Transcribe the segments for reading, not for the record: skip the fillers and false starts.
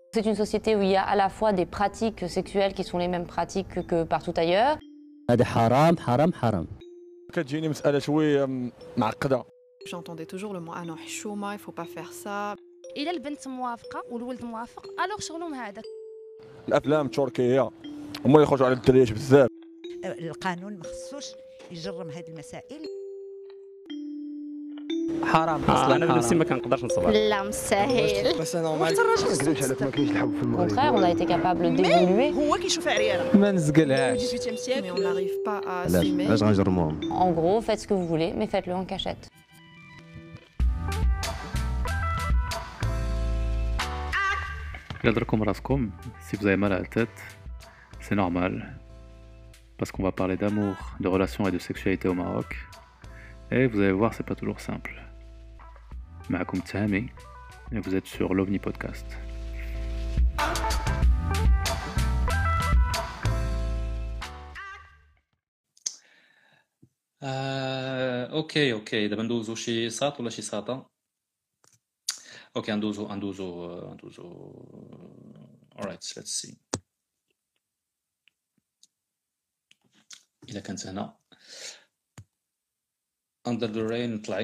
C'est une société où il y a à la fois des pratiques sexuelles qui sont les mêmes pratiques que partout ailleurs. هذا حرام حرام حرام. كتجيني مسألة شوية معقدة. J'entendais toujours le mot ah non حشومة, il faut pas faire ça. إلا البنت موافقة والولد موافق ألوغ شغلهم هذاك. الأفلام التركية هما اللي يخرجوا على الدريات بزاف. القانون ما خصوش يجرم هذه المسائل. حرام اصلا انا بنفسي ما كنقدرش نصبر. لا مستحيل. بس نورمال ما نكذبش عليك ما كاينش الحب في Au المغرب. contraire, on a été capable d'évoluer. هو كيشوف عريانة. ما نزقلهاش. 18e siècle, mais on n'arrive pas à assumer. علاش غنجرموهم؟ En gros, faites ce que vous voulez, mais faites-le en cachette. Gardez-le raskom, si vous avez mal à la tête, c'est normal. Parce qu'on va parler d'amour, de relations et de sexualité au Maroc. Et vous allez voir, c'est pas toujours simple. Ma'akoum Tahami, et vous êtes sur l'OVNI Podcast. اوكي دابا ندوزو شي ساط ولا شي ساطه. اوكي ندوزو alright let's see. اذا كانت هنا under the rain طلعي.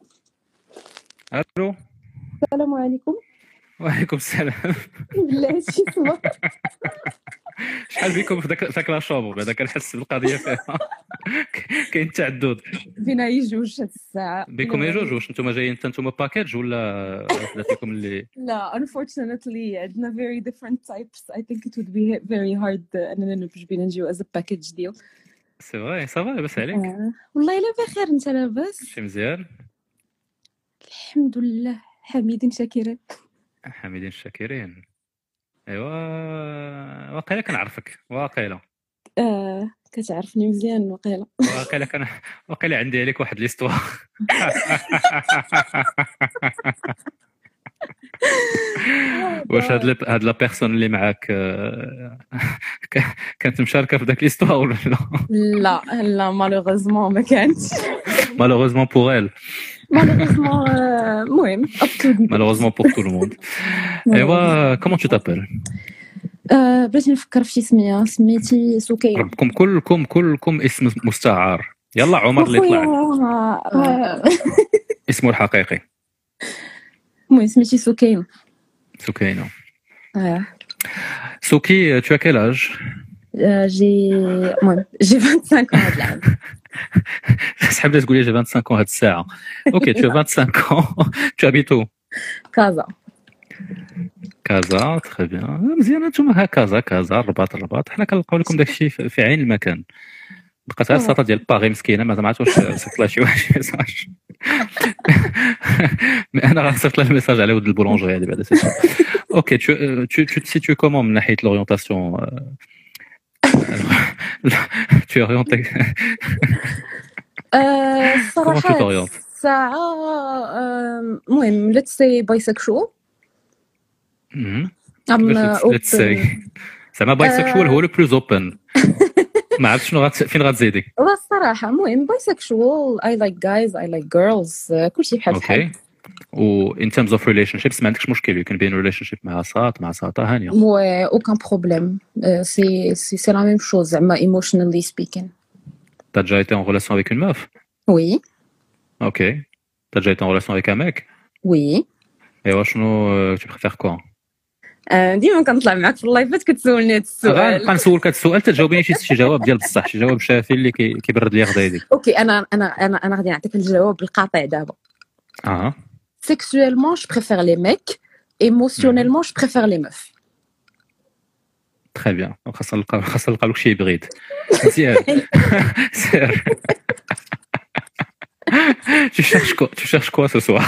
الو السلام عليكم. وعليكم السلام. بالله شي صوت. شحال بكم في ذاك لا شومبر بعدا كنحس بالقضيه فيها. كاين تعدد فينا يجوج هاد الساعة. بكم يا جوج. واش نتوما جايين نتوما باكاج ولا فيكم اللي لا unfortunately عندنا very different types. I think it would be very hard أننا نبجبينا نجيو as a package deal. سي فري صافا لاباس عليك؟ والله إلا بخير. أنت لاباس؟ شي مزيان الحمد لله حميد شاكرين. حميدين شاكرين. ايوا واقيلا كنعرفك واقيلا كتعرفني مزيان وقيلا. واقيلا عندي عليك واحد ليستوار. واش هاد لا بيرسون اللي معاك كانت مشاركه في داك ليستوار ولا لا؟ لا مالوغوزمون ما كانتش. مالوغوزمون بور ايل. مالوغوزمون المهم مالوغوزمون بور تو لو موند. ايوا كومون تو تابيل؟ بغيتي نفكر في شي سميه. سميتي سكينة. ربكم كلكم اسم مستعار. يلا عمر اللي طلع اسمه الحقيقي. المهم سميتي سكينة. سكينة. سوكي tu as quel âge؟ j'ai 25 ans هاد العام. سحب لي تقول لي j'ai 25 ans هاد الساعة. اوكي tu as 25 ans. tu habites où؟ كازا. كازا تري بيان. مزيان نتوما ها كازا الرباط حنا كنلقاو لكم داكشي في عين المكان. بقات غير الساطه ديال باغي مسكينه ما عرفتش واش صيفط لها شي واحد ميساج. مي انا غنصيفط لها الميساج على ود البولونجري هذه بعدا سي. اوكي tu te situes comment من ناحيه l'orientation؟ tu es orienté comment tu t'orientes؟ ساعة المهم let's say bisexual. let's say زعما بايسكشوال هو لو بلوز اوبن. ما عرفت شنو فين غتزيدي. والله الصراحه المهم bisexual. I like guys I like girls. كلشي بحال اوكي. و in terms of relationships ما عندكش مشكل يمكن بين relationship مع ساطه هانيه؟ ouais aucun problème. c'est la même chose زعما emotionally speaking. T'as déjà été en relation avec une meuf? Oui. Ok. T'as déjà été en relation avec un mec? Oui. Et شنو tu préfères quoi؟ ديما كنطلع معاك في اللايفات كتسولني هذا السؤال. غنبقى نسولك هذا السؤال تجاوبيني شي جواب ديال بصح شي جواب شافي اللي كيبرد لي غدايدي. اوكي انا غادي نعطيك الجواب القاطع دابا. Sexuellement je préfère les mecs. Émotionnellement je préfère les meufs. Très bien. خاصنا نلقاو لك شي بريد. مزيان. سير. Tu cherches quoi ce soir?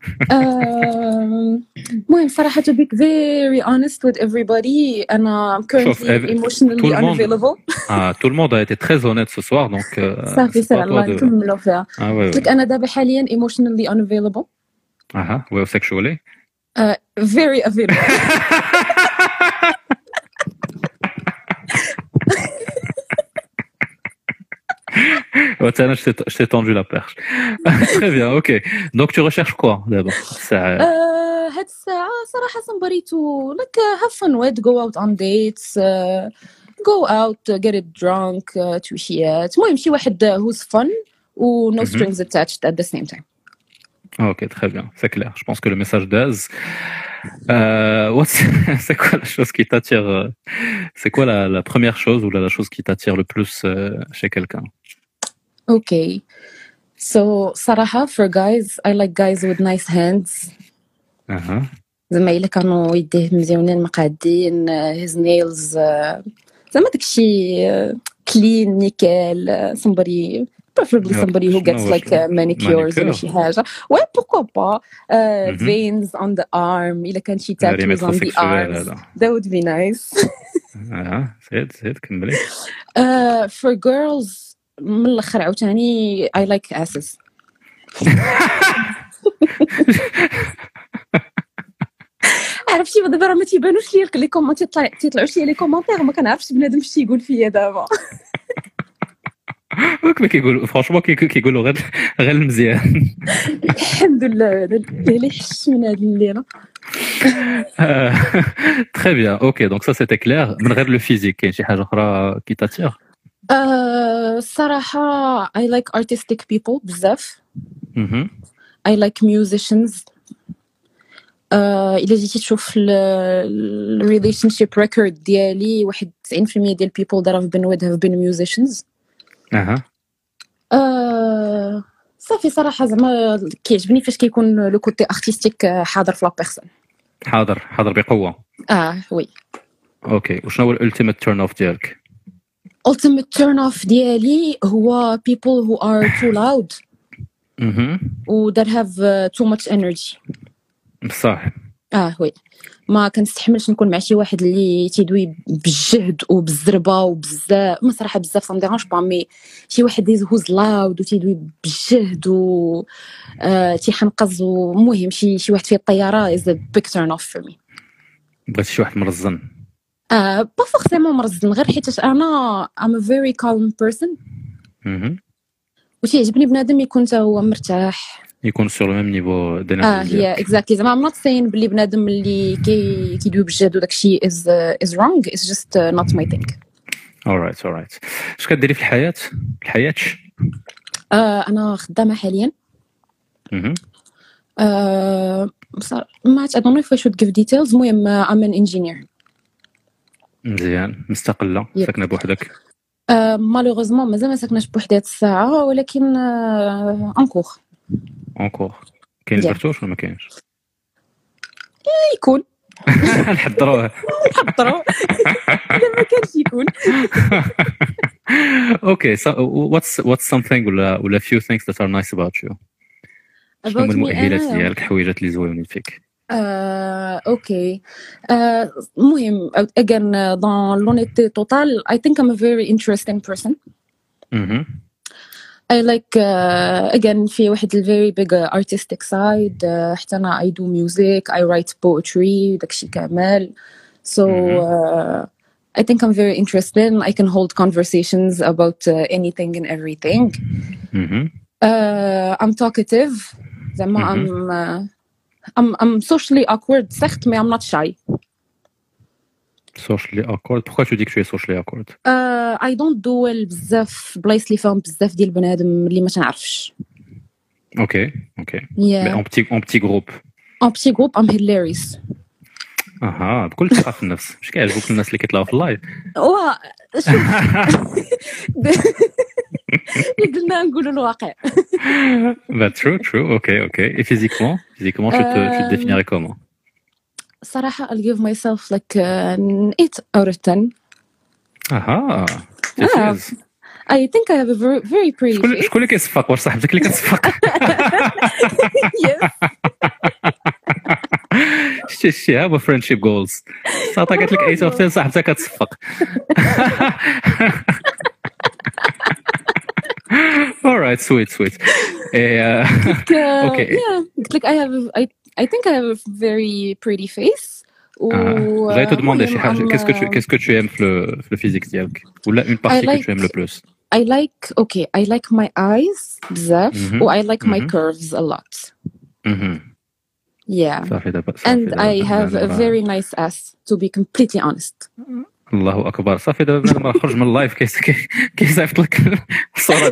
المهم صراحة to be very honest with everybody أنا currently emotionally unavailable. Tout le monde a été très honnête ce soir donc. صافي سير الله نكملوا فيها. قلت أنا دابا حاليا emotionally unavailable. well sexually. Very available. Je t'ai tendu la perche. Très bien, ok. Donc tu recherches quoi d'abord? هاد هاد الساعة صراحة somebody to like have fun with, go out on dates, go out, get it drunk, توشيات. المهم شي واحد who's fun و no strings attached at the same time. Ok, très bien, c'est clair. Je pense que le message d'Az, c'est quoi la chose qui t'attire c'est quoi la première chose ou la chose qui t'attire le plus chez quelqu'un? Okay. So صراحة for guys, I like guys with nice hands. زعما إلا كانوا يديه مزيونين مقادين, his nails زعما داكشي clean, nickel, somebody preferably somebody who gets like manicures ولا شي حاجة. Ouais, pourquoi pas. Veins on the arm, إلا كان شي tattoos on the arms. That would be nice. زيد كملي. For girls من الآخر عاوتاني I like asses. عرفتي دابا راه ما تيبانوش لي لي كومونت تيطلعوش لي كومونتير ما كنعرفش بنادم اش تيقول فيا دابا. ما كيقول فرانشمون كيقولوا غير المزيان. الحمد لله اللي حش من هذه الليله. Très bien. OK, donc ça c'était clair. من غير le physique كاين شي حاجه اخرى qui t'attire? صراحه I like artistic people بزاف. I like musicians. إلا جيتي تشوف ال relationship record ديالي 91% ديال people that I've been with have been musicians. صافي صراحة زعما كيعجبني فاش كيكون لو كوتي ارتستيك حاضر في لا بيرسون. حاضر بقوة. وي. اوكي وشنو هو الالتيميت تيرن اوف ديالك؟ ultimate turn off ديالي هو people who are too loud. و that have too much energy. صح. وي ما كنستحملش نكون مع شي واحد اللي تيدوي بالجهد وبالزربه وبزاف ما صراحه بزاف ما ديرونش با مي شي واحد هوز لاود وتيدوي بالجهد و تيحنقز ومهم شي واحد فيه الطياره is a big turn off for me. بغيتي شي واحد مرزن؟ با فورسيمون مرزن غير حيت انا I'm a very calm person. وتيعجبني بنادم يكون حتى هو مرتاح يكون سور لو ميم نيفو دينيرجي. هي اكزاكتلي زعما I'm not saying بلي بنادم اللي كيدوي بالجهد وداكشي is wrong, it's just not my thing. alright اش كديري في الحياة؟ انا خدامه حاليا. ما I don't know if I should give details. المهم I'm an engineer. مزيان مستقلة ساكنة بوحدك؟ مالوغوزمون مازال ما ساكناش بوحدي هاد الساعة ولكن انكور كاين البرتوش ولا ما كاينش؟ يكون نحضروه الا ما كانش يكون. Okay, so what's something ولا few things that are nice about you؟ شنو هما المؤهلات ديالك الحويجات اللي زوينين فيك؟ اوكي المهم again dans l'honnêteté totale I think I'm a very interesting person. I like again في واحد very big artistic side. حتى أنا I do music, I write poetry داكشي كامل. So I think I'm very interesting. I can hold conversations about anything and everything. I'm talkative. زعما I'm socially awkward certes mais I'm not shy. Socially awkward. Pourquoi tu dis que tu es socially awkward? I don't do well بزاف بلايص اللي فيهم بزاف ديال البنادم اللي ما تنعرفش. Okay. Yeah. Mais en petit groupe. En petit groupe I'm hilarious. بكل ثقة في النفس. مش كيعجبوك الناس اللي كيطلعوا في اللايف؟ شوف قلنا نقولوا الواقع. True. Okay. Et physiquement, tu te définirais comment? صراحة I'll give myself like an 8 out of 10. I think I have a very pretty face. شكون اللي كيصفق؟ واش صاحبتك اللي كتصفق؟ Yes. شتي هما friendship goals. صاحبتك قالت لك 8 out of 10 صاحبتك كتصفق. All right, sweet. Okay. Yeah, like I think I have a very pretty face. J'allais te demander qu'est-ce que tu aimes le physique ديالك ou une partie que tu aimes le plus? I like my eyes بزاف و I like my curves a lot. Yeah. صافي دابا And I have a very nice ass, to be completely honest. الله اكبر. صافي دابا بنادم راه خرج من اللايف كيصيفط لك الصوره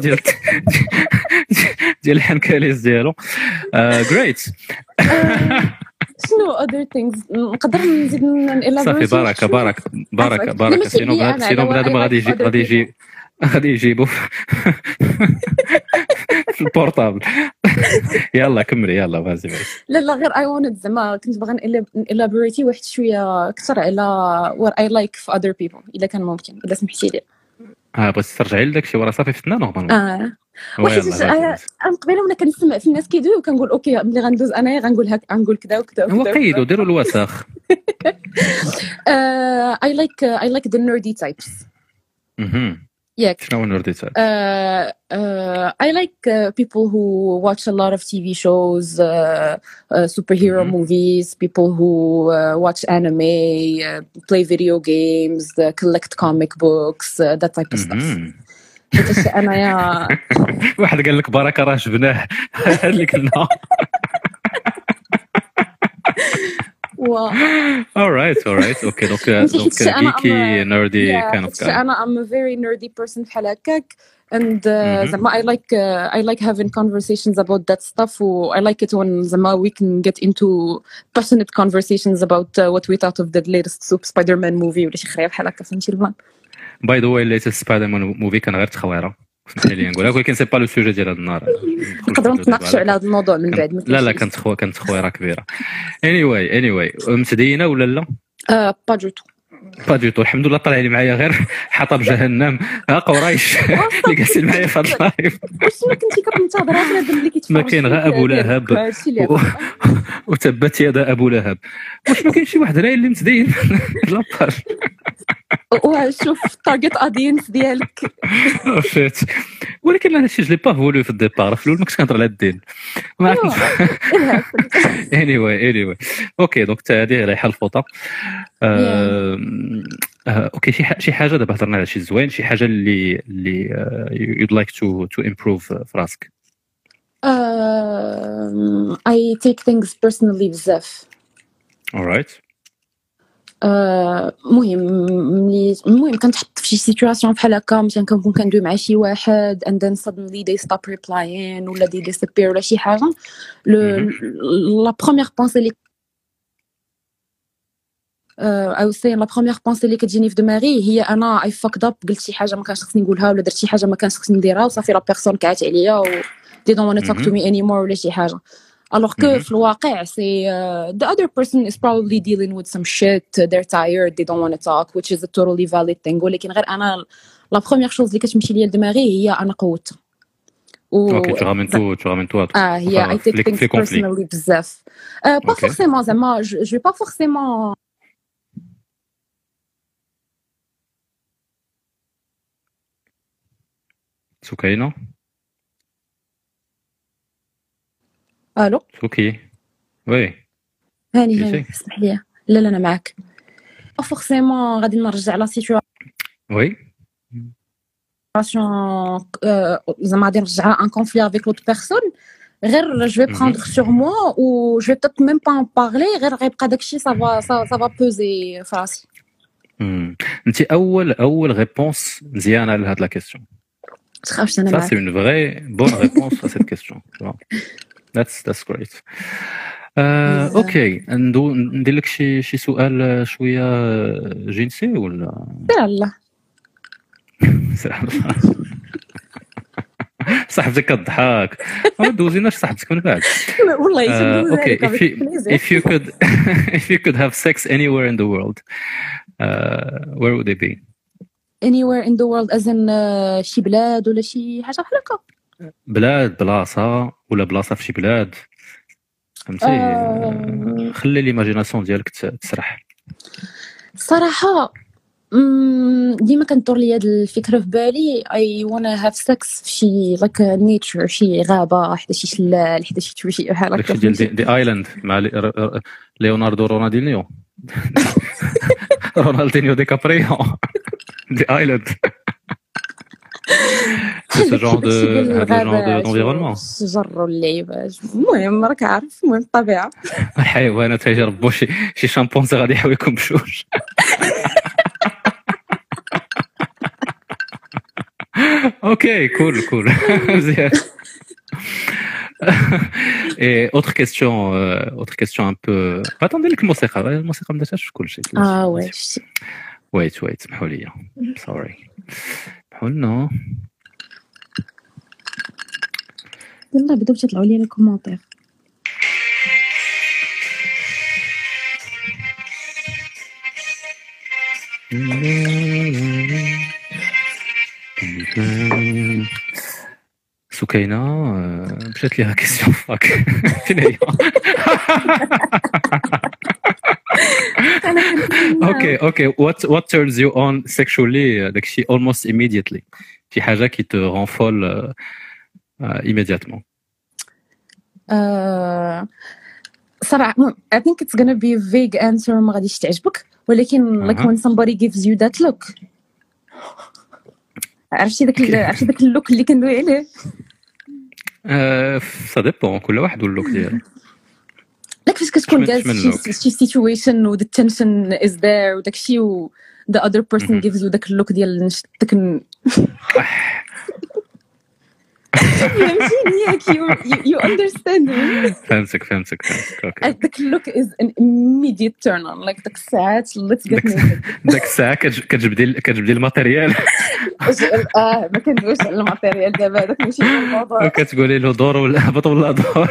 ديال الحنكاليز ديالو. جريت. شنو other things نقدر نزيد صافي بارك سينو بنادم غادي يجيبو في البورطابل. يلا كملي يلا فازي. لا غير I wanted زعما كنت باغا elaborate واحد شويه اكثر على what I like في other people اذا كان ممكن، اذا سمحتي لي. بغيتي ترجعي لداكشي وراه صافي فتنا نورمالمون. واحد انا قبيله وانا كنسمع في الناس كيدوي وكنقول اوكي ملي غندوز انايا غنقول كذا وكذا هو قيدوا ديروا الوسخ. I like the nerdy types. شنو nerdy type? I like people who watch a lot of TV shows, superhero movies, people who watch anime, play video games, collect comic books, that type of stuff. انا يا واحد قال لك بركه راه جبناه اللي كنا. alright okay donc geeky nerdy kind of guy. انا I'm a very nerdy person بحال هكاك and زعما I like having conversations about that stuff و I like it when زعما we can get into passionate conversations about what we thought of the latest Spider-Man movie ولا شي خريه بحال هكا فهمتي البلان. باي ذا واي ليت سبايدر مان موفي كان غير تخويره سمحي لي نقولها ولكن سي با لو سوجي ديال هذا النهار. نقدروا نتناقشوا على هذا الموضوع من بعد. لا كانت تخويره كبيره. anyway متدينه ولا لا؟ با دو تو الحمد لله. طلع لي معايا غير حطب جهنم قريش اللي جالسين معايا في هذا اللايف. واش كنتي كتنتظر هذا اللي كيتفرج؟ ما كاين غير ابو لهب وتبت يد ابو لهب. واش ما كاينش شي واحد راي اللي متدين لاباج؟ وشوف التارجت اودينس ديالك. شيت ولكن هذا الشيء جلي با فولو في الديبار. في الاول ما كنتش كنهضر على الدين ما عرفتش. anyway اوكي دونك هذه رايحه الفوطه. اوكي شي حاجه دابا هضرنا على شي زوين، شي حاجه اللي you'd like to improve في راسك. I take things personally بزاف. alright. المهم كنتحط في شي سيتوياسيون بحال هكا مثلا كنكون كندوي مع شي واحد and then suddenly they stop replying ولا they disappear ولا شي حاجه. la première pensée اللي I was saying la première pensée اللي كتجيني في دماغي هي انا I fucked up، قلت شي حاجه ما كانش خصني نقولها ولا درت شي حاجه ما كانش خصني نديرها وصافي لا بيرسون كعات عليا و they don't want to talk to me anymore ولا شي حاجه. Alors que في الواقع c'est the other person is probably dealing with some shit, they're tired, they don't want to talk, which is a totally valid thing. ولكن غير أنا la première chose اللي كتمشي ليا لدماغي هي أنا قوتها. Ok, tu ramènes toi. I take things personally بزاف. Pas forcément زعما je vais pas forcément. سكينة. الو اوكي وي هاني اسمح لي. لا انا معاك. فورسيمون غادي نرجع لا سيتواسيون وي زعما غادي نرجع ان كونفلي افيك لوت بيرسون غير جو في بروندر سور موا و جو بيتيت ميم با ان بارلي غير غيبقى داكشي سافا بوزي في راسي. انت اول ريبونس مزيانه لهاد لا كيسيون. تخافش انا معاك. Ça c'est une vraie bonne réponse à cette question. That's great. اوكي ندير لك شي سؤال شويه جنسي ولا؟ لا صاحبتك كضحك ما دوزيناش صاحبتك من بعد والله اوكي if you could have sex anywhere in the world where would it be? anywhere in the world as in شي بلاد ولا شي حاجه بحال هكا؟ بلاد بلاصه ولا بلاصه في شي بلاد فهمتي. خلي ليماجيناسيون ديالك تسرح. صراحه ديما كندور لي هاد الفكره في بالي I wanna have sex في شي like nature شي غابه حدا شي شلال حدا شي توشي بحال هكا ديال دي ايلاند مع ليوناردو رونالدينيو رونالدينيو دي كابريو دي ايلاند. C'est ce genre d'environnement. الشجر واللعيبات المهم راك عارف المهم الطبيعه الحيوانات يجربوا شي شامبونزي غادي يحويكم بشوش. اوكي كول مزيان. Et autre question un peu. Attendez لك الموسيقى ما درتهاش في كل شيء. ويت سمحوا لي. سوري. سمحوا لنا. يلا بداو تطلعوا لي الكومونتير. سكينة مشات ليها كيسيون فاك فين هي؟ اوكي what turns you on sexually داكشي almost immediately شي حاجة كي te rend folle immédiatement. صراحة I think it's gonna be a vague answer ما غاديش تعجبك ولكن like when somebody gives you that look عرفتي داك اللوك اللي كندوي عليه. سا ديبون كل واحد واللوك ديالو. لك فاش كتكون جالس شي سيتويشن و the tension is there وداكشي و the other person gives you داك اللوك ديال داك you understand me. فهمتك اوكي. داك اللوك is an immediate turn on like داك الساعات let's get moving. داك الساعه كتجبدي الماتيريال. ما كندويش على الماتيريال دابا هذاك ماشي الموضوع. كتقولي له دور ولا هبط ولا دور.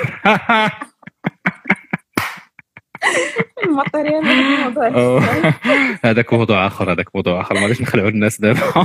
الماتيريال هذاك موضوع اخر ما غاديش نخلعوا الناس دابا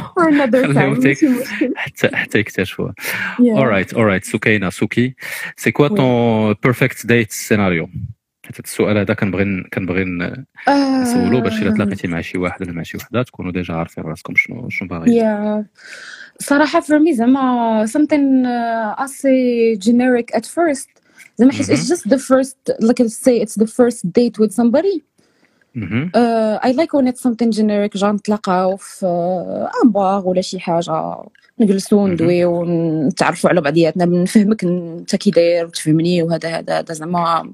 حتى يكتشفوه. alright سوكي سي كوا طون بيرفكت ديت سيناريو؟ حتى السؤال هذا كنبغي نسولو باش الا تلاقيتي مع شي واحد ولا مع شي وحده تكونوا ديجا عارفين راسكم شنو باغيين. صراحه for me زعما something assez generic at first زعما حيت it's just the first like I say it's the first date with somebody. I like when it's something generic جا نتلاقاو في بار ولا شي حاجه نجلسوا ندويو ونتعرفوا على بعضياتنا نفهمك انت كي داير وتفهمني وهذا زعما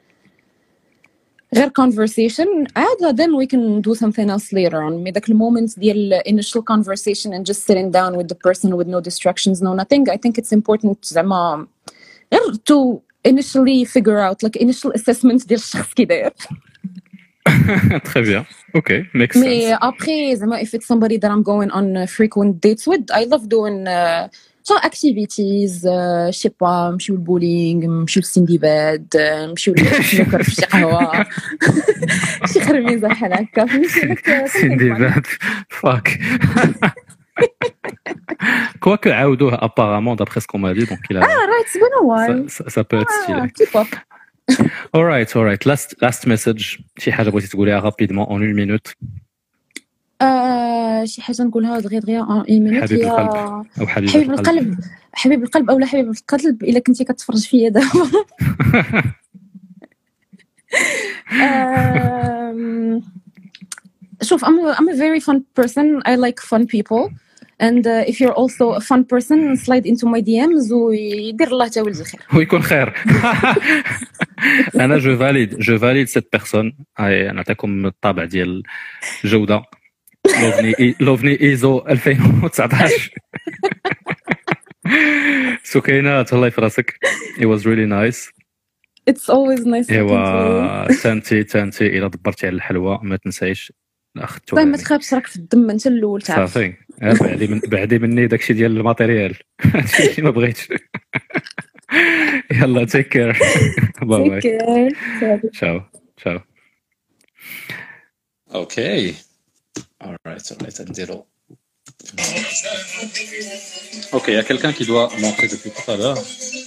غير conversation عاد then we can do something else later on. مي داك المومنت ديال initial conversation and just sitting down with the person with no distractions no nothing I think it's important زعما غير to initially figure out like initial assessment ديال الشخص كي داير. Très bien. Okay, makes sense. Mais après, if it's somebody that I'm going on frequent dates with, I love doing some activities. Je sais pas, نمشيو البولينغ، نمشيو للسندباد، نمشيو نشرب شي قهوة، شي خرميزة بحال هكا. سندباد، fuck. Quoique عاودوه apparemment d'après ce qu'on m'a dit donc il a. Right, it's been a while. Ça peut être stylé. Keep up. Alright. Last message. شي حاجة بغيتي تقوليها rapidement en 1 minute. شي حاجة نقولها دغيا en 1 minute. حبيب القلب أو حبيب القلب. حبيب القلب أو لا حبيب القلب إلا كنتي كتفرج فيا دابا. شوف I'm a very fun person. I like fun people. And if you're also a fun person, slide into my DMs ويدير الله تا ولد الخير. ويكون خير. أنا je valide cette personne. هاي نعطيكم الطابع ديال الجودة. لوفني إيزو 2019. سكينة تهلاي في راسك. It was really nice. It's always nice. إيوا تانتي إلا دبرتي على الحلوى ما تنسايش. طيب ما تخافش راك في الدم انت الاول تعرف صافي بعدي مني داكشي ديال الماتيريال هادشي ما بغيتش يلا تيك كير باي باي ciao اوكي alright نديرو اوكي يا quelqu'un qui doit montrer depuis tout à l'heure.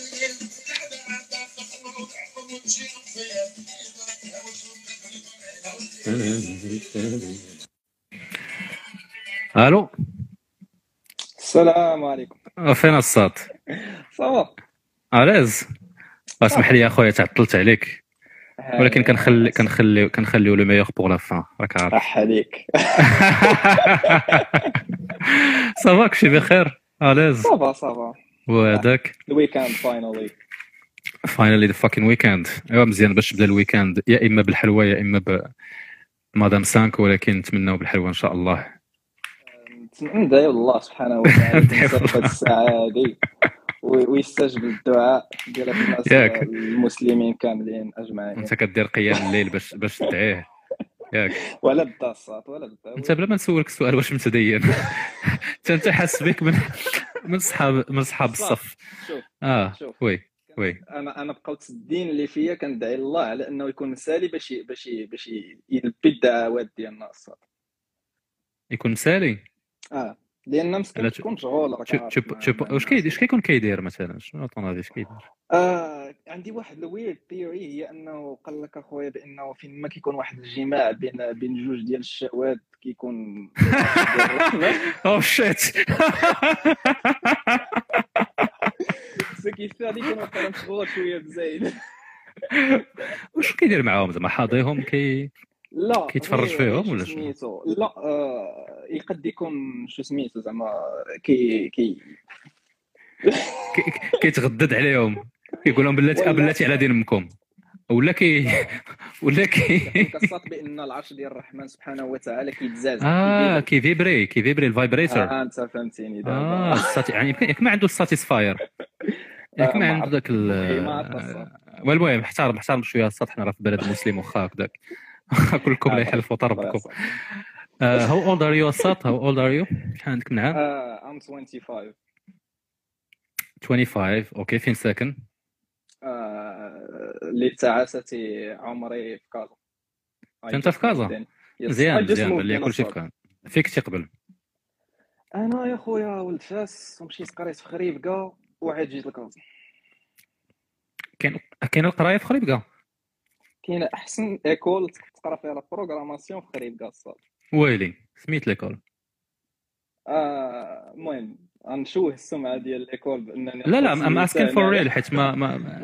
الو السلام عليكم. فين الصوت؟ صافا علاز اسمح لي اخويا تعطلت عليك ولكن كنخليو لو ميور بور لا فان راك عارف. صح عليك. صافا كلشي بخير اليز صافا وهذاك الويكاند فاينالي فاينالي ذا فاكين ويكاند. ايوا مزيان باش تبدا الويكاند يا اما بالحلوى يا اما بمدام 5، ولكن نتمناو بالحلوى ان شاء الله. ندعي الله سبحانه وتعالى في هذه الساعه هذه ويستجب الدعاء ديال الناس المسلمين كاملين اجمعين. انت كدير قيام الليل باش تدعيه ياك ولا بدا الصوت ولا بدا انت بلا ما نسولك السؤال واش متدين. انت حاس بك من صحاب الصف. شوف وي انا بقاوت الدين اللي فيا كندعي الله على انه يكون مسالي باش يلبي الدعوات ديالنا الصاد. يكون مسالي لان مسكين تكون مشغول. واش كيكون كيدير مثلا؟ شنو طون اش كيدير؟ عندي واحد الويرد ثيوري هي انه قال لك اخويا بانه فين ما كيكون واحد الجماع بين جوج ديال الشهوات كيكون او شيت كيف هذيك كيكون مشغول شويه بزايد. واش كيدير معاهم زعما حاضيهم لا كيتفرج فيهم ولا شنو؟ لا يقد يكون شو سميتو زعما كيتغدد عليهم كيقول لهم بلاتي على دين امكم ولا كصات بان العرش ديال الرحمن سبحانه وتعالى كيتزاز كيفيبري الفايبريتور. انت فهمتيني دابا. يعني يمكن ما عنده الساتيسفاير، يمكن ما عنده ذاك المهم احترم شويه السطح. حنا راه في بلد مسلم واخا هكذاك كلكم لا يحلفوا طربكم. How old are you الساط؟ How old are you؟ شحال عندك من عام؟ I'm 25. 25 اوكي. فين ساكن؟ اللي تعاستي عمري في كازا. انت في كازا؟ مزيان بلي كلشي في كازا. فيك تقبل؟ انا يا خويا ولد فاس ومشيت قريت في خريبكا وعاد جيت لكازا. كاين القرايه في خريبكا؟ كاين احسن ايكول تقرا فيها لا بروغراماسيون في خريبكا الصاد. ويلي سميت ليكول؟ المهم غنشوه السمعه ديال الايكول بانني لا ام اسكين فور ريل حيت ما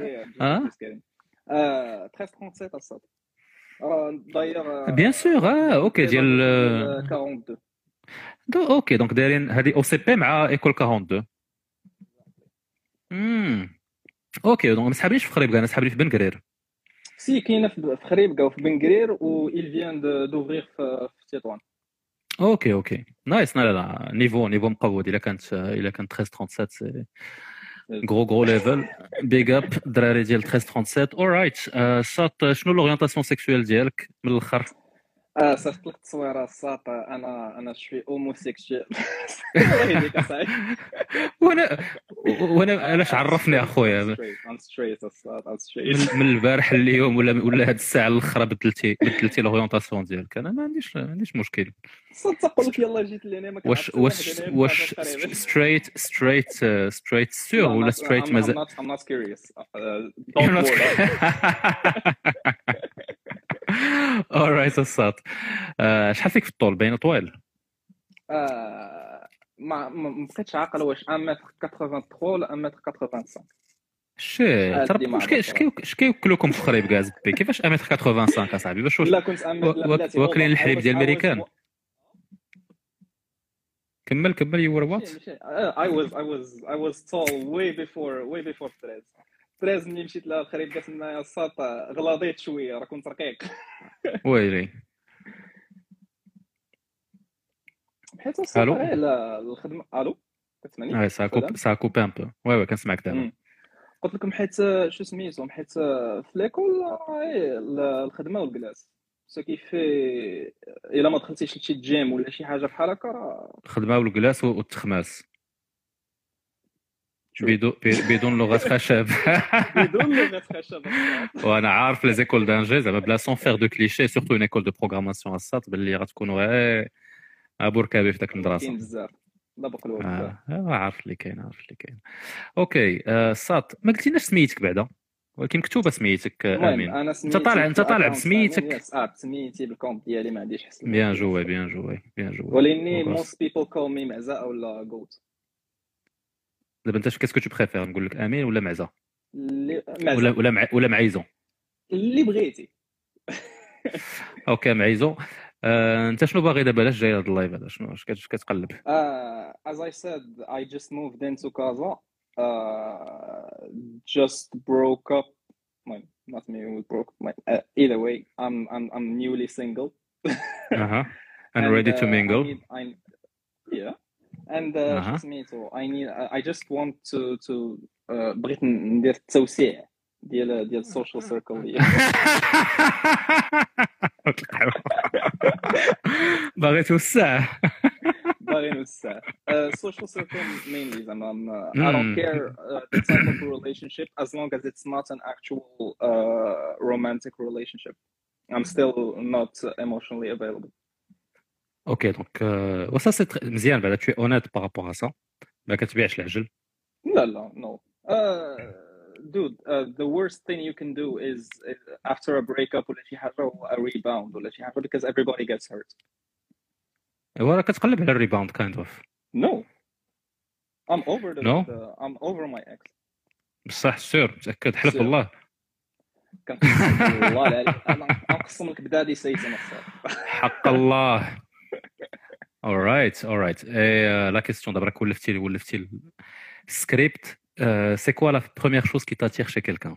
1337 الصاد داير بيان سور. اوكي ديال 42 اوكي دونك دايرين هذه او سي بي مع ايكول 42. اوكي دونك ما سحابنيش في خريبكا، انا سحابني في بن قرير. سي كاينه في خريبكا وفي بن قرير و il vient d'ouvrir في تطوان. اوكي نايس. لا نيفو مقود. الا كانت 1337 غرو ليفل. بيغ اب الدراري ديال 1337. اورايت شاط. شنو لورينتاسيون سيكسويل ديالك من الاخر؟ صيفط لك التصويره الساط. انا شوي هوموسيكسوال. وانا علاش عرفني اخويا من البارح اليوم ولا هاد الساعه الاخرى بدلتي لورينتاسيون ديالك؟ انا ما عنديش مشكل. تقول لك يلا جيت لهنا ما كنعرفش واش ستريت سور ولا ستريت مازال؟ I'm not curious. alright الساط. شحال فيك في الطول؟ باين طويل. ما بقيتش عاقل واش 1.83 ولا 1.85. شي اش كيوكلوكم في خريب كاع زبي؟ كيفاش 1.85 اصاحبي؟ باش لا كنت واكلين الحليب ديال الامريكان. كمل you were what? I was tall way before تريز ملي مشيت لها الخريب قالت لنا الساط غلاضيت شويه راه كنت رقيق. ويلي حيت الساط على الخدمه. الو كتسمعني؟ سا كوب ان بو. وي كنسمعك دابا. قلت لكم حيت شو سميتو حيت في ليكول الخدمه والجلاس كيف الا ما دخلتيش لشي جيم ولا شي حاجه بحال هكا راه الخدمه والجلاس والتخماس بدون لغه خشب. بدون لغه خشب. وانا عارف لي زيكول دانجي زعما بلا سون فير دو كليشي سورتو اون ايكول دو بروغراماسيون الساط باللي غتكونوا غير ابوركابي في داك المدرسه. كاين بزاف دابا قلوب بزاف. عارف اللي كاين. اوكي الساط ما قلتيناش سميتك بعدا ولكن مكتوبه سميتك امين. انت طالع بسميتك. سميتي بالكونت ديالي ما عنديش حسن. بيان جوي ولكن most people call me معزه ولا جوت. دابا انت كاسكو تو بريفير نقول لك امين ولا معزه ولا معيزون اللي بغيتي؟ اوكي معيزون. انت شنو باغي دابا؟ علاش جاي هذا اللايف هذا؟ شنو كتقلب؟ as I said, I just moved into Casa. Just broke up. Well, not me. We broke. Either way, I'm newly single. And ready to mingle. Yeah. And سميتو I just want to بغيت ندير التوسيع ديال السوشيال سيركل ديالي. باغي توسع. باغي نوسع. Social circle mainly زعما I don't care the type of relationship as long as it's not an actual romantic relationship. I'm still not emotionally available. Ok, donc ça c'est مزيان بعدا tu es honnête par rapport à ça. ما كتبيعش العجل. لا no. Dude, the worst thing you can do is after a breakup ولا شي حاجة a rebound ولا شي حاجة because everybody gets hurt. ولا كتقلب على الريباوند kind of. No. I'm over No? I'm over my ex. بصح سير متأكد حلف بالله. كنقسم والله عليك انا نقسم لك بدادي سيد نصر. حق الله. All right. Et la question d'abord ولفتي script, c'est quoi la première chose qui t'attire chez quelqu'un?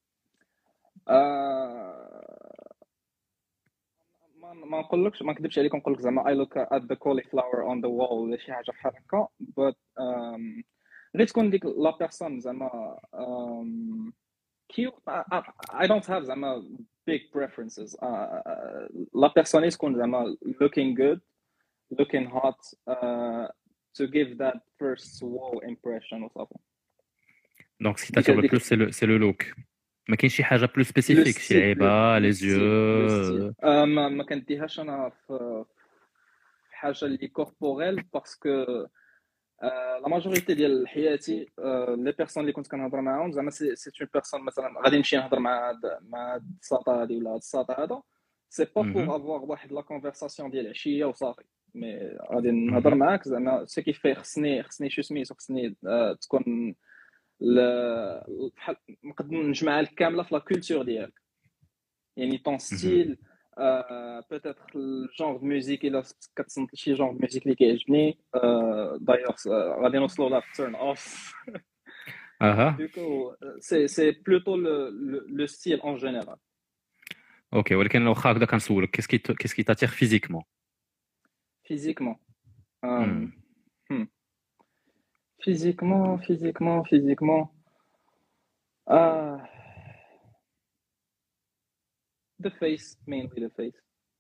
ما نقولكش ما نكذبش عليك نقول لك زعما I look at the cauliflower on the wall ولا شي حاجه بحال هكا but غير تكون ديك لا بيرسون زعما cute. I don't have زعما big preferences. لا بيرسون تكون زعما looking good, looking hot, to give that first wow impression وصافي. Donc ce qui t'attire le plus c'est le look. ما كاينش شي حاجه بلو سبيسيفيك شي لعيبه لي زيو. ما كنديهاش انا في حاجه اللي كوربوريل باسكو لا ماجوريتي ديال حياتي لي بيرسون اللي كنت كنهضر معاهم زعما سي اون بيرسون مثلا غادي نمشي نهضر مع هاد الساطا هادي ولا هاد الساطا هذا سي با بور افوار واحد لا كونفرساسيون ديال عشيه وصافي مي غادي نهضر معاك زعما سو كيفي خصني شو سميتو خصني تكون بحال نقدر نجمعها لك كامله في لا كولتور ديالك يعني طون ستيل بوتيتر الجونغ دو ميوزيك الا كتصنت شي جونغ دو ميوزيك اللي كيعجبني دايوغ غادي نوصلوا لا تيرن اوف دوكو سي بلوتو لو ستيل اون جينيرال. اوكي ولكن لو واخا هكذا كنسولك كيسكي تاتير فيزيكمون physiquement the face, mainly the face.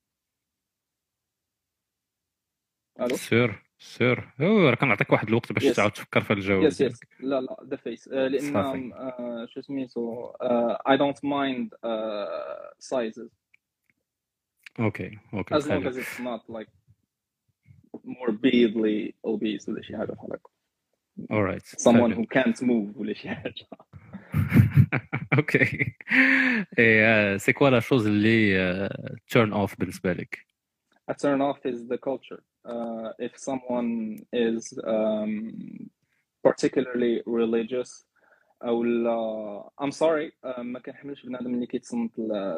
الو سير راه كنعطيك واحد الوقت باش تعاود تفكر في الجواب. يس لا the face لان شو سميتو I don't mind sizes. Okay as long as it's not like morbidly obese ولا شي حاجه بحال هكا. All right. Someone who can't move ولا شي حاجه. Ok. Et c'est quoi la chose اللي turn off بالنسبة لك? A turn off is the culture. If someone is particularly religious أو I'm sorry ما كنحملش بنادم اللي كيتصنت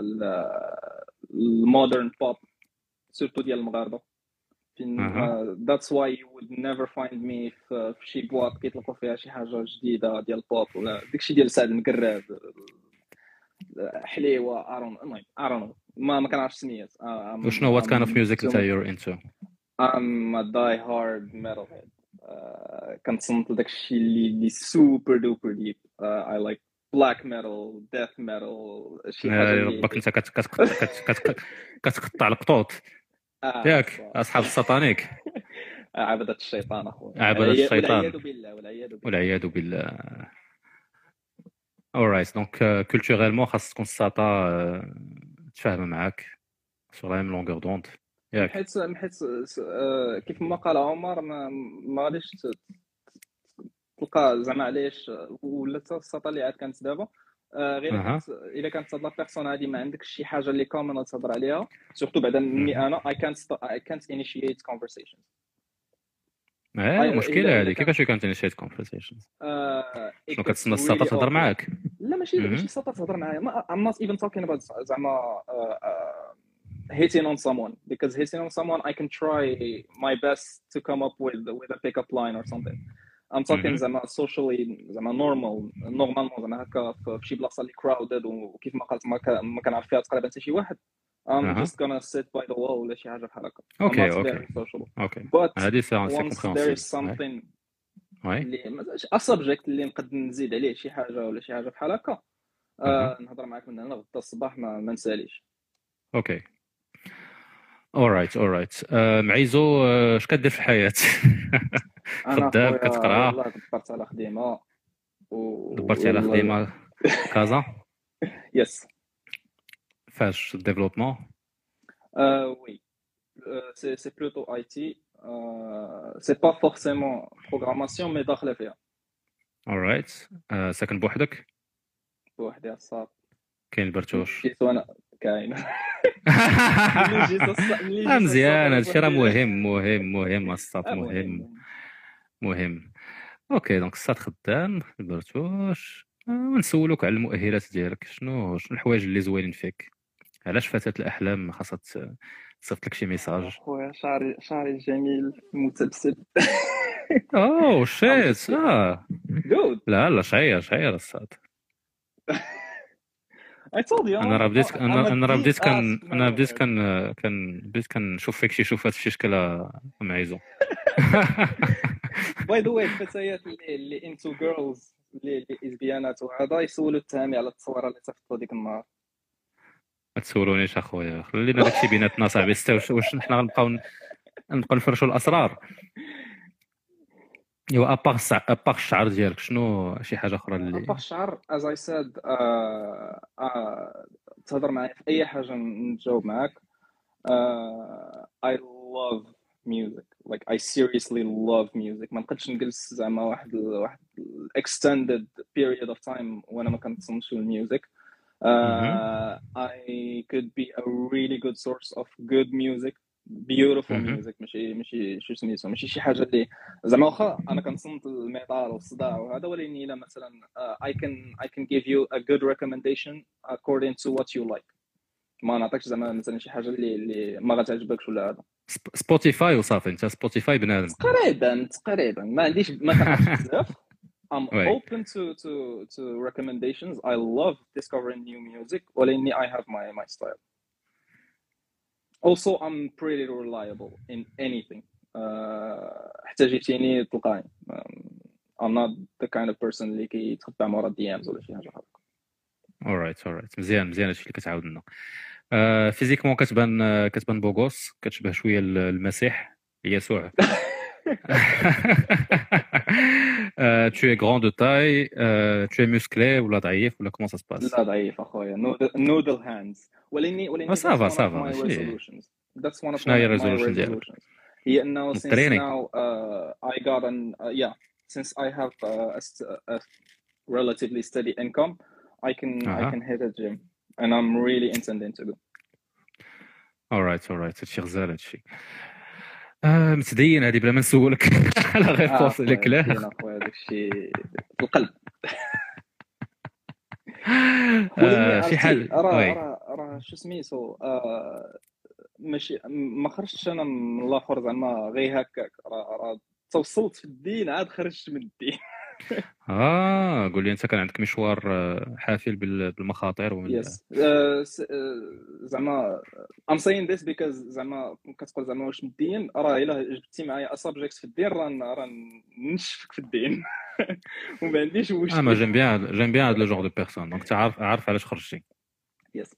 المودرن بوب سورتو ديال المغاربة. That's why you would never find me في شي بواط كيطلقوا فيها شي حاجة جديدة ديال البوب ولا داكشي ديال سعد المكراد حليوة I don't know ما كنعرفش سميات. وشنو what kind of music that you're into? I'm a die hard metalhead. كنتصنت لداكشي اللي super duper deep. I like black metal, death metal شي حاجة اللي ربك انت كتقطع القطوط ياك اصحاب الساتانيك. عبدة الشيطان اخويا عبدة الشيطان والعياذ بالله. alright donc culturellement خاص تكون الساطا تفاهم معاك sur la même longueur d'onde ياك حيت كيف ما قال عمر ما غاديش تلقى زعما علاش ولا الساطا اللي عاد كانت دابا غير الا كانت هاد لا بيرسون هادي ما عندكش شي حاجه اللي كومون تهضر عليها سورتو بعدا مني انا I can't initiate conversations. مشكله هذه كيفاش كانت initiate conversations؟ شنو كتسنى الساطا تهضر معاك؟ لا ماشي الساطا تهضر معايا I'm not even talking about زعما hitting on someone, because hitting on someone I can try my best to come up with a pickup line or something. I'm talking زعما socially زعما normalement زعما هكا في شي بلاصه اللي crowded وكيف ما قلت ما كنعرف فيها تقريبا حتى شي واحد. I'm just gonna sit by the wall ولا شي حاجه بحال هكا. اوكي but هذه سي once there is something اللي a subject اللي نقدر نزيد عليه شي حاجه ولا شي حاجه بحال هكا نهضر معاك من هنا غدا الصباح ما نساليش. اوكي alright معيزو اش كدير في الحياه؟ خدام كتقرا؟ والله دبرت على خديمه دبرتي على خديمه كازا؟ يس. فاش ديفلوبمون؟ وي سي بلوتو اي تي سي با فورسيمون بروغراماسيون مي داخله فيها. alright ساكن بوحدك؟ بوحدي الصاد. كاين البرتوش؟ جيت وانا كاين. مزيان هادشي راه مهم الصاد مهم. اوكي دونك الصاد خدام البرتوش. ونسولوك على المؤهلات ديالك، شنو الحوايج اللي زوينين فيك؟ علاش فتاة الاحلام خاصها تصيفط لك شي ميساج؟ خويا شعري جميل متبسل. اوه شيت جود. لا شعير الصاد. I told you انا بديت كنشوف فيك شي شوفات في شي شكل معيزو. باي ذا واي الفتيات اللي انتو جيرلز اللي ازبيانات وهذا يسولوا التهامي على التصويره اللي صيفطوا ديك النهار. ما تسولونيش اخويا، خلينا داكشي بيناتنا صاحبي. واش حنا غنبقاو نفرشوا الاسرار؟ ايوا اباغ الشعر ديالك شنو شي حاجه اخرى اللي اباغ الشعر as I said تهضر معايا في اي حاجه نجاوب معاك. I love music, like I seriously love music. ما نقدرش نجلس زعما واحد extended period of time وانا ما كنتصنتش الميوزك. I could be a really good source of good music, beautiful music. ماشي شو سميتو، ماشي شي حاجه اللي زعما واخا انا كنصنت الميتال والصداع وهذا، ولكن الا مثلا I can give you a good recommendation according to what you like. ما نعطيكش زعما مثلا شي حاجه اللي ما غتعجبكش ولا هذا. سبوتيفاي وصافي، انت سبوتيفاي بنادم تقريبا ما كنعرفش بزاف. I'm open to recommendations. I love discovering new music, ولكن I have my style. Also I'm pretty reliable in anything. حتى جيتيني تلقاني. I'm not the kind of person اللي كيتخبى مورا DMs ولا شي حاجه بحال هكا. alright مزيان هادشي اللي كتعاود لنا. فيزيكمون كتبان بوغوس، كتشبه شويه المسيح يسوع. Tu es grand de taille, tu es musclé ولا ضعيف ولا comment ça se passe؟ لا ضعيف اخويا. noodle hands. ولكن صافا that's one of شنو هي my الريزولوشن resolutions. هي انه since التريننج. now I got since I have a relatively steady income I can hit a gym and I'm really intending to go. alright هادشي غزال هادشي. متدين هذه بلا ما نسولك على غير لك. لا اخويا داكشي في القلب. شي حاجه راه شو سميتو ماشي ما خرجتش انا من الاخر زعما غير هكاك. راه توصلت في الدين عاد خرجت من الدين. قول لي انت كان عندك مشوار حافل بالمخاطر يس زعما I'm saying this because زعما كتقول زعما واش مدين، راه الا جبتي معايا سبجيكت في الدين راه نشفك في الدين. وما عنديش مشكل. ما جيم بيان هاد لو جور دو بيرسون، دونك عارف علاش خرجتي. يس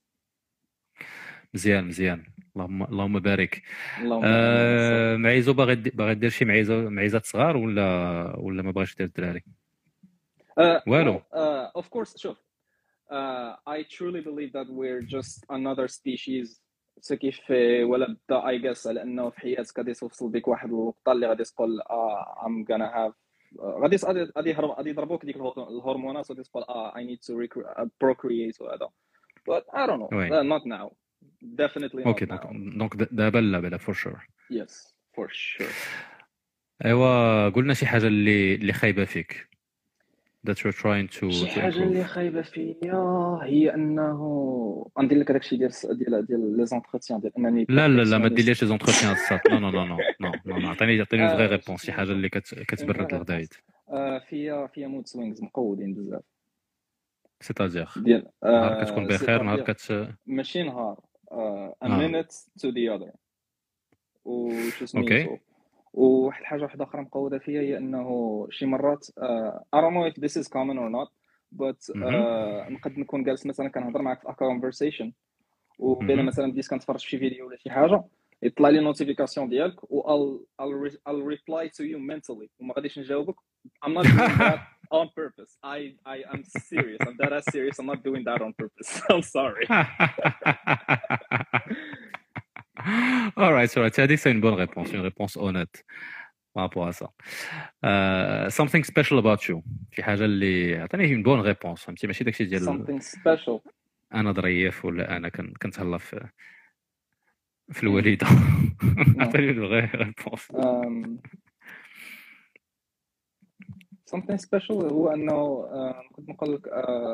مزيان اللهم بارك. معيزو باغي دير شي معيزات صغار ولا ما بغاش دير الدراري؟ والو. Of course شوف I truly believe that we're just another species. كيف ولا بدا I guess على انه في حياتك غادي توصل بك واحد الوقت اللي غادي تقول I'm gonna have غادي يضربوك ديك الهرمونات وغادي تقول I need to procreate وهذا. But I don't know. Not now. Definitely not now. دونك دابا لا for sure. Yes for sure. ايوا قلنا شي حاجه اللي خايبه فيك. that you're trying to شي حاجه improve. اللي خايبه فيا هي انه غندير لك هذاك الشيء ديال لي زونتروتيان ديال انني لا لا لا ما perfectionniste. ديرليش لي زونتروتيان الصات. نو نو نو نو نو نو عطيني فري ريبونس، شي حاجه اللي كتبرد الغدايد. فيا مود سوينغز مقودين بزاف سيتادير ديال نهار كتكون بخير، نهار ماشي نهار a minute to the other وشو سميتو. وواحد الحاجه واحده اخرى مقوده فيا هي انه شي مرات I don't know if this is common or not but نقد نكون جالس مثلا كنهضر معك في a conversation وبين مثلا بديت كنتفرج في شي فيديو ولا شي حاجه يطلع لي نوتيفيكاسيون ديالك و I'll reply to you mentally وما غاديش نجاوبك. I'm not doing that on purpose. I am serious. I'm that serious. I'm not doing that on purpose. I'm sorry. All right. Tu as dit que c'est une bonne réponse, une réponse honnête par rapport à ça. Something special about you. شي حاجة اللي عطيني une bonne réponse. فهمتي ماشي داكشي ديال something special. أنا ظريف ولا أنا كنتهلا في الوالدة. عطيني une vraie réponse. something special هو أنه كنت نقول لك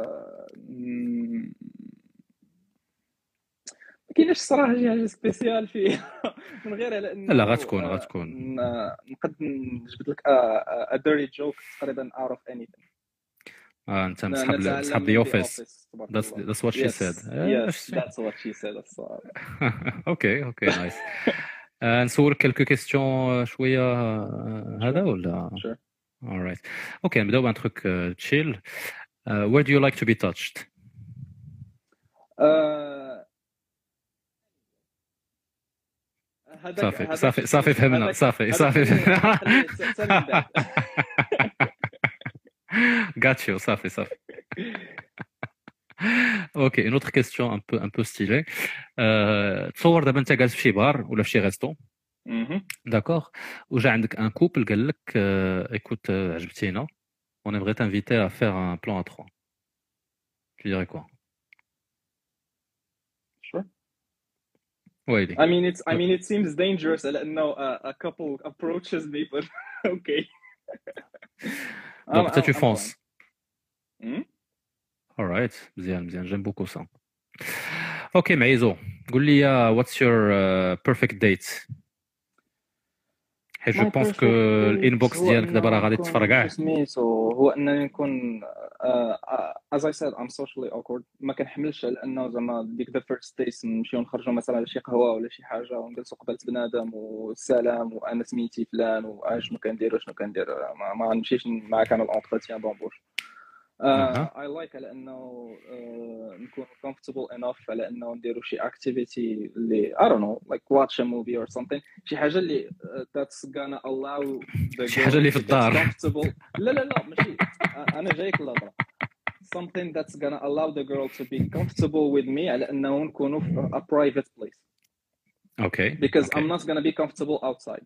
كاينش الصراحه شي حاجه سبيسيال فيه من غير على انه لا غتكون نقد نجبد لك a dirty joke تقريبا out of anything. انت مسحب the office. That's what she said. Yes, that's what she said. اوكي نايس. نسولك كلكو كيستيون شويه هذا ولا sure. All right. اوكي نبداو بان تروك chill. Where do you like to be touched? صافي فهمنا. صافي got you. صافي اوكي une autre question un peu stylée. تصور دابا انت جالس في شي بار ولا في شي ريستو داكور وجا عندك ان كوبل قال لك écoute عجبتينا on aimerait t'inviter à faire un plan à 3. Tu dirais quoi? Sure. ويلي I mean it seems dangerous لأنه a couple approaches me but okay. Donc tu fonces. All right. مزيان j'aime beaucoup ça. Ok معيزو قول لي what's your perfect date. حيت جو بونس كو الانبوكس ديالك دابا راه غادي تفرقع. سميتو هو انني نكون as I said I'm socially awkward ما كنحملش على انه زعما ديك the first days نمشيو نخرجوا مثلا لشي قهوه ولا شي حاجه ونجلسوا قبالة بنادم والسلام وانا سميتي فلان وشنو كندير ما غنمشيش معاك انا الانتروتيان دومبوش. I like على انه نكون comfortable enough على انه نديروا شي activity اللي I don't know like watch a movie or something شي حاجه اللي that's gonna allow the شي حاجه اللي في الدار. لا ماشي انا جايك الهضره something that's gonna allow the girl to be comfortable with me على انه نكونوا في a private place. Okay. Because I'm not gonna be comfortable outside.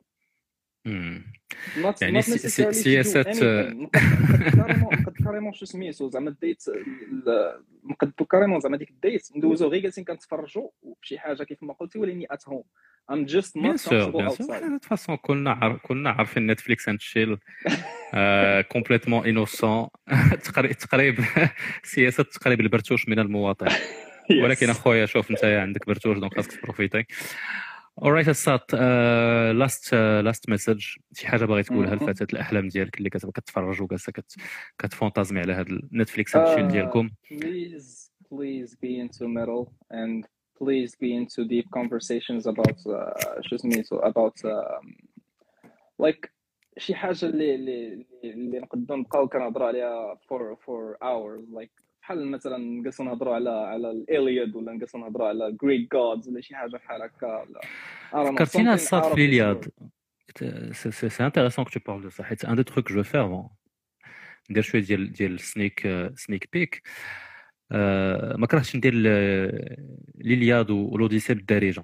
يعني سياسة نقد كاريمون شو سميتو زعما الديت نقد كاريمون زعما ديك الديت ندوزو غير جالسين كنتفرجوا بشي حاجه كيف ما قلتي ولكن at home I'm just not comfortable outside. De toute façon كنا عارفين نتفليكس اند شيل كومبليتمون انوسون تقريب سياسة تقريب البرتوش من المواطن. ولكن اخويا شوف انت عندك برتوش دونك خاصك تبروفيتي. alright الساط last message شي حاجه باغي تقولها لفتاة الاحلام ديالك اللي كتفرج وجالسه كتفونتازمي على هذا نتفليكس اند ديالكم. please be into metal and please be into deep conversations about شو سميتو about like شي حاجه اللي نقدروا نبقاو كنهضروا عليها for hours like بحال مثلا نجلسوا نهضروا على الإلياد ولا نجلسوا نهضروا على Greek gods ولا شي حاجه بحال هكا ولا فكرتينا الصاد في الإلياد. سي انتريسون كو تو بارل دو سا حيت ان دو تروك جو فير ندير شويه ديال سنيك بيك. ما كرهتش ندير الإلياد والأوديسي بالدارجه.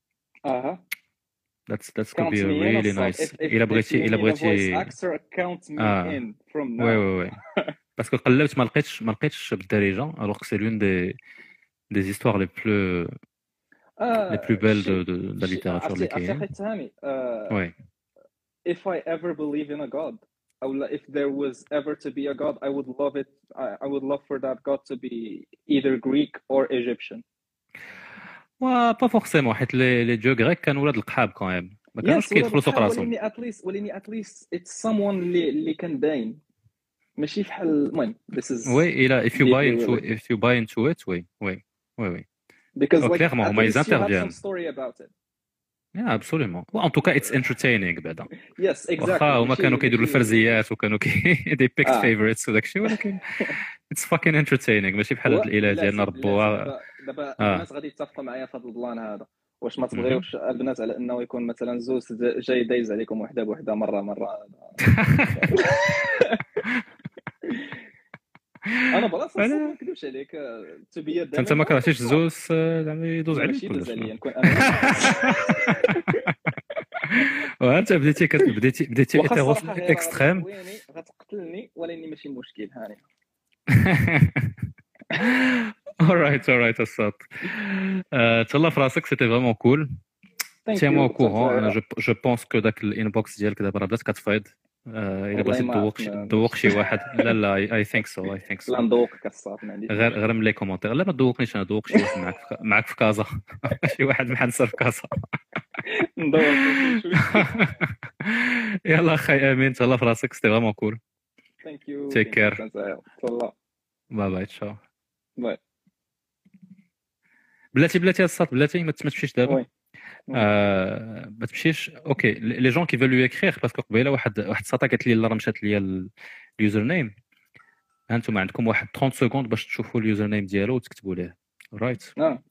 That's could be really nice. إلا بغيتي extra account me in from now. وي باسكو قلبت ما لقيتش بالدارجه alors que c'est l'une des histoires les plus belles de la littérature اللي كاينه. Oui. If I ever believe in a god أو if there was ever to be a god I would love it I would love for that god to be either Greek or Egyptian. با فورسيمون حيت لي جو غريك كانوا ولاد القحاب كان ما كانوش كيدخلوا سوق راسهم. وليني at least it's someone اللي كان باين ماشي بحال المهم this is وي إلا if you buy into it وي because like clairement هما ils interviennent. some story about it. Yeah, absolument. En tout cas, it's entertaining بعدا. Yes, exactly. واخا هما كانوا كيديروا الفرزيات وكانوا they picked favorites وداك الشيء ولكن it's fucking entertaining ماشي بحال هاد الإله ديالنا ربوها. دابا الناس غادي يتفقوا معايا في هذا البلان هذا. واش ما تبغيوش البنات على انه يكون مثلا زوج جاي دايز عليكم وحده بوحده مره انا براسي ما نكذبش عليك تبيا انت ما كرهتيش الزوز زعما يدوز عليك يدوز عليا نكون انا وانت بديتي ايتيروس اكستريم غتقتلني ولاني ماشي مشكل هاني. alright الصوت تهلا في راسك سيتي فريمون كول تيمو au courant. انا جو بونس كو داك الانبوكس ديالك دابا راه بدات كتفايض الا بغيتي تذوق شي واحد لا اي ثينك سو لا ندوقك الصاط ما عنديش غير من لي كومونتير لا ما تذوقنيش انا ذوق شي واحد معاك في كازا شي واحد محنسر في كازا ندوق يلا اخي امين تهلا في راسك سيتي فريمون كول. ثانك يو تيك كير باي تشاو باي. بلاتي الصاط بلاتي ما تمشيش دابا ما تمشيش. اوكي لي جون كي فالو اكريغ باسكو قبيله واحد الساطا قالت لي لا راه مشات ليا اليوزر نيم. هانتوما عندكم واحد 30 سكوند باش تشوفوا اليوزر نيم ديالو وتكتبوا ليه رايت.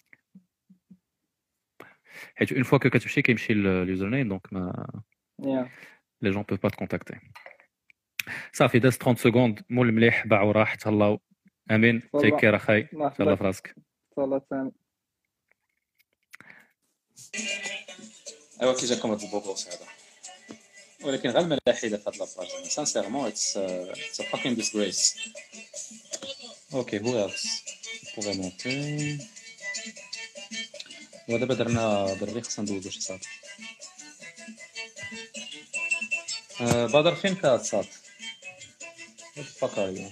حيت اون فوا كو كتمشي كيمشي اليوزر نيم دونك ما لي جون بوف با تكونتاكتي. صافي داز 30 سكوند مول مليح باع وراح تهلاو. امين تيك كير اخاي تهلا في راسك. تهلا ثاني. ايوا كي جاكم هاد البوبوس هذا ولكن غير الملاحده في هاد لاباج سانسيرمون اتس فاكين ديسغريس. اوكي هو اتس بوغي مونتي ودابا درنا بالريق خصنا ندوزو شي صاط. بدر فين كات صاط فكايو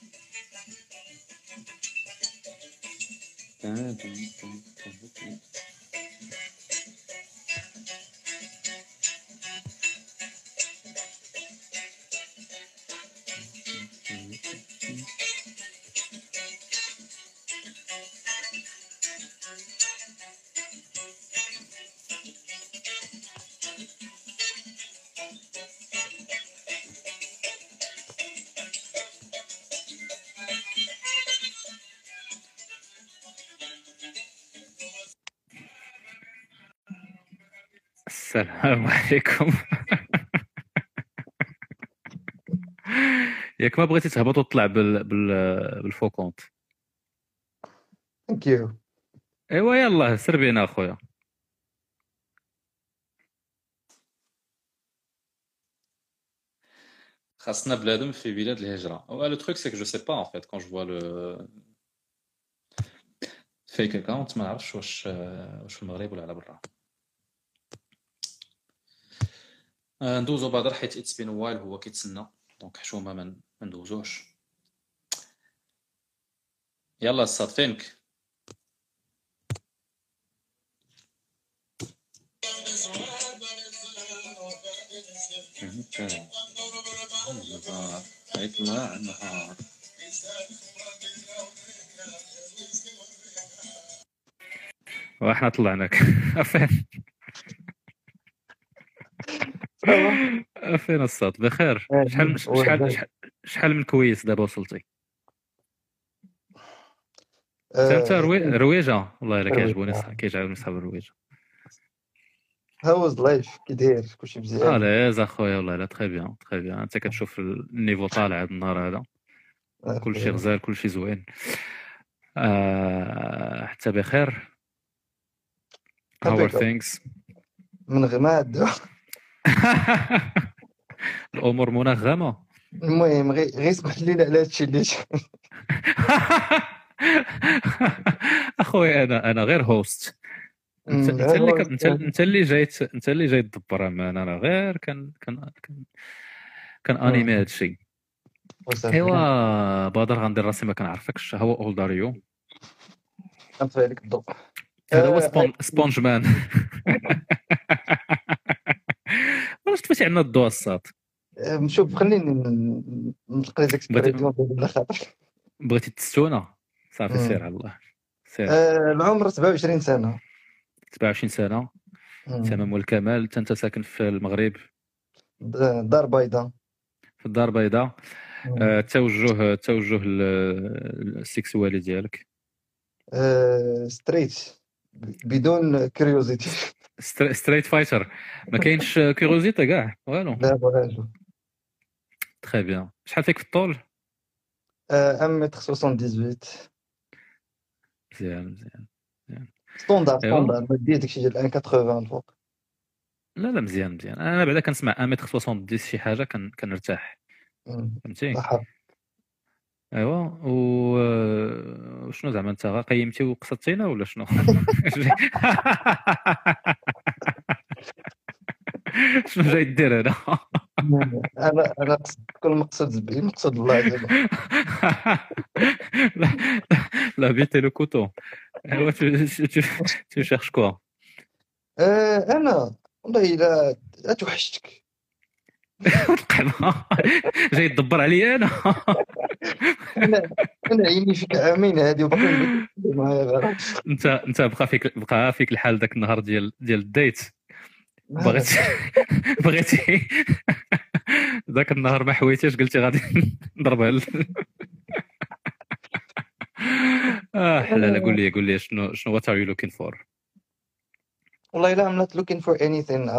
السلام عليكم. ياك ما بغيتي تهبط وتطلع بالفوكونت. ثانك يو. ايوا يلاه سير بينا اخويا. خاصنا بلادم في بلاد الهجره. لو تروك سي كو جو سي با ان فيت كون جو فوا لو فيك اكاونت ما نعرفش واش في المغرب ولا على برا. ندوزو بدر حيت اتس بين وايل هو كيتسنى دونك حشومه ما ندوزوش. يلا الصاد فينك. يطلع النهار واحنا طلعناك فين فين الصوت بخير. شحال من كويس دابا وصلتي؟ انت رويجه والله الا كيعجبوني صحاب الرويجه. هاوز لايف كي داير كلشي مزيان؟ لا اخويا والله لا تري بيان انت كتشوف النيفو طالع هذا النهار هذا كلشي غزال كلشي زوين. حتى بخير. How are things؟ من غماد الامور منغمه. المهم غير اسمح لينا على هادشي اللي اخويا انا غير هوست. انت اللي جاي تدبر معنا. انا غير كان انيمي هذا الشيء. ايوا بدر غندير راسي ما كنعرفكش. هو اولداريو نطفي عليك الضوء. هذا هو سبونج مان. واش طفيتي عندنا الضوء الصاد؟ شوف خليني نلقى لي زيكسبريسيون بلا خاطر. بغيتي تستونا صافي سير على الله سير. العمر 27 سنه. 27 سنه تمام والكمال. انت ساكن في المغرب دار بيضاء. في الدار البيضاء. توجه السيكسوالي ديالك ستريت بدون كيوريوزيتي. ستريت فايتر ما كاينش كيوريوزيتي كاع والو. لا والو. تري بيان. شحال فيك في الطول؟ 1m78. مزيان ستوندار ما دير داكشي ديال 1.80 الفوق. لا مزيان انا بعدا كنسمع 1m70 شي حاجه كنرتاح فهمتي. ايوا وشنو زعما انت قيمتي وقصدتينا ولا شنو؟ شنو جاي دير هنا؟ انا كل مقصود به مقصود الله دابا. لا بيتي لو كوتو. ايوا tu cherches quoi؟ انا والله لا توحشتك. جاي تدبر عليا انا. انا عيني فيك عامين هادي وباقي معايا. انت بقى فيك الحال ذاك النهار ديال الديت. بغيتي ذاك النهار ما حويتيش قلتي غادي نضربها. حلاله قول لي شنو what are you looking for؟ والله لا I'm not looking for anything.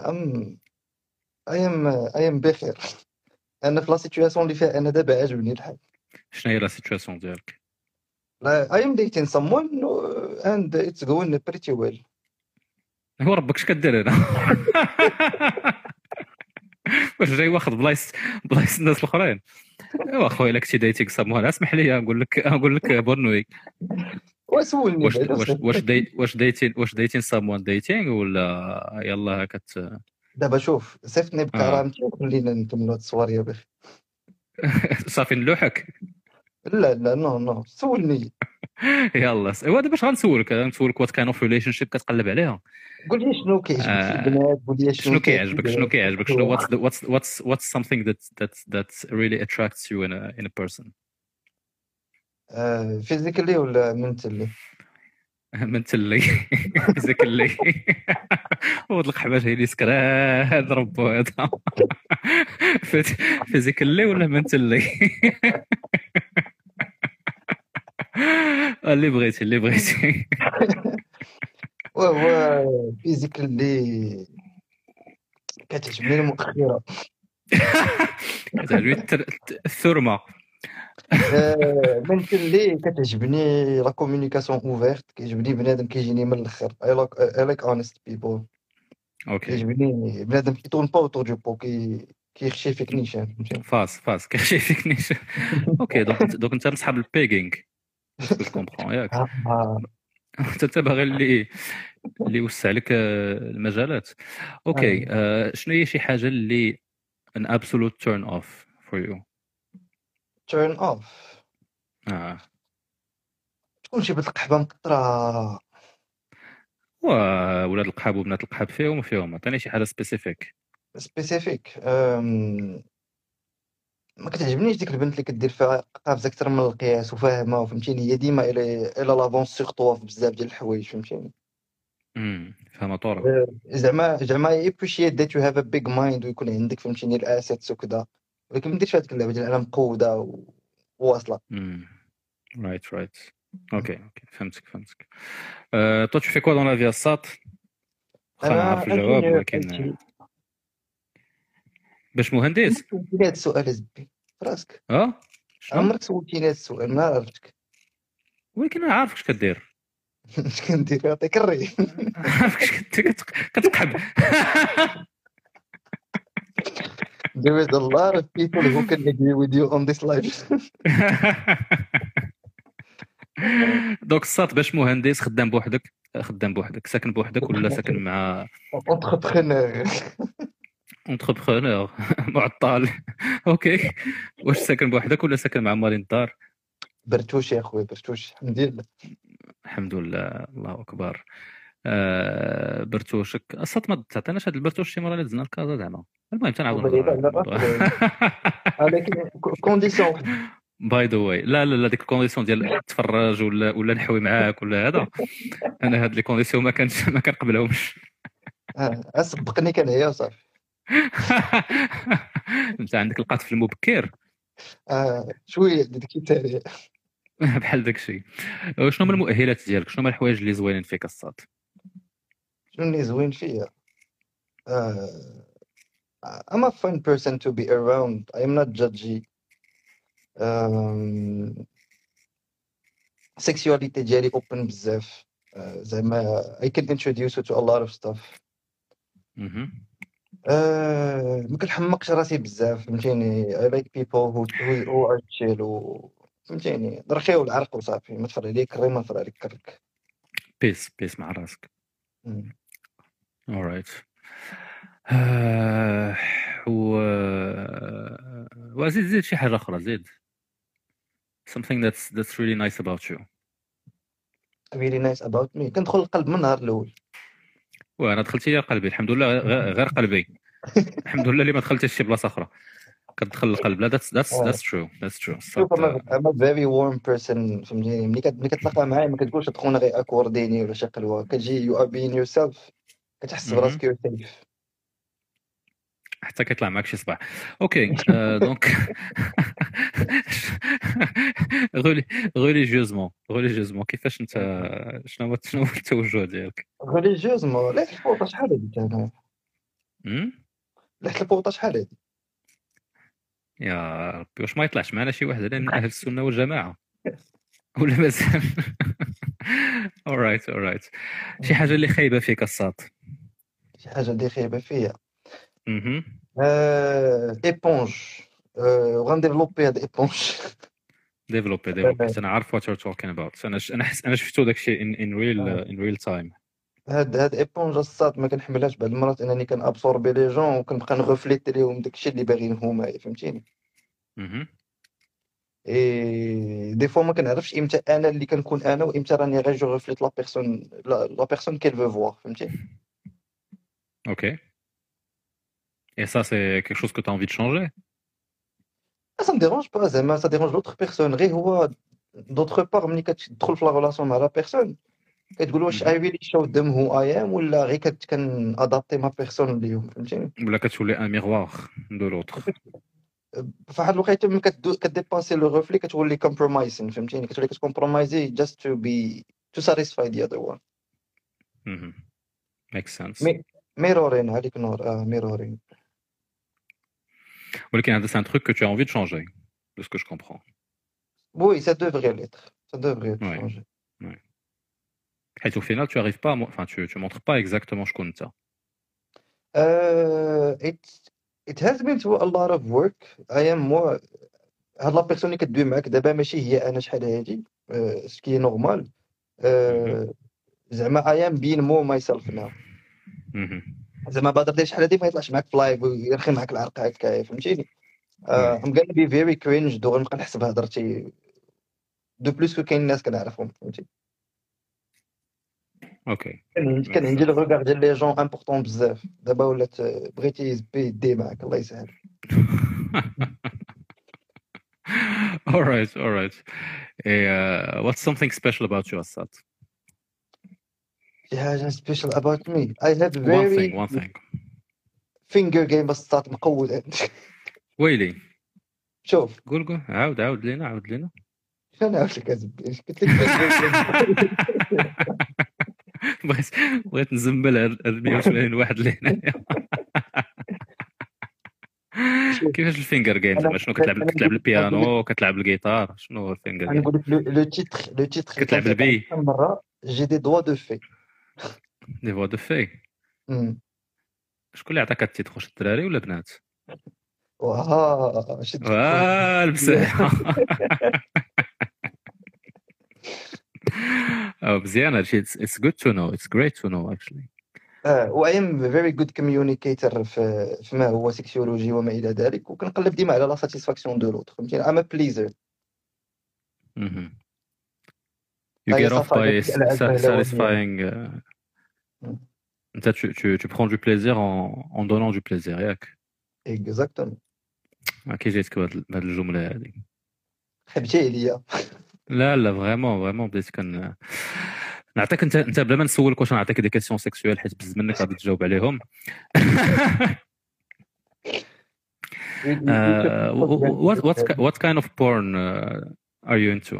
I am بخير. انا في لا سيتوياسيون اللي فيها انا دابا عاجبني الحال. شنو هي لا سيتوياسيون ديالك؟ I am dating someone and it's going pretty well. هو ربك اش كدير هنا؟ واش جاي واخد بلايص الناس الاخرين؟ ايوا خويا الا كنتي دايتيك سامون اسمح لي نقول لك بونوي. وسولني واش دايتين سامون دايتينغ ولا يلا دابا شوف صيفطني بكرامتي وخلينا نكملوا هاد الصواريه بخير. صافي نلوحك. لا نو سولني. يلا ايوا دابا اش غنسولك وات كاين اوف ريليشن شيب كتقلب عليها. قول لي شنو كيعجبك في البنات. قول لي شنو كيعجبك شنو what's something that really attracts you in a person. فيزيكالي ولا منتلي؟ منتلي. فيزيكالي. ود القحباش هي اللي سكران ربو هذا. فيزيكالي ولا منتلي؟ اللي بغيتي. وهو فيزيكالي كتعجبني المؤخره. كتعجبني الثرمه. منتلي كتعجبني لا كومونيكاسيون اوفيرت. كيعجبني بنادم كيجيني من الاخر. I like honest people. اوكي. كيعجبني بنادم كيتون با اوتور دو بو كيخشي فيك نيشان. فاس كيخشي فيك نيشان. اوكي دونك انت من صحاب البيغينغ. جو كومبرون ياك. انت باغي اللي يوسع لك المجالات. اوكي شنو هي شي حاجه اللي an absolute turn off for you؟ turn off تكون شي بنت القحبه مقطره. ولاد القحاب وبنات القحاب فيهم عطيني شي حاجه سبيسيفيك. ما كتعجبنيش ديك البنت اللي كدير فيها قافزه اكثر من القياس وفاهمه وفهمتيني. هي ديما الى لافونس سيغ طوا في بزاف ديال الحوايج فهمتيني. فاهمه طور. زعما يبريشيت ذات يو هاف ا بيج مايند ويكون عندك فهمتيني الاسيتس وكذا. ولكن ما ديرش هذيك اللعبه ديال انا مقوده وواصله. رايت اوكي فهمتك. تو tu fais quoi dans la vie الساط؟ انا نعرف الجواب ولكن باش مهندس. هذا السؤال زبي راسك. عمرك سولتيني هذا السؤال ما عرفتك. ولكن انا عارف اش كدير. اش كندير؟ يعطيك الري. عارف كتقحب. There is a lot of people who can agree with you on this life. دوك الساط باش مهندس خدام بوحدك ساكن بوحدك ولا ساكن مع اونتربرونور؟ انتربرونور معطل. اوكي، واش ساكن بوحدك ولا ساكن مع مالين الدار؟ برتوش يا خويا، برتوش الحمد لله. الحمد لله، الله اكبر. برتوشك اصلا ما تعطيناش هاد البرتوش شي مره اللي دزنا الكازا زعما. المهم تنعاودو نهضروا ولكن كونديسيون واحد. باي ذا واي، لا ديك الكونديسيون ديال تفرج ولا نحوي معاك ولا هذا، انا هاد لي كونديسيون ما كنقبلهمش. سبقني كنعيا صافي. انت عندك القطف المبكر شويه داكشي تاعي بحال داكشي. شنو هما المؤهلات ديالك؟ شنو هما الحوايج اللي زوينين فيك الصاد؟ شنو اللي زوين فيا؟ I'm a fun person to be around. I'm not judgy. Sexuality ديالي open بزاف. زعما I can introduce you to a lot of stuff. ما كنحمقش راسي بزاف، فهمتيني. I like people who are chill فهمتيني. رخيو العرق وصافي، ما تفرع عليك كري، ما تفرع عليك كرك. بيس مع راسك. alright. وزيد شي حاجه اخرى، زيد something that's really nice about you. really nice about me. كندخل القلب من النهار الاول. وانا دخلتي لي قلبي الحمد لله، غير قلبي الحمد لله اللي ما دخلتش شي بلاصه اخرى، كتدخل القلب. لا that's true. شوف I'm a very warm person، فهمتيني. ملي كتلاقى معايا ما كتقولش تخونا غير اكورديني ولا شي قلوه، كتجي you are being yourself، كتحس براسك you're safe حتى كيطلع معك شي صباح. اوكي دونك غوليجيوزمون كيفاش انت، شنو هو التوجه ديالك؟ غوليجيوزمون لحت الفوطه شحال هادي انا؟ لحت الفوطه شحال هادي؟ يا ربي واش ما يطلعش معنا شي واحد من اهل السنه والجماعه ولا مازال؟ alright. شي حاجه اللي خايبه فيك الصاد؟ شي حاجه اللي خايبه فيا ايبونج. وغنديفلوبي هاد ايبونج. ديفلوبي انا عارف what you're talking about. انا شفتو داكشي in real time. هاد ايبونج الصاد ما كنحملهاش بعض المرات، انني كنابسوربي لي جون وكنبقى نغفليت ليهم داكشي اللي باغيين هما، فهمتيني. دي فوا ما كنعرفش امتى انا اللي كنكون انا وامتى راني غير جو غفليت لا بيرسون كيل فو فوار، فهمتي. اوكي. Et ça, c'est quelque chose que tu as envie de changer? Ça me dérange pas, ça dérange l'autre personne. غير هو d'autre part ملي كتدخل في لا ريلاسيون مع لا بيرسون كتقول واش I really show them who I am ولا غير كنادابتي ما بيرسون ليهم، فهمتيني. ولا كتولي ان ميغوار دو لوتر. فواحد الوقيته ملي كديباسي لو ريفلي كتولي كومبرومايزين، فهمتيني. كتولي كتكومبرومايزي just to satisfy the other one. makes sense. ميرورين عليك نور. ميرورين. ولكن c'est un truc que tu as envie de changer, de ce que je comprends. Oui, ça devrait l'être. Ça devrait changer. Ouais. Et au final, tu arrives pas, enfin, tu montres pas exactement ce qu'on t'a. It has been through a lot of work. I am more. هاد لا بيرسون اللي كدوي معاك دابا ماشي هي انا شحال هادي، سكي نورمال. زعما I am being more myself now. زعما بادر شحال هادي ما يطلعش معاك في لايف ويرخي معاك العرق هكا، فهمتيني. I'm gonna be very cringe دغيا نبقى نحسب هضرتي دو بلوس كو كاين الناس كنعرفهم، فهمتي. اوكي. كان عندي لو ريغار ديال لي جون امبورطون بزاف، دابا ولات بغيتي دي معاك الله يسهل. all right. What's something special about you, Assad? Yeah, special about me. I have very one thing. finger game بساط مقود. ويلي. شوف. قول عاود لينا. شنو نعاود لك ازبي؟ قلت لك بغيت نزمل 180 واحد اللي هنايا. كيفاش الفينجر جيم زعما؟ شنو كتلعب البيانو، كتلعب الجيتار؟ شنو هو الفينجر جيم؟ نقول لك لو تيتر كتلعب البي. مره جي دي دوا دو في. دي فوا دو في. شكون اللي عطاك التيتر؟ واش الدراري ولا بنات؟ شد المساحه. مزيان هادشي. It's good to know. It's great to know actually. و I am very good communicator فيما هو سيكسيولوجي وما الى ذلك، وكنقلب ديما على لا ساتيسفاكسيون دو لوتر، فهمتيني. I'm a pleaser. You هي get off صفا by ديك الألعاب الهلوانية. satisfying. Tu prends du plaisir en donnant du plaisir, ياك؟ اكزاكتومون. كي جيتك بهاد الجملة هذه؟ خبتيه ليا. لا فريمون بديت نعطيك انت بلا ما نسولك واش نعطيك دي كيسيون سيكسويل حيت بزز منك غادي تجاوب عليهم. What kind of porn are you into?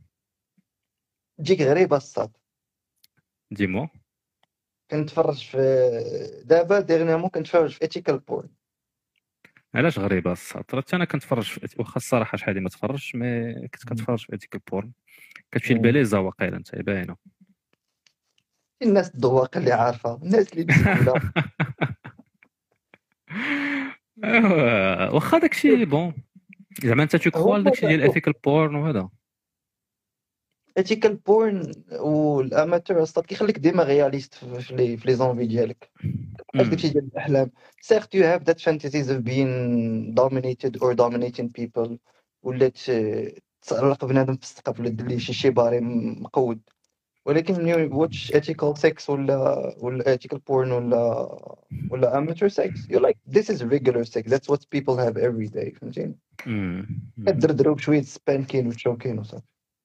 تجيك غريبه الصاد. ديمو. كنتفرج في دابا ديرنيامون كنتفرج في ethical porn. علاش غريبه الصاد؟ حتى انا كنتفرج في واخا الصراحه شحال هادي ما تفرجش، مي كنت كنتفرج في ethical porn. كتمشي البليزه واقيلا انت باينه. الناس الذواق اللي عارفه، الناس اللي مسؤوله. واخا داكشي بون زعما انت تكوال داكشي ديال ethical porn وهذا. ethical porn والاماتور اصلا كيخليك ديما رياليست في لي زونفي ديالك. داكشي ديال الاحلام. Certes you have that fantasies of being dominated or dominating people، ولا تعلق بنادم في السقف ولا دير ليه شي باري مقود، ولكن when you watch ethical sex ولا ethical porn ولا amateur sex you're like this is regular sex, that's what people have every day، فهمتيني. كدردرو بشويه سبانكين وتشوكين وصافي.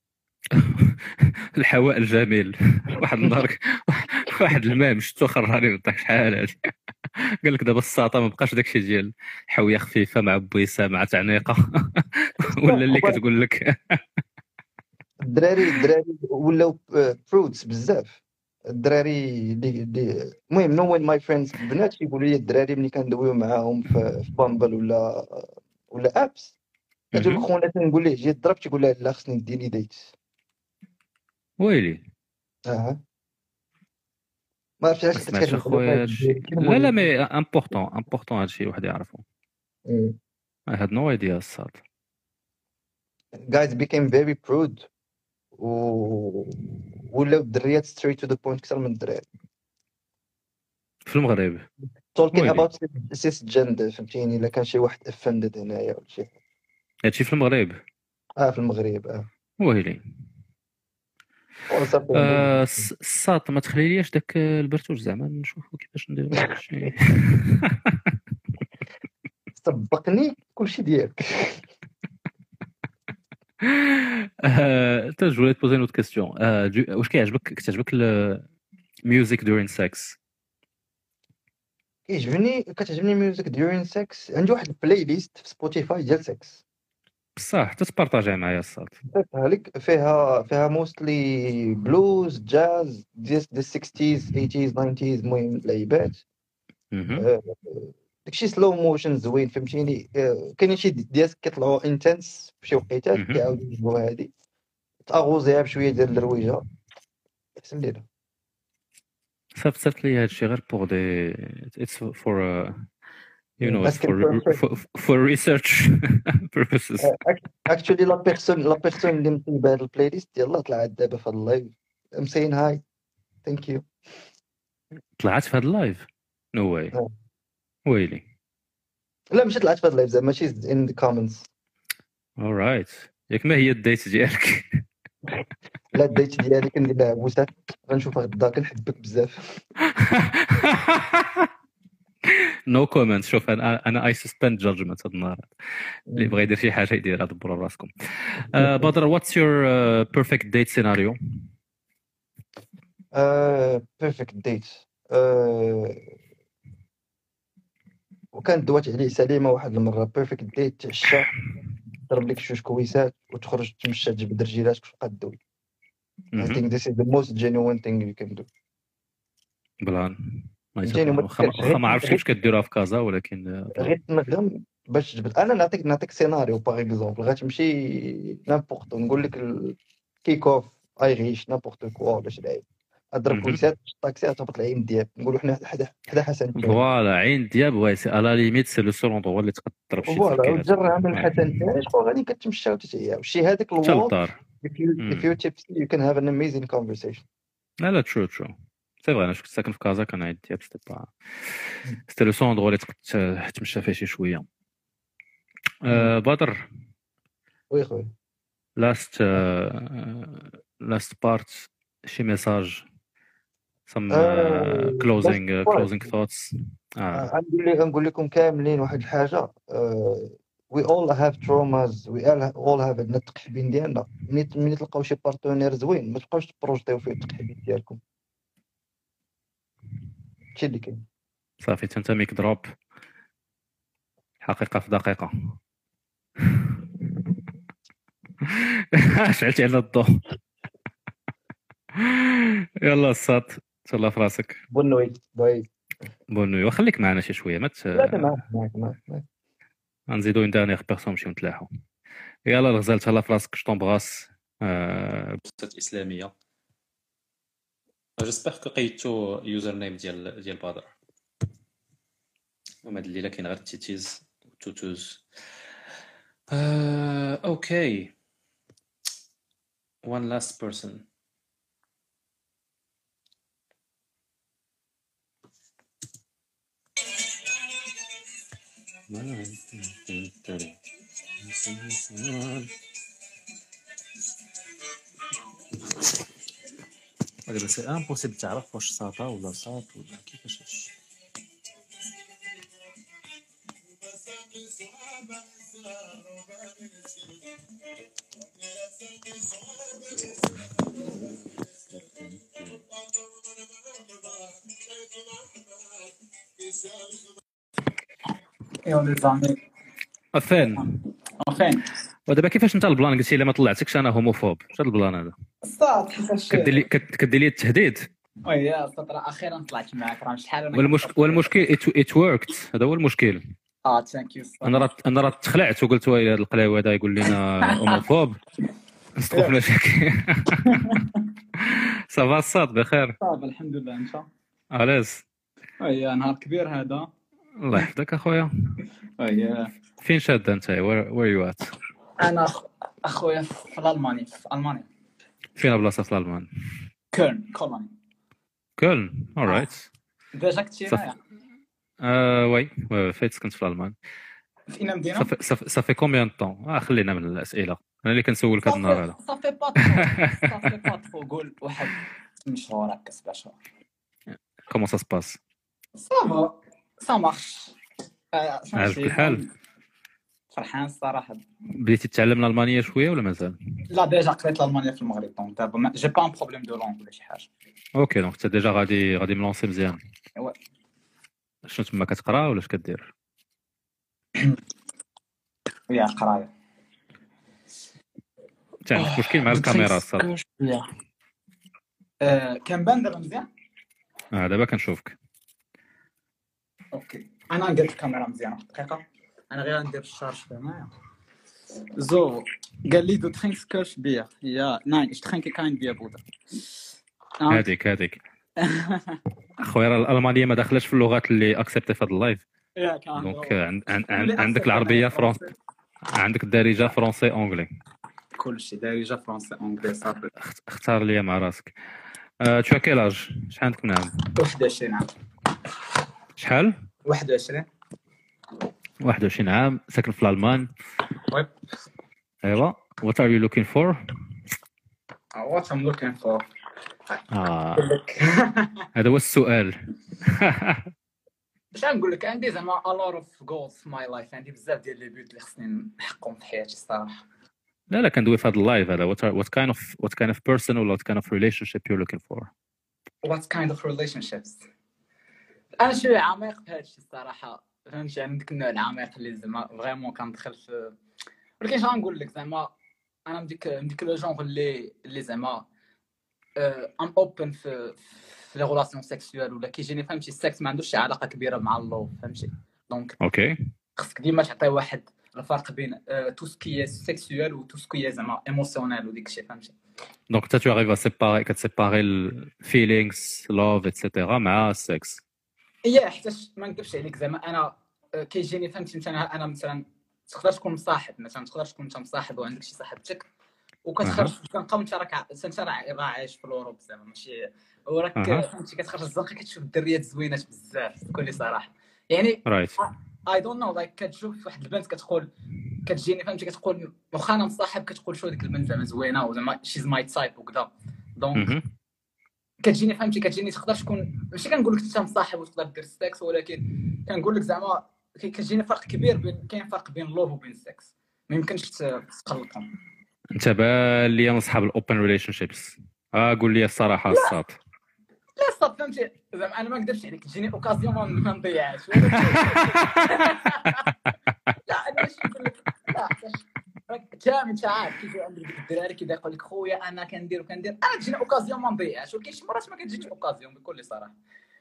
الحواء الجميل. واحد النهار واحد المام شفتو خراني وضحك شحال هادي. قال لك دابا الساطه ما بقاش داكشي ديال حويه خفيفه مع بويسه مع تعنيقه ولا اللي كتقول لك. الدراري ولاو برودز بزاف. الدراري اللي المهم نو وين ماي فريندز بنات يقولوا لي الدراري ملي كندويو معاهم في بامبل ولا ابس، كتقول لك خونا تنقول ليه جي ضرب، تيقول لها لا خصني نديني ديت. ويلي ما عرفتش علاش كتكلم خويا. لا مي امبورطون هادشي واحد يعرفو. I had no idea الصاد. guys became very prude ولاو الدريات straight to the point اكثر من الدراري في المغرب. talking about cisgender، فهمتيني. الا كان شي واحد offended هنايا ولا شي هادشي في المغرب. في المغرب. ويلي الساط ما تخليليش داك البرتوش زعما نشوفوا كيفاش نديروا هادشي. سبقني كلشي ديالك. انت جو لي بوزي نوت كيسيون. واش كتعجبك الميوزك دورين سكس؟ كتعجبني ميوزك دورين سكس. عندي واحد البلاي ليست في سبوتيفاي ديال سكس بصح حتى تبارطاجيها معايا الصاد. هذيك فيها موستلي بلوز جاز ديال 60s 80s 90s، المهم لعيبات. داكشي سلو موشن زوين، فهمتيني. كاينين شي ديال كيطلعوا انتنس فشي وقيتات كيعاودوا يجيبوا هادي تاغوزيها بشويه ديال الرويجه. احسن لينا صافت لي هادشي غير بور دي اتس فور you know for research purposes. actually la personne اللي مطيب هاد البلاي ليست يلاه طلعت دابا في هاد اللايف. I'm saying hi thank you. طلعت في هاد اللايف؟ no way. ويلي لا ماشي طلعت في هاد اللايف زعما ماشي in the comments. alright. ياك ما هي الديت ديالك؟ لا الديت ديالي كندير لها بوسات غنشوفها غدا. كنحبك بزاف. نو كومنت. شوف انا اي سسبند جادجمنت هاد النهار. اللي بغى يدير شي حاجه يديرها دبروا راسكم. بدر واتس يور بيرفكت ديت سيناريو؟ بيرفكت ديت وكانت دوات عليه سليمه واحد المره. بيرفكت ديت تعشى ضرب لك شوش كويسات وتخرج تمشى تجبد رجيلاتك وتبقى تدوي. I think this is the most genuine thing you can do. بلان ما عرفتش كيفاش كديروها في كازا، ولكن غير تنغم باش تجبد. انا نعطيك سيناريو باغ اكزومبل. غتمشي نابورت نقول لك الكيك اوف ايريش نابورت كوا ولا شي لعيب اضرب كويسات الطاكسي تهبط العين دياب نقولوا حنا حدا حسن فوالا عين دياب واي سي الا ليميت سي لو سول اندرو اللي تقدر تضرب شي فوالا جرها من حسن تاعش وغادي كتمشى وتتعيا وشي هذاك الوقت if you tipsy you can have an amazing conversation. لا true سي فري انا كنت ساكن في كازا كنعيط ديال سيتي لو سوندرو اللي تقدر تمشى فيه شي شويه. بدر وي خويا لاست بارت شي ميساج some closing thoughts. نقول لكم كاملين واحد الحاجه. we all have traumas, we all have عندنا التقحبين ديالنا. ملي تلقاو شي بارتنير زوين ما تبقاوش تبروجيتيو فيه التقحبين ديالكم. هادشي اللي كاين. صافي انت ميك دروب حقيقه في دقيقه. شعلتي على الضوء. يلا الصاد تهلا في راسك. بونوي بونوي وخليك معنا شي شويه ما لا معاك غنزيدو اون دانيير بيرسون نمشيو نتلاحو. يلا الغزال تهلا في راسك شطون بغاس. بوستات اسلاميه. جيسبر كو قيدتو يوزر نيم ديال بدر. وما هاد الليله كاين غير تيتيز وتوتوز. اوكي one last person. دابا سي امبوسيبل تعرف واش ساطا ولا صاط ولا كيفاش هادشي. يا ولد زعما فين فين ودابا كيفاش انت البلان قلتي الا ما طلعتكش انا هوموفوب؟ اش هاد البلان هذا؟ صاد كيفاش كدير لي التهديد. ويا صاد راه اخيرا طلعت معاك راه شحال والمشكل ات وركت. هذا هو المشكل. ثانك يو. انا راه تخلعت وقلت وي هذا القلاوي هذا يقول لنا هوموفوب نسقوا في مشاكل. صافا الصاد بخير؟ صافا الحمد لله. انت علاش؟ ويا نهار كبير هذا. الله يحفظك اخويا. ويا فين شاد انت؟ وير يو ات؟ انا اخويا في المانيا. فين بلاصه في الالمان؟ كولن. كولن اورايت. ديجا كنتي معايا؟ وي فايت سكنت في الالمان. في اين مدينه؟ صافي كومبيان طون؟ خلينا من الاسئله انا اللي كنسولك هذا النهار هذا. صافي با قول واحد 8 شهور هكا 7 شهور. كومون سا سباس؟ صافا سا مارش. عاجبك الحال؟ فرحان الصراحه. بديتي تتعلم الالمانيه شويه ولا مازال؟ لا ديجا قريت الالمانيه في المغرب دونك دابا جي با ان بروبليم دو لونغ ولا شي حاجه. اوكي دونك انت ديجا غادي ملونسي مزيان. وي. شنو تما كتقرا ولا اش كدير؟ يا قرايه. انت عندك مشكل مع الكاميرا الصاد. كنبان دابا مزيان؟ دابا كنشوفك. اوكي انا قلت الكاميرا مزيانه دقيقه. انا غير ندير الشارج معايا. So, قال du trinkst Kirschbier. Ja, nein, ich trinke kein Bier, Bruder. هذيك اخويا راه الالمانيه ما داخلاش في اللغات اللي اكسبتي في هذا اللايف. دونك عندك العربيه فرونسي، عندك الدارجه فرونسي اونغلي، كلشي دارجه فرونسي اونغلي صافي. اختار لي مع راسك. تو كيلاج؟ شحال عندك من عام؟ 21 عام. شحال؟ 21 عام، ساكن في الالمان. ويب. ايوا. What are you looking for? What I'm looking for. هذا هو السؤال. باش نقول لك عندي زعما a lot of goals في my life. عندي بزاف ديال لي بيوت اللي خصني نحققهم في حياتي الصراحه. لا كندوي في هذا اللايف هذا. What kind of person or what kind of relationship you're looking for? What kind of relationships. انا شويه عميق في هذا الشيء الصراحه، فهمتي؟ يعني ديك النوع العميق اللي زعما فريمون كندخل في، ولكن شنو نقول لك زعما انا من ديك لو جونغ اللي زعما ام اوبن في لي غولاسيون سيكسوال ولا كيجيني، فهمتي؟ السكس ما عندوش شي علاقه كبيره مع اللوف، فهمتي؟ دونك اوكي خصك ديما تعطي واحد الفرق بين تو سكي سيكسوال و تو سكي زعما ايموسيونيل وديك الشيء، فهمتي؟ دونك انت tu arrives à كتسيباري الفيلينغز لوف ايتترا مع السكس. حيتاش ما نكذبش عليك زعما انا كيجيني، فهمتي؟ مثلا انا مثلا تقدر تكون مصاحب، مثلا تقدر تكون انت مصاحب وعندك شي صاحبتك وكتخرج كنبقى انت راك عايش في الاوروب زعما، ماشي وراك اها فهمتي كتخرج الزنقه كتشوف الدريات زوينات بزاف بكل صراحه يعني رايت اي دونت نو لايك كتشوف واحد البنت كتقول كتجيني فهمتي كتقول واخا انا مصاحب كتقول شو ديك البنت زعما زوينه وزعما شيز ماي تايب وكذا دونك كتجيني فهمتي كتجيني تقدر تكون ماشي كنقول لك انت مصاحب وتقدر دير السكس ولكن كنقول لك زعما كتجيني فرق كبير بين كاين فرق بين لوف وبين السكس ما يمكنش تخلطهم. انت بان ليا من اصحاب الاوبن ريليشن شيبس قول لي الصراحه الصاد لا صاد فهمتي زعما انا ما نقدرش عليك تجيني اوكازيون ما نضيعهاش لا انا ماشي نقول لك لا انت عارف كيف عندك الدراري كي يقول لك خويا انا كندير انا تجيني اوكازيون ما نضيعهاش ولكن شي مرات ما كتجيش اوكازيون بكل صراحه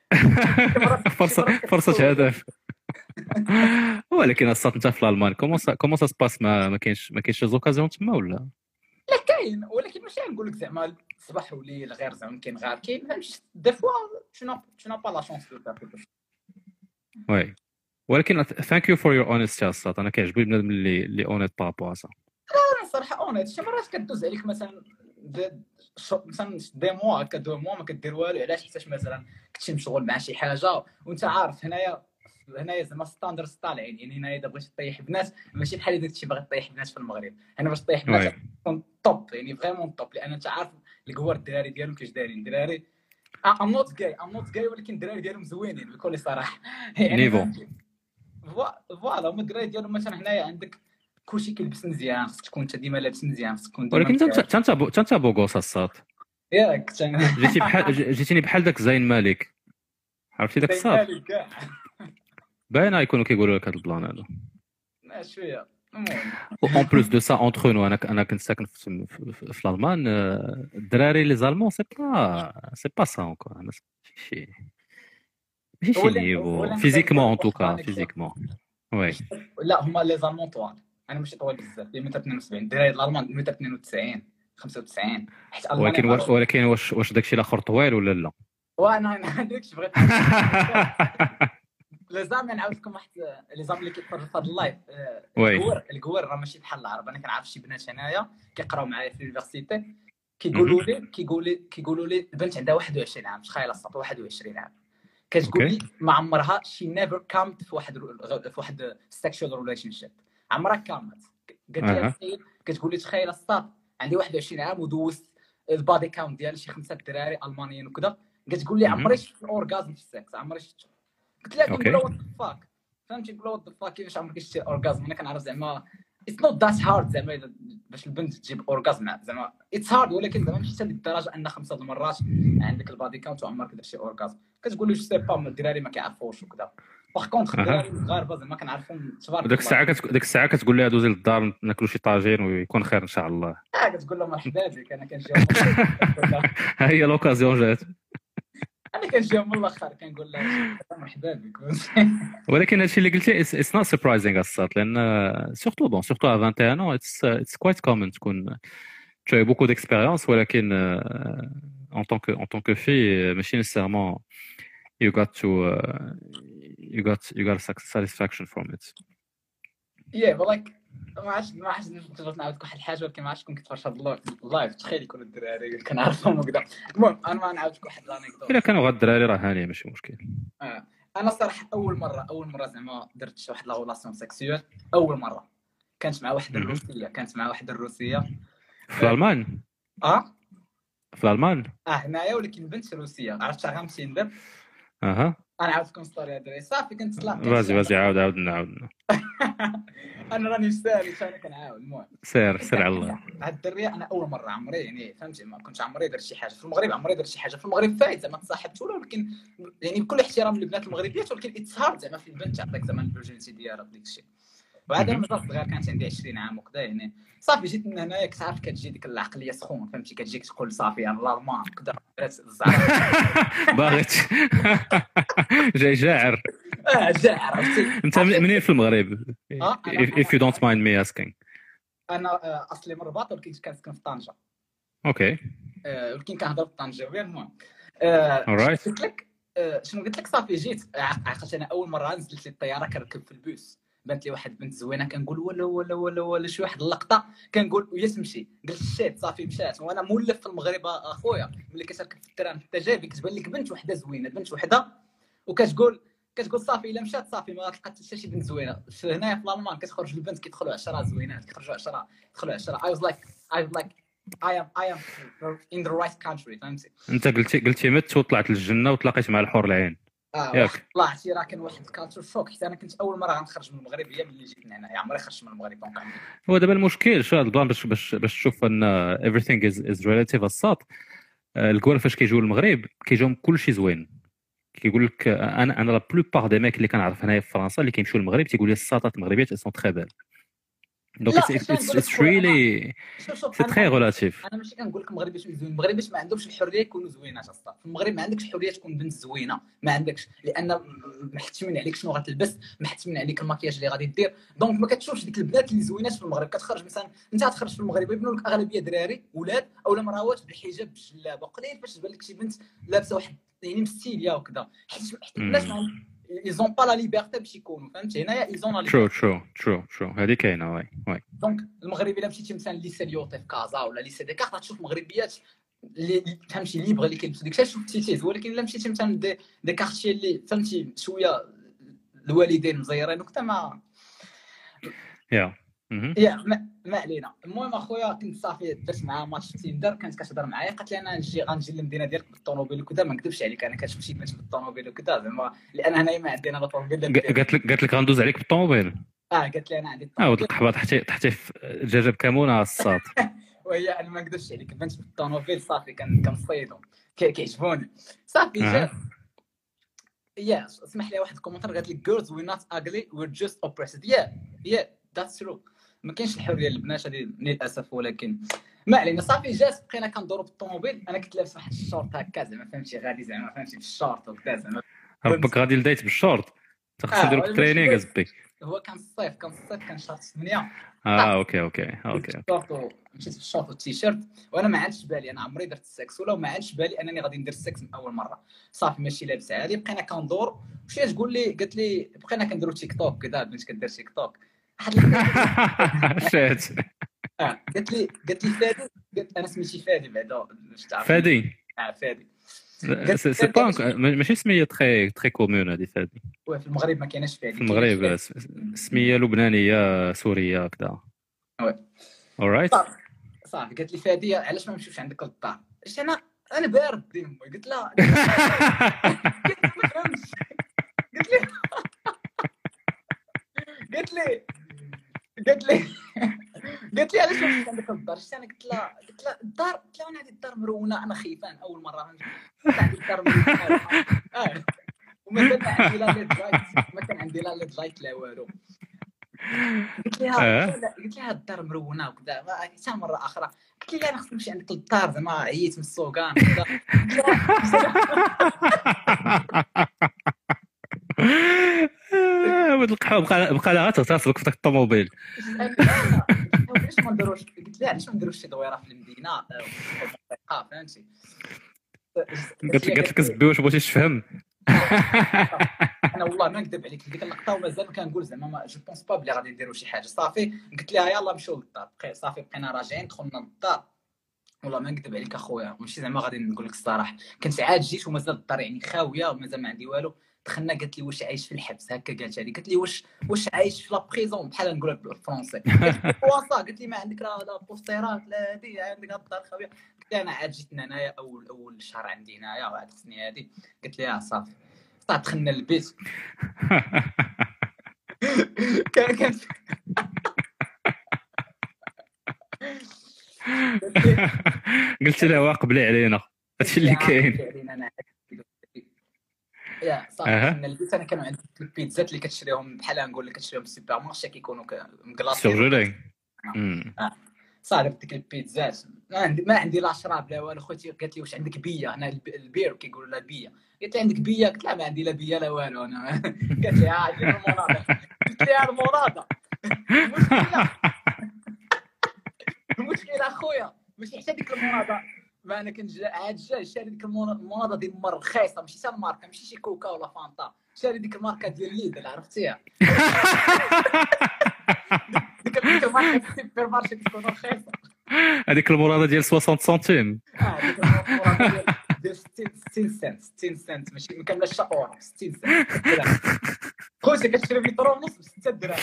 فرصه هدف ولكن الصاد انت في الالمان كومون سا سباس ما كاينش زوكازيون تما ولا لا كاين ولكن ماشي نقول لك زعما صباح وليل غير زعما كاين غير كاين فهمتي دي فوا شنو با لا شونس دو فير وي ولكن ثانك يو فور يور اونستي الصاد انا كيعجبني بنادم اللي اونيت بابا صا انا صراحه اونيت شي مرات كدوز عليك مثلا دي موا كدو موا ما كدير والو علاش حيتاش مثلا كنتي مشغول مع شي حاجه وانت عارف هنايا زعما ستاندرد طالعين يعني هنايا اذا بغيتي طيح بنات ماشي بحال اذا كنتي باغي طيح بنات في المغرب هنا باش طيح بنات تكون توب يعني فريمون توب لان انت عارف الكوار الدراري ديالهم كيفاش دايرين الدراري ام نوت جاي ولكن الدراري ديالهم زوينين بكل صراحه نيفو فوالا هما الدراري ديالهم مثلا هنايا عندك كلشي كيلبس مزيان خصك تكون انت ديما لابس مزيان خصك تكون ولكن انت بوغوس الصاد ياك جيتيني بحال داك زين مالك عرفتي داك الصاد باينه يكونوا كيقولوا لك هذا البلان هذا شويه اون بلوس دو سا اونتر نو انا كنت ساكن في الالمان الدراري لي زالمون سي با سا اونكور ماشي شي نيفو فيزيكمون ان توكا فيزيكمون وي لا هما لي زالمون طوال انا ماشي طوال بزاف 172 الدراري الالمان 192 95 حيت ولكن واش داكشي الاخر طويل ولا لا وانا داكشي بغيت لازم نعاود لكم واحد لي زام اللي كيتفرجوا في هذا اللايف الكوار راه ماشي بحال العرب انا كنعرف شي بنات هنايا كيقراو معايا في اليونيفرسيتي كيقولوا لي البنت عندها 21 عام تخيل الصوت 21 عام كتقول لي ما عمرها شي نيفر كامت في واحد سيكشوال ريليشن شيب عمرها كامت قالت لي كتقول لي تخيل الصوت عندي 21 عام ودوزت البادي كاونت ديال شي 5 دراري المانيين وكذا كتقول لي عمري شفت اورغازم في السكس عمري شفت قلت لها كنقول وات ذا فاك فهمتي نقول وات ذا فاك كيفاش عمرك شتي اورغازم انا كنعرف زعما اتس نوت ذات هارد زعما باش البنت تجيب اورغازم زعما اتس هارد ولكن زعما ماشي حتى لديك الدرجه ان 5 المرات عندك البادي كاونت وعمرك درتي اورغازم كتقول لي جو سي با الدراري ما كيعرفوش وكذا باغ كونطخ الدراري المغاربه زعما كنعرفهم تبارك الله ديك الساعه كتقول لها دوزي للدار ناكلوا شي طاجين ويكون خير ان شاء الله كتقول لهم مرحبا بك انا كنجي ها هي لوكازيون جات انا كنجي من الاخر كنقول لها مرحبا بك ولكن هادشي اللي قلتي اتس نوت سربرايزينغ الصات لان سورتو ا 21 ans اتس كويت كومن تكون tu as beaucoup d'expérience ولكن en tant que fille ماشي nécessairement you got satisfaction from it but like ما عرفتش نقدر نعاود واحد الحاجه ولكن ما عرفتش كون كتفرج هذا اللايف تخيل يكونوا الدراري كنعرفهم وكذا المهم انا ما نعاود لك واحد لانيكدوت الا كانوا غير الدراري راه هانيه ماشي مشكل انا الصراحه اول مره زعما درت واحد لا ريلاسيون سيكسيوال اول مره كانت مع واحده الروسيه في الالمان في الالمان هنايا ولكن بنت روسيه عرفت غنمشي ندير انا عاود لكم ستوري هذه صافي كنت طلعت فازي عاود انا راني سالي انا كنعاود المهم سير على الله هاد الدريه انا اول مره عمري يعني فهمتي ما كنتش عمري درت شي حاجه في المغرب عمري درت شي حاجه في المغرب فايت زعما تصاحبت ولا ولكن يعني بكل احترام للبنات المغربيات ولكن اتس هارد زعما في البنت تعطيك زعما الفيرجينيتي ديالها ديك الشيء وعاد انا مازال صغير كانت عندي 20 عام وكذا يعني صافي جيت من هنايا كتعرف كتجي ديك العقليه سخون فهمتي كتجيك تقول صافي انا الالمان كذا باغيت جاي جاعر عرفتي انت منين في المغرب if you don't mind me asking انا اصلي من الرباط ولكن كنسكن في طنجه اوكي ولكن كنهضر بالطنجاويه المهم قلت لك صافي جيت عقلت انا اول مره نزلت لي الطياره كنركب في البوس بانت لي واحد بنت زوينه كنقول ولا شي واحد اللقطه كنقول ويا تمشي قلت شيت صافي مشات. وانا مولف في المغرب اخويا ملي كتركب في التران في التجارب كتبان لك بنت وحده زوينه بنت وحده وكتقول صافي الا مشات صافي ما تلقى حتى شي بنت زوينه. هنايا في الالمان كتخرج البنت كيدخلوا 10 زوينات كيخرجوا 10 يدخلوا 10. I was like I am in the right country فهمتي. انت قلتي مت وطلعت للجنه وتلاقيت مع الحور العين ياك. طلعتي راه كان واحد الكالتشر شوك حيت انا كنت اول مره غنخرج من المغرب هي ملي جيت هنا عمري خرجت من المغرب. دونك هو دابا المشكل شو هذا البلان باش تشوف ان everything is relative الصات. الكوار فاش كيجيو للمغرب كيجيهم كلشي زوين. كيقول لك انا لا بلوبار دي ميك اللي كنعرف هنايا في فرنسا اللي كيمشيو للمغرب تيقول لي الساطات المغربيات سون تري بال. دونك اتس ريلي سي تري ريلاتيف. انا ماشي كنقول لك المغربيات زوين المغربيات ما عندهمش الحريه يكونوا زوينات اصلا. في المغرب ما عندكش الحريه تكون بنت زوينه ما عندكش لان محتمين عليك شنو غتلبس محتمين عليك المكياج اللي غادي دير. دونك ما كتشوفش ديك البنات اللي زوينات في المغرب. كتخرج مثلا انت غتخرج في المغرب يبنوا لك اغلبيه دراري ولاد اولا مراوات بالحجاب بالجلابه قليل فاش تبان لك شي بنت لابسه واحد يعني مستيليا وكذا حيت الناس ils ont pas la liberté باش يكونوا فهمتي. هنايا ils ont la true هذه كاينه واي. دونك المغربي الا مشيتي مثلا ليسي ليوطي في كازا ولا ليسي ديكارت غتشوف مغربيات اللي فهمتي ليبر اللي كيلبسوا ديك شوف تيتيز. ولكن الا مشيتي مثلا دي كارتي اللي فهمتي شويه الوالدين مزيرين وكذا ما ما علينا. المهم اخويا كنت صافي درت معاه ماتش في تيندر كانت كتهضر معايا قالت لي انا غنجي للمدينه ديالك بالطوموبيل وكذا. ما نكذبش عليك انا كتمشي بنت بالطوموبيل وكذا زعما لان هنايا ما عندنا لا طوموبيل. قالت لك غندوز عليك بالطوموبيل. قالت لي انا عندي الطوموبيل. وديك القحبه تحتي في الدجاجه بكمونه الصاط. وهي انا ما نكذبش عليك بنت بالطوموبيل صافي كنصيدهم كيعجبوني صافي. جا اسمح لي واحد الكومنتار قالت لي girls we're not ugly we're just oppressed. yeah that's true. ما كاينش الحريه للبنات هذه للاسف. ولكن ما علينا صافي جات بقينا كندوروا بالطوموبيل. انا كنت لابس واحد الشورت هكا زعما فهمتي غادي زعما فهمتي في الشورت وكذا زعما ربك غادي لديت بالشورت تخص نديرو بالترينينغ ازبي. هو كان الصيف كان شهر 8. اوكي مشيت بالشورت والتيشيرت وانا ما عادش بالي انا عمري درت السكس ولا ما عادش بالي انني غادي ندير السكس من اول مره. صافي ماشي لابس عادي بقينا كندور وشي تقول لي قالت لي بقينا كنديروا تيك توك كذا بنت كدير تيك توك شات قالت لي فادي. قلت انا سميتي فادي بعدا فادي فادي سي با ماشي سميه تري كومون هذه فادي. في المغرب ما كايناش فادي. في المغرب سميه لبنانيه سوريه كذا. alright صافي قالت لي فادي علاش ما نمشيوش عندك للدار. اش انا بارد ديما قلت لها قالت لي علاش ما نمشيوش عندك للدار. انا قلت لها الدار انا عندي الدار مرونه انا خيفان اول مره عندي الدار مرونه ومازال ما عندي لا ليد لايت ما كان عندي لا ليد لايت لا والو. قلت لها الدار مرونه وكذا حتى مره اخرى قلت لي انا خصني نمشي عندك للدار زعما عييت من السوقان كذا. ولد القحوه بقى لها تغتصبك في داك الطوموبيل. علاش ما نديروش قلت لها علاش ما نديروش شي دويره في المدينه فهمتي. قالت لك زبي واش بغيتي تفهم. انا والله ما نكذب عليك ديك اللقطه ومازال كنقول زعما جو بونس با بلي غادي نديروا شي حاجه. صافي قلت لها يلاه نمشيو للدار. صافي بقينا راجعين دخلنا للدار والله ما نكذب عليك اخويا ماشي زعما غادي نقول لك الصراحه كنت عاد جيت ومازال الدار يعني خاويه ومازال ما عندي والو. دخلنا قالت لي واش عايش في الحبس هكا قالت لي قالت لي واش عايش في لا بريزون بحال نقول لك بالفرنسي. قالت لي ما عندك لا بوستيرات لا هادي عندك الدار خاويه. قلت لها انا عاد جيت هنايا اول شهر عندي هنايا وعاد خصني هادي. قالت لي صافي دخلنا للبيت كان قلت لها واقبلي علينا هادشي اللي كاين. صافي دخلنا للبيت. انا كانوا عندي البيتزات اللي كتشريهم بحال نقول لك كتشريهم في السوبر مارشي كيكونوا مكلاصين صافي ديك البيتزات ما عندي لا شراب لا والو. خوتي قالت لي واش عندك بيه هنا البير كيقولوا لها بيه. قلت لها عندك بيه قلت لها ما عندي لا بيه لا والو انا. قالت لي عندي المرضى. قلت لها المرضى المشكله اخويا ماشي حتى ديك المرضى ما انا كنت عاد جاي شاري ديك المرضى ديال المر رخيصه ماشي حتى الماركه ماشي شي كوكا ولا فانتا شاري ديك الماركه ديال ليدل عرفتيها ديك الماركه السوبر مارشي تكون رخيصه هذيك المرادة ديال 60 سنتيم. ديك الماركه ديال 60 سنت ماشي ما كاملاش اورو 60 سنت خوتي كتشري لتر ونص ب 6 دراهم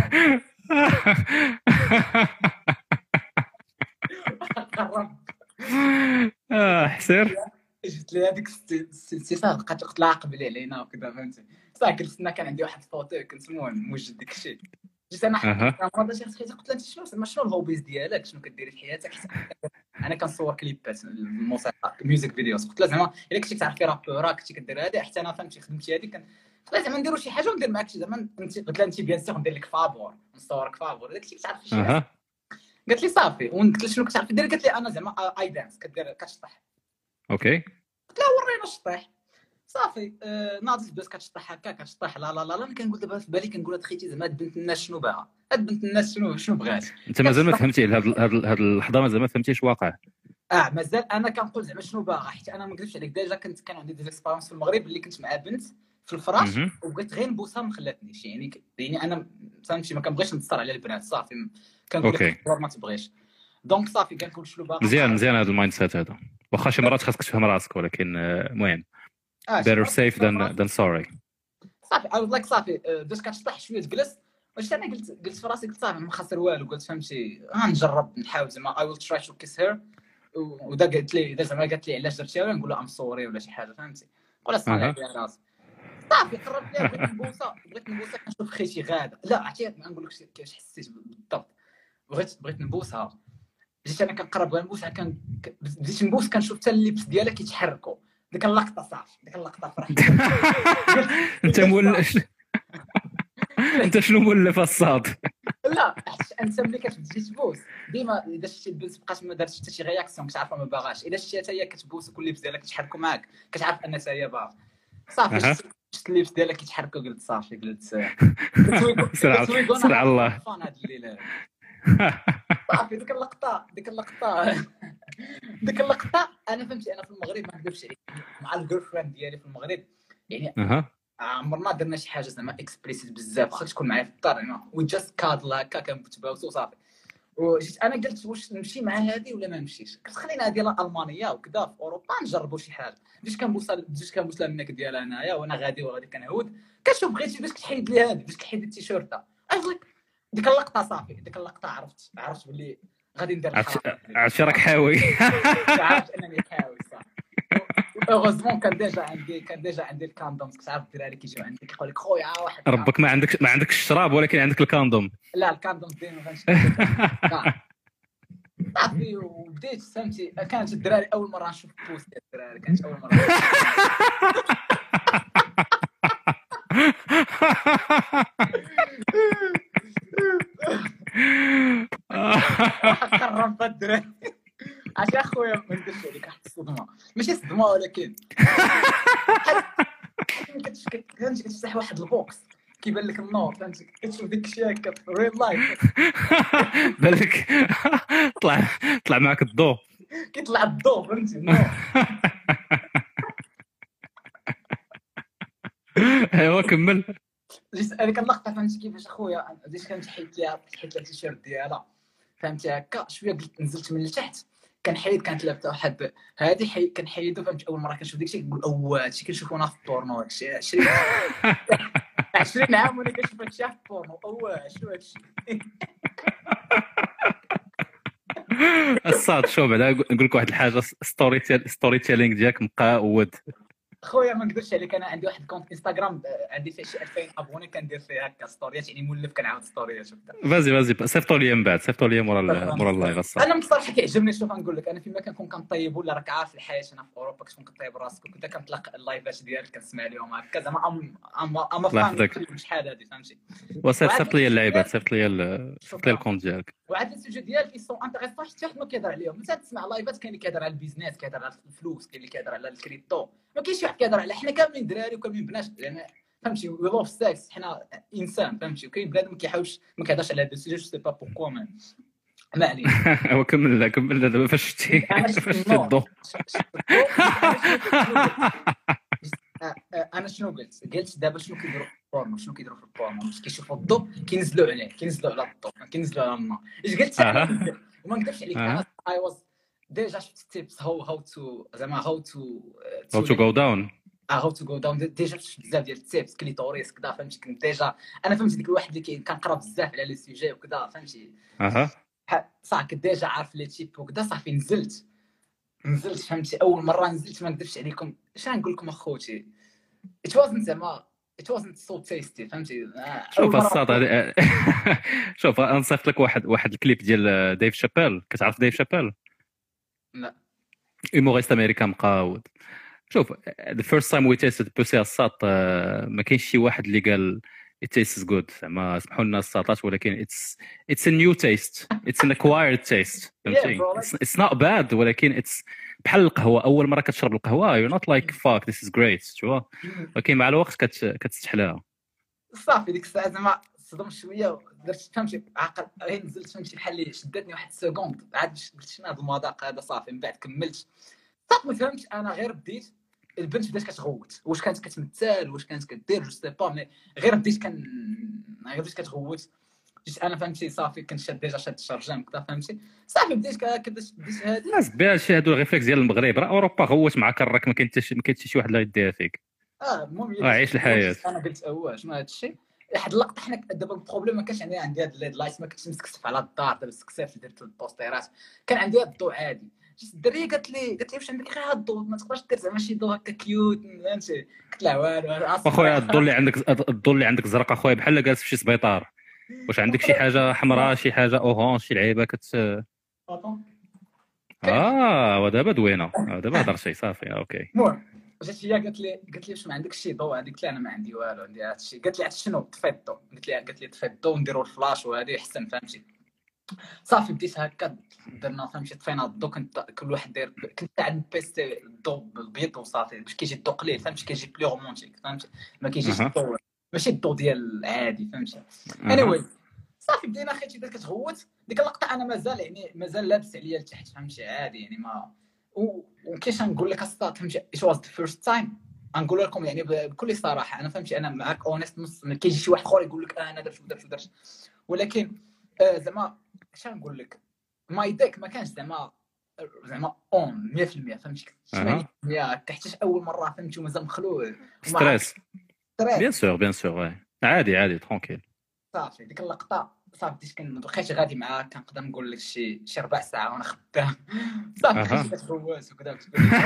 حسير جبت لي هذيك السيسات بقات تلاعق لي علينا وكذا فهمتي صح جلسنا كان عندي واحد الفوتو كنسموه موجد داك الشيء جيت انا مرة شي حيت قلت لها شنو الهوبيز ديالك شنو كديري في حياتك انا كنصور كليبات الموسيقى ميوزك فيديوز قلت لها زعما الا كنتي كتعرفي رابور كنتي كدير هذه حتى انا فهمتي خدمتي هذه قلت لها زعما نديروا شي حاجه وندير معاك شي زعما انت قلت لها انت بيان سيغ ندير لك فابور نصورك فابور داك الشيء كتعرفي شي حاجه قالت لي صافي وقلت لها شنو كتعرفي دير قالت لي انا زعما اي دانس كدير كتشطح اوكي قلت لها ورينا الشطيح صافي ناضت بس كتشطح هكا كتشطح لا لا لا انا كنقول دابا في بالي كنقول هاد خيتي زعما هاد بنت الناس شنو باغا هاد بنت الناس شنو بغات انت مازال ما فهمتي هاد اللحظه مازال ما فهمتيش واقع مازال انا كنقول زعما شنو باغا حيت انا ما نكذبش عليك ديجا كان عندي دي اكسبيريونس في المغرب اللي كنت مع بنت في الفراش وبغيت غير نبوسها ما خلاتنيش يعني انا فهمتي ما كنبغيش نتصر على البنات صافي كنقول لك ما تبغيش دونك صافي كنقول شنو باغا مزيان هذا المايند سيت هذا واخا شي مرات خاصك تفهم راسك ولكن المهم better safe than sorry صافي I was like صافي باش كتشطح شويه تجلس واش انا قلت في راسي قلت صافي ما خسر والو قلت فهمتي غنجرب نحاول زعما I will try to kiss her ودا قالت لي اذا زعما قالت لي علاش درتيها نقول لها ام سوري ولا شي حاجه فهمتي نقول صافي على راسي صافي قربت ليها بغيت نبوسها كنشوف خيتي غاده لا عرفتي ما نقول لكش كيفاش حسيت بالضبط بغيت نبوسها جيت انا كنقرب بغا نبوسها بديت نبوس كنشوف حتى اللبس ديالها كيتحركوا ديك اللقطه صافي ديك اللقطه فرحت انت مولف انت شنو مولف الصاد لا انت ملي كتبدي تبوس ديما اذا شتي البنت بقات ما دارتش حتى شي رياكسيون كتعرفها ما باغاش اذا شتي حتى هي كتبوس وكل اللبس ديالها كيتحركوا معاك كتعرف ان حتى هي باغا صافي شفت اللبس ديالها كيتحركوا قلت صافي قلت سرع الله فان هاد الليله صافي ديك اللقطه انا فهمتي انا في المغرب ما نكذبش عليك مع الجيرل فريند ديالي في المغرب يعني عمرنا درنا شي حاجه زعما اكسبريسيت بزاف واخا تكون معايا في الدار يعني وي جاست كادل هكا كنتباوسو صافي وجيت انا قلت واش نمشي مع هذه ولا ما نمشيش قلت خلينا هذه المانيه وكذا في اوروبا نجربوا شي حاجه بديت كنبوس لها الميك ديالها انايا وانا غادي كنعود كنشوف بغيتي باش كتحيد لي هذه باش كتحيد التيشيرت ديك اللقطه صافي ديك اللقطه عرفت باللي غادي ندير عرفتي راك حاوي عرفت انني حاوي صافي اوغوزمون كان ديجا عندي الكاندومز كتعرف الدراري كيجيو عندك كيقول لك خويا واحد ربك ما عندك الشراب ولكن عندك الكاندوم لا الكاندومز ديما فهمتي صافي وبديت فهمتي كانت الدراري اول مره نشوف بوست ديال الدراري كانت اول مره قرب الدراري عشان خويا ما نديرش عليك واحد الصدمه ماشي صدمه ولكن فهمتي كتفتح واحد البوكس كيبان لك النور فهمتي كتشوف ديك الشيء هكا في ريل لايف بالك طلع معك الضوء كيطلع الضوء فهمتي النور ايوا كمل جيت هذيك اللقطه فهمتي كيفاش اخويا بديت كنحيد لها التيشيرت ديالها فهمتي هكا شويه قلت نزلت من التحت كانت لابسه واحد هذه كنحيدو فهمتي اول مره كنشوف داكشي كنقول هادشي كنشوفو انا في البورنو هادشي 20 عام وانا كنشوف هادشي في البورنو شنو هادشي الصاد شو بعدا نقول لك واحد الحاجه ستوري تيلينغ ديالك مقاود خويا ما نقدرش عليك انا عندي واحد كونت انستغرام عندي فيه شي 2000 ابوني كندير فيه هكا ستوريات يعني مولف كنعاود ستوريات شفتها فازي صيفطوا لي من بعد صيفطوا لي مورا اللايف الصاد انا بصراحه كيعجبني شوف نقول لك انا فيما كنكون كنطيب ولا راك عارف الحياه هنا في اوروبا كتكون كطيب راسك وكذا كنطلق اللايفات ديالك كنسمع لهم هكا زعما اما فاهم شحال هادي فهمتي وصيفط لي اللعيبات صيفط لي الكونت ديالك وعاد السوجي ديالك يسون انتريسون حتى واحد ما كيهضر عليهم انت تسمع لايفات كاين اللي كيهضر على البيزنس كيهضر على الفلوس كاين اللي كيهضر على الكريبتو ما كاينش شي واحد كيهضر على حنا كاملين دراري وكاملين بنات يعني فهمتي وي لوف سكس حنا انسان فهمتي وكاين بنادم ما كيحاولش ما كيهضرش على هذا السوجي جو سي با بوركوا ما علينا هو كمل دابا فاش شتي الضو انا شنو قلت دابا شنو كيديروا في البورنو، شنو كيديروا في البورنو، باش كيشوفوا الضوء كينزلوا عليه، كينزلوا على الضوء، كينزلوا على الماء. اش قلت انا وما نكذبش عليك، انا اي واز ديجا شفت تيبس هاو تو زعما هاو تو جو داون هاو تو جو داون. ديجا شفت بزاف ديال التيبس كليتوريس كذا، فهمتي. كنت ديجا انا فهمت ديك الواحد اللي كنقرا بزاف على لي سوجي وكذا، فهمتي. صافي كنت ديجا عارف لي تيب وكذا. صافي نزلت فهمتي. اول مره نزلت ما نكذبش عليكم، اش غنقول لكم اخوتي، it wasn't so tasty، فهمتي. شوف الصاد هذه شوف نصيفط لك واحد الكليب ديال ديف شابيل. كتعرف ديف شابيل؟ لا، هيموريست امريكان مقاود. شوف the first time we tasted بوسي الساط ما كاينش شي واحد اللي قال it tastes good. زعما سمحوا لنا الساطات، ولكن it's a new taste, it's an acquired taste، فهمتي. it's not bad، ولكن it's بحال القهوه. اول مره كتشرب القهوه you're not like fuck this is great، شوف. ولكن مع الوقت كتستحلاها. صافي ديك الساعه زعما صدمت شويه، درت فهمتي عقل غير نزلت، فهمتي بحال اللي شدتني واحد سكوند، عاد قلت شنو هذا المذاق هذا. صافي من بعد كملت. صافي ما فهمتش، انا غير بديت. البنت بدات كتغوت، واش كانت كتمثل واش كانت كدير جو سي با، مي غير بديت كتغوت. جيت انا فهمتي. صافي كنت شاد ديجا شاد الشرجام كذا، فهمتي. صافي بديت هادي الناس بها شي هادو الريفلكس ديال المغرب. راه اوروبا غوت معاك الراك، ما كاين حتى شي واحد اللي غيديها فيك. المهم عيش الحياه. انا قلت شنو هذا الشيء. واحد اللقطه حنا دابا البروبليم ما كانش عندي هاد الليد لايت، ما كنتش مسكسف على الدار. دابا سكسفت درت البوستيرات، كان عندي هاد الضوء عادي. جات الدريه قالت لي واش عندك غير هاد الضوء، ما تقدرش دير زعما شي ضوء هكا كيوت، فهمتي. قلت لها والو اخويا الضوء اللي عندك زرق اخويا، بحال جالس في شي سبيطار. واش عندك شي حاجه حمراء، شي حاجه اورانج، شي لعيبه ودابا دوينه، دابا هضرتي صافي اوكي. جات هي قالت لي واش ما عندكش شي ضوء. قلت لها انا ما عندي والو، عندي هذا الشيء. قالت لي شنو طفي الضوء. قالت لي طفي الضوء ونديروا الفلاش وهذه احسن، فهمتي. صافي بديت هكا درنا، فهمتي. طفينا الضوء، كنت كل واحد داير. كنت عند بيستي الضوء بالبيض وصافي، باش كيجي الضوء قليل، فهمتي. كيجي بلي رومونتيك، فهمتي. ما كيجيش الضوء ماشي الضوء ديال العادي، فهمتي. anyway صافي بدينا خيتي بدات كتغوت. ديك اللقطه انا مازال لابس عليا لتحت، فهمتي. عادي يعني ما وكيفاش نقول لك الصاد، فهمتي. it was the first time. نقول لكم يعني بكل صراحه، انا فهمتي انا معاك اونست. نص كيجي شي واحد اخر يقول لك انا درت، ولكن زعما اش نقول لك، ماي ديك ما كانش زعما اون 100%، فهمتي. 80% حتى اول مره، فهمتي. ومازال مخلوع ستريس بيان سور عادي ترونكيل. صافي ديك اللقطه صافي بديت بقيت غادي معاه. كنقدر نقول لك شي ربع ساعه وانا خدام. صافي كتغوت وكذا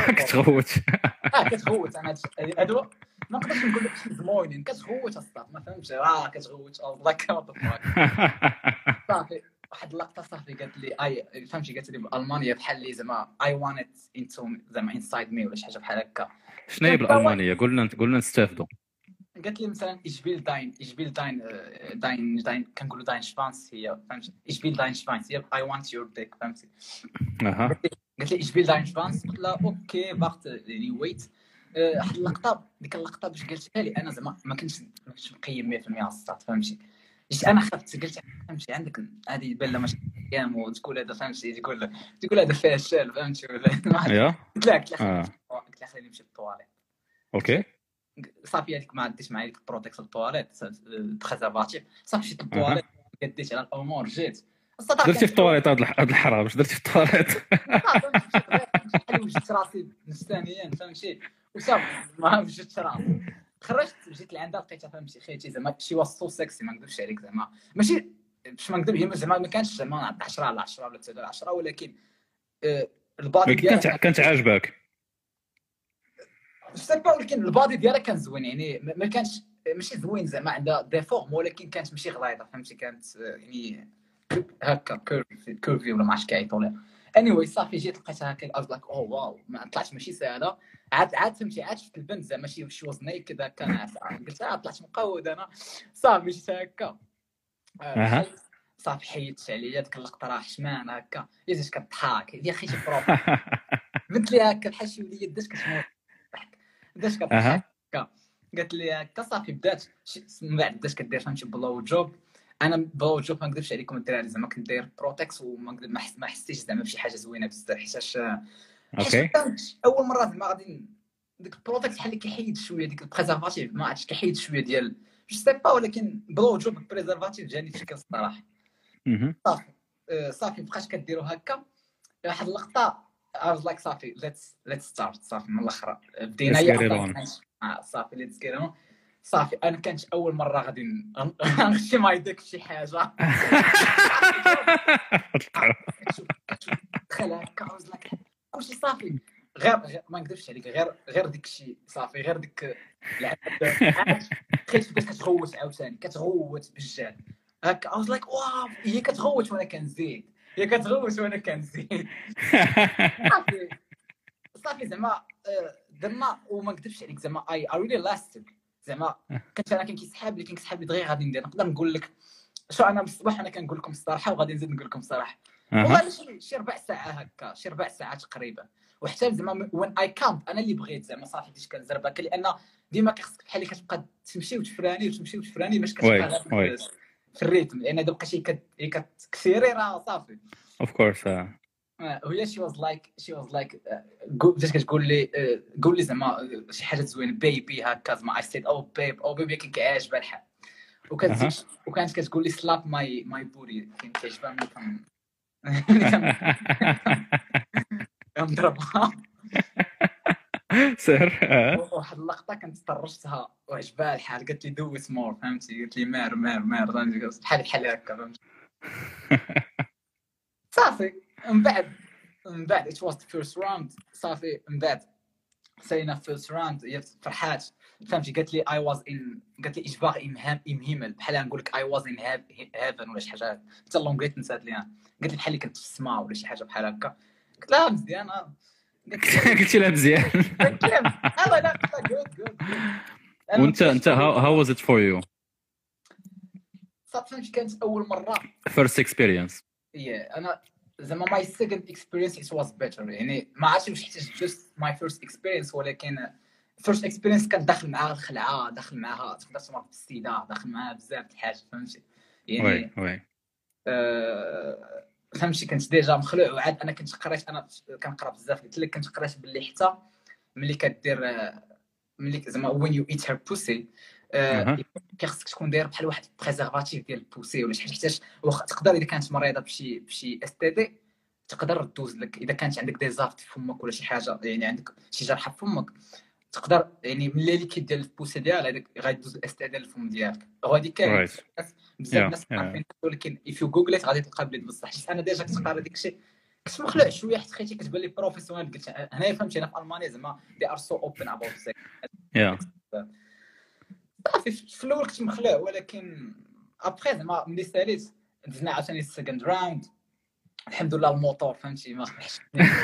كتغوت انا هادو ما نقدرش نقول لك شي زموينين. كتغوت الصاط، ما فهمتش. كتغوت الله كنطفاك. صافي واحد اللقطه صافي قالت لي فهمتي. قالت لي بالالمانيه بحال اللي زعما I want it into زعما inside me ولا شي حاجه بحال هكا. شنو هي بالالمانيه؟ قلنا نستافدوا. قالت لي مثلا ich will dein كنقولوا dein Schwanz هي، فهمتي. ich will dein Schwanz هي I want your dick، فهمتي. قالت لي ich will dein Schwanz. قلت لها اوكي باغت يعني ويت. واحد اللقطه ديك اللقطه باش قالتها لي انا زعما ما كنتش مقيم 100% الصات، فهمتي. جيت انا خفت. قلت فهمتي عندك هذه بان ماشي ايام وتقول هذا، فهمتي. تقول هذا فاشل، فهمتي. ولا قلت لها خليني نمشي للطواليت. اوكي صافي هذيك ما عديتش معايا ديك البروتيكس الطواليت بريزرفاتيف. صافي مشيت للطواليت، قديت على الامور، جيت درتي في الطواليت. هاد الحرام واش درتي في الطواليت؟ صافي وجدت راسي نفسانيا، فهمتي. وصافي ما وجدت راسي. خرجت جيت لعندها لقيتها، فهمتي. خيتي زعما شي واسطو سكسي، ما نكذبش عليك. زعما ماشي باش ما نكذب، هي زعما ما كانش زعما 10 على 10 ولا 9 على 10، ولكن البادي ديالها كانت عاجباك. ولكن البادي ديالها كان زوين، يعني ما كانش ماشي زوين زعما عندها ديفورم، ولكن كانت ماشي غليظه، فهمتي. كانت يعني هكا كيرفي ولا ما عرفتش كيعيطوا لها. صافي جيت لقيتها هكا از لايك اوه واو، ما طلعت ماشي ساهله. عاد فهمتي. عاد شفت البنت زعما شي واز نيكد هكا. قلت طلعت مقود انا. صافي جيت هكا. صافي حيدت عليا ديك اللقطه، راه حشمان هكا. جيت كضحك يا اخي شي بروف. قلت لي هكا بحال شي وليد داش كتموت بدات كضحك هكا. قالت لي هكا. صافي بدات من بعد بدات كدير، فهمتي. بلو جوب. انا بلو جوب ما نكذبش عليكم الدراري، زعما كنت داير بروتكس ما حسيتش زعما بشي حاجه زوينه بزاف، حيتاش اوكي اول مره زعما غادي ديك البرودكت بحال اللي كيحيد شويه ديك البريزرفاتيف، ما عرفتش كيحيد شويه ديال جو سي با، ولكن بلو جوب البريزرفاتيف جاني تشكل الصراحه. صافي بقاش كديروا هكا. واحد اللقطه I was like صافي let's start صافي من الاخر بدينا صافي let's get on. صافي انا كانت اول مره غادي نغشي مايدك في شي حاجه دخل هكا I was like كلشي صافي غير ما نكذبش عليك غير ديك الشيء صافي غير ديك العاد تخيل بدات كتغوت عاوتاني كتغوت بالجال هكا I was like واو هي كتغوت وانا كنزيد هي كتغوت وانا كنزيد صافي زعما درنا وما نكذبش عليك زعما I really lasted زعما كنت انا كنسحاب لي دغيا غادي ندير نقدر نقول لك شو انا بالصباح انا كنقول لكم الصراحه وغادي نزيد نقول لكم الصراحه والله شي 4 ساعات هكا شي 4 ساعات تقريبا. وحتى زعما وين اي كامب انا اللي بغيت زعما صافي بديت كنزربك لان ديما كيخصك بحال اللي كتبقى تمشي وتفراني باش كتبقى في الريتم لان دابا شي كتكثيري راه صافي اوف كورس. وهي شي واز لايك بدات كتقول لي قول لي زعما شي حاجه زوينه بيبي هكا زعما اي سيد او بيبي كيعجبها الحال وكانت كتقول لي سلاب ماي بوري كان كيعجبها ملي نضربها سير. واحد اللقطه كنت طرشتها وعجبها الحال قالت لي دويت مور فهمتي قالت لي مار بحال هكا فهمتي صافي من بعد it was the first round صافي من بعد سالينا first round هي فرحات فهمتي قالت لي قالت لي اجبار امهمل بحال نقول لك I was in heaven ولا شي حاجه حتى اللونغريت نسات ليها قالت لي بحال اللي كنت في السماء ولا شي حاجه بحال هكا قلت لها مزيان قلت لها مزيان الله لا جود وانت how was it for you صافي كانت اول مره first experience انا زعما my second experience it was better يعني ما عرفتش واش حيت just my first experience ولكن first experience كان داخل معها الخلعه داخل معها تقدر تمر بالسيده داخل معها بزاف د الحاجات فهمتي يعني وي فهمتي كنت ديجا مخلوع وعاد انا كنت قريت انا كنقرا بزاف قلت لك كنت قريت باللي حتى ملي كدير ملي زعما when you eat her pussy كيخصك تكون داير بحال واحد بريزرفاتيف ديال البوسي ولا شي حاجه حيتاش تقدر اذا كانت مريضه بشي اس تي دي تقدر دوز لك اذا كانت عندك دي زافت في فمك ولا شي حاجه يعني عندك شي جرحه في فمك تقدر يعني من اللي ديال البوسي ديال هذاك غيدوز الاس تي دي للفم ديالك وهذه كاين بزاف الناس عارفين ولكن if you google it غادي تلقى بلي بصح حيت انا ديجا كنت قاري داكشي كنت مخلوع شويه حيت خيتي كتبان لي بروفيسيونيل قلت هنايا فهمتي انا في المانيا زعما they are so open about sex صافي في الاول كنت مخلوع ولكن ابخي زعما ملي ساليت دزنا عاوتاني السكند راوند الحمد لله الموتور فهمتي ما خفش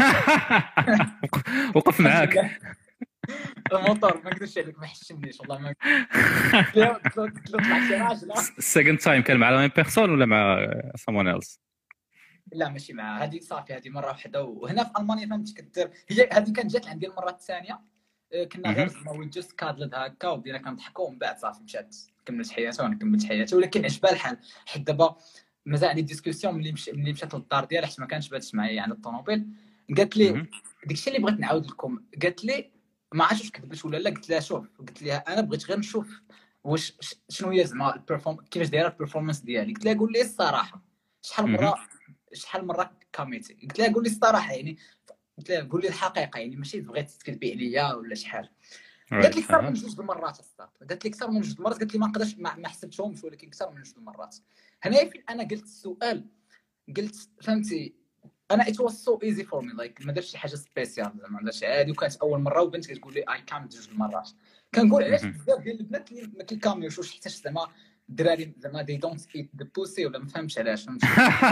وقف معاك الموتور ما نقدرش عليك ما حشمنيش والله ما طلع شي راجل السكند تايم كان مع لا ميم بيرسون ولا مع someone else لا ماشي مع هذه صافي هذه مره واحده وهنا في المانيا فهمتي كدير هي هذه كانت جات عندي المره الثانيه كنا غير زعما جوست كادلد هكا وبدينا كنضحكوا ومن بعد صافي مشات كملت حياتها وانا كملت حياتي ولكن عجبها الحال حيت دابا مازال عندي ديسكوسيون ملي مشات للدار ديالها حيت ما كانش باتش معايا عند الطوموبيل قالت لي داكشي اللي بغيت نعاود لكم قالت لي ما عرفتش واش كذبت ولا لا قلت لها شوف قلت لها انا بغيت غير نشوف واش شنو هي زعما كيفاش دايره البيرفورمانس ديالي قلت لها قول لي الصراحه شحال مره كاميتي قلت لها قول لي الصراحه يعني قلت لها قول لي الحقيقه يعني ماشي بغيت تكذبي عليا ولا شي حاجه قالت لي اكثر من 2 المرات قالت لي اكثر من 2 المرات قالت لي ما نقدرش ما حسبتهمش ولكن اكثر من 2 المرات هنايا فين انا قلت السؤال قلت فهمتي انا it was so easy for me like ما درتش شي حاجه سبيسيال زعما درت عادي وكانت اول مره وبنت كتقول لي اي كام 2 المرات كنقول علاش بزاف ديال البنات اللي ما كيكاميوش واش حيت زعما الدراري زعما they don't eat the pussy ولا ما فهمتش علاش فهمتي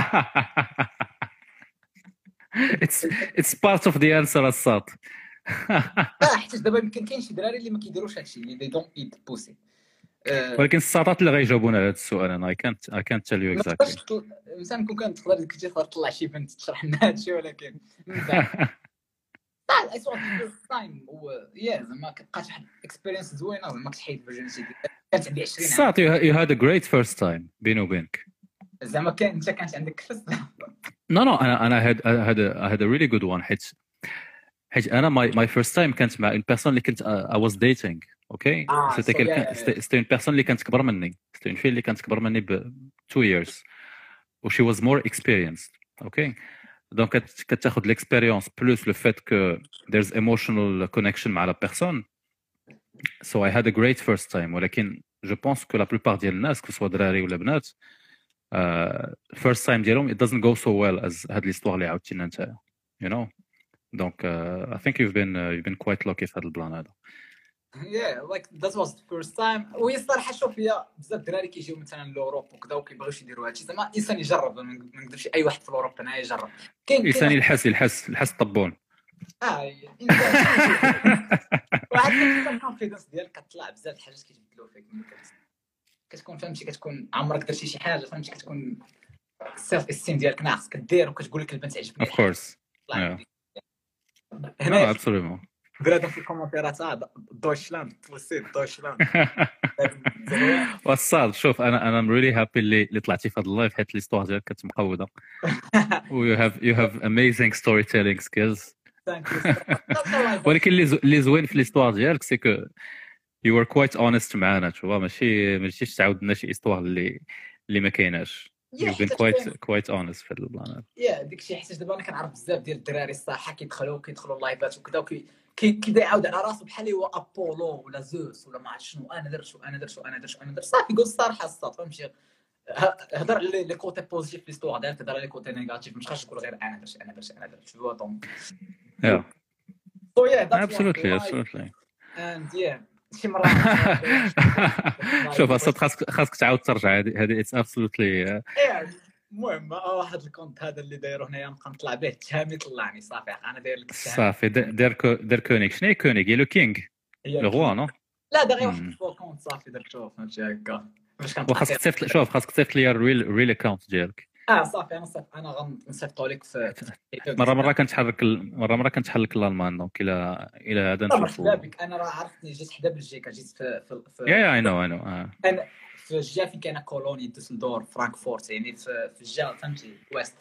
it's part of the answer الصاد حيت دابا يمكن كاين شي دراري اللي ما كيديروش هادشي اللي they don't eat the pussy ولكن الساطات اللي غيجاوبونا على هذا السؤال انا I can't tell you exactly مثلا كون كان تقدر كنتي تطلع شي بنت تشرح لنا هادشي ولكن I saw the first time زعما كتبقى واحد اكسبيرينس زوينه زعما كتحيد فيرجينيتي كانت عندي 20 عام صات you had a great first time بيني وبينك زعما انت كانت عندك فس no انا I had a really good one حيت انا ماي فيرست تايم كانت مع اون بيرسون اللي كنت اي واز ديتينغ اوكي سيتي كيلكان سيتي اون بيرسون اللي كانت اكبر مني سيتي اون في اللي كانت اكبر مني ب 2 years و she was more experienced اوكي دونك كتاخذ l'expérience plus le fait que there's emotional connection مع la personne so I had a great first time ولكن je pense que la plupart ديال الناس كسوا دراري ولا بنات first time ديالهم it doesn't go so well as هاد l'histoire اللي عاودتينا نتايا you know donc I think you've been quite lucky في هذا البلان هذا yeah like that was the first time وهي الصراحه شوف هي بزاف الدراري كيجيو مثلا لوروب وكذا وكيبغيوش يديروا هادشي زعما الانسان يجرب ما نكذبش اي واحد في اوروبا هنا يجرب الانسان يلحس الطبون واحد الكونفيدنس ديالك كطلع بزاف الحاجات كيتبدلوا فيك كتكون فهمتي كتكون عمرك درتي شي حاجه فهمتي كتكون السيلف استيم ديالك ناقص كدير وكتقول لك البنت عجبني of course هنا absolutely بلاد في الكومنتيرات دويتشلاند توسيت دويتشلاند وصال شوف انا ام ريلي هابي اللي طلعتي في هذا اللايف حيت ليستوار ديالك كتمقوده و you have amazing storytelling skills ولكن اللي زوين في ليستوار ديالك سي كو you were quite honest معانا تشوف ماشي تعاود لنا شي استوار اللي ما كايناش you've been quite honest في البلان داكشي حيت دابا انا كنعرف بزاف ديال الدراري الصراحه كيدخلوا اللايفات وكذا كيبدا يعاود على راسو بحال هو ابولو ولا زوس ولا ما عرفت شنو انا درت صافي قول الصراحه الصاد فهمتي هضر لي كوتي بوزيتيف في ليستوار ديالك هضر لي كوتي نيجاتيف مش خاص تقول غير انا درت شنو دونك absolutely and شي مره شوف اصلا خاصك تعاود ترجع هذه اتس absolutely المهم واحد الكونت هذا اللي دايرو هنايا نبقى نطلع به التهامي طلعني صافي انا داير لك صافي دار كونيك شنو هي كونيك هي لو كينغ لو روا نو لا دا غير واحد الفور كونت صافي درتو فهمتي هكا باش كنطلع خاصك تصيفط لي الريل اكونت ديالك صافي انا غنصيفطو لك في مره كنتحلك الالمان دونك الى هذا نشوفو انا راه عرفتني جيت حدا بلجيكا جيت في يا اي نو انا في الجهه فين كاينه كولوني دوسلدورف فرانكفورت يعني في الجهه فهمتي ويست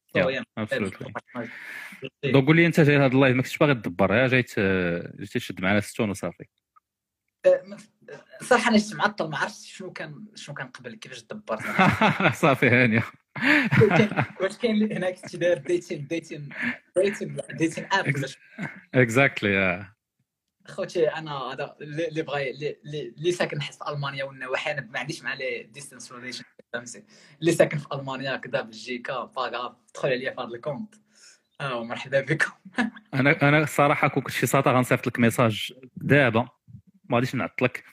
دونك قول لي انت جاي هذا اللايف ما كنتش باغي تدبر جاي تشد معنا ستون وصافي صراحه انا جيت معطل ما عرفتش شنو كان قبل كيفاش دبرت صافي هانيه واش كاين هناك شي داير ديتين اب اكزاكتلي خوتي انا هذا اللي بغى اللي ساكن حس في المانيا والنواحي انا ما عنديش مع لي ديستانس ريليشن فهمتي اللي ساكن في المانيا كذا بلجيكا باغا دخل عليا في هذا الكونت مرحبا بكم انا الصراحه كون كنت شي ساطا غنصيفط لك ميساج دابا ما غاديش نعطلك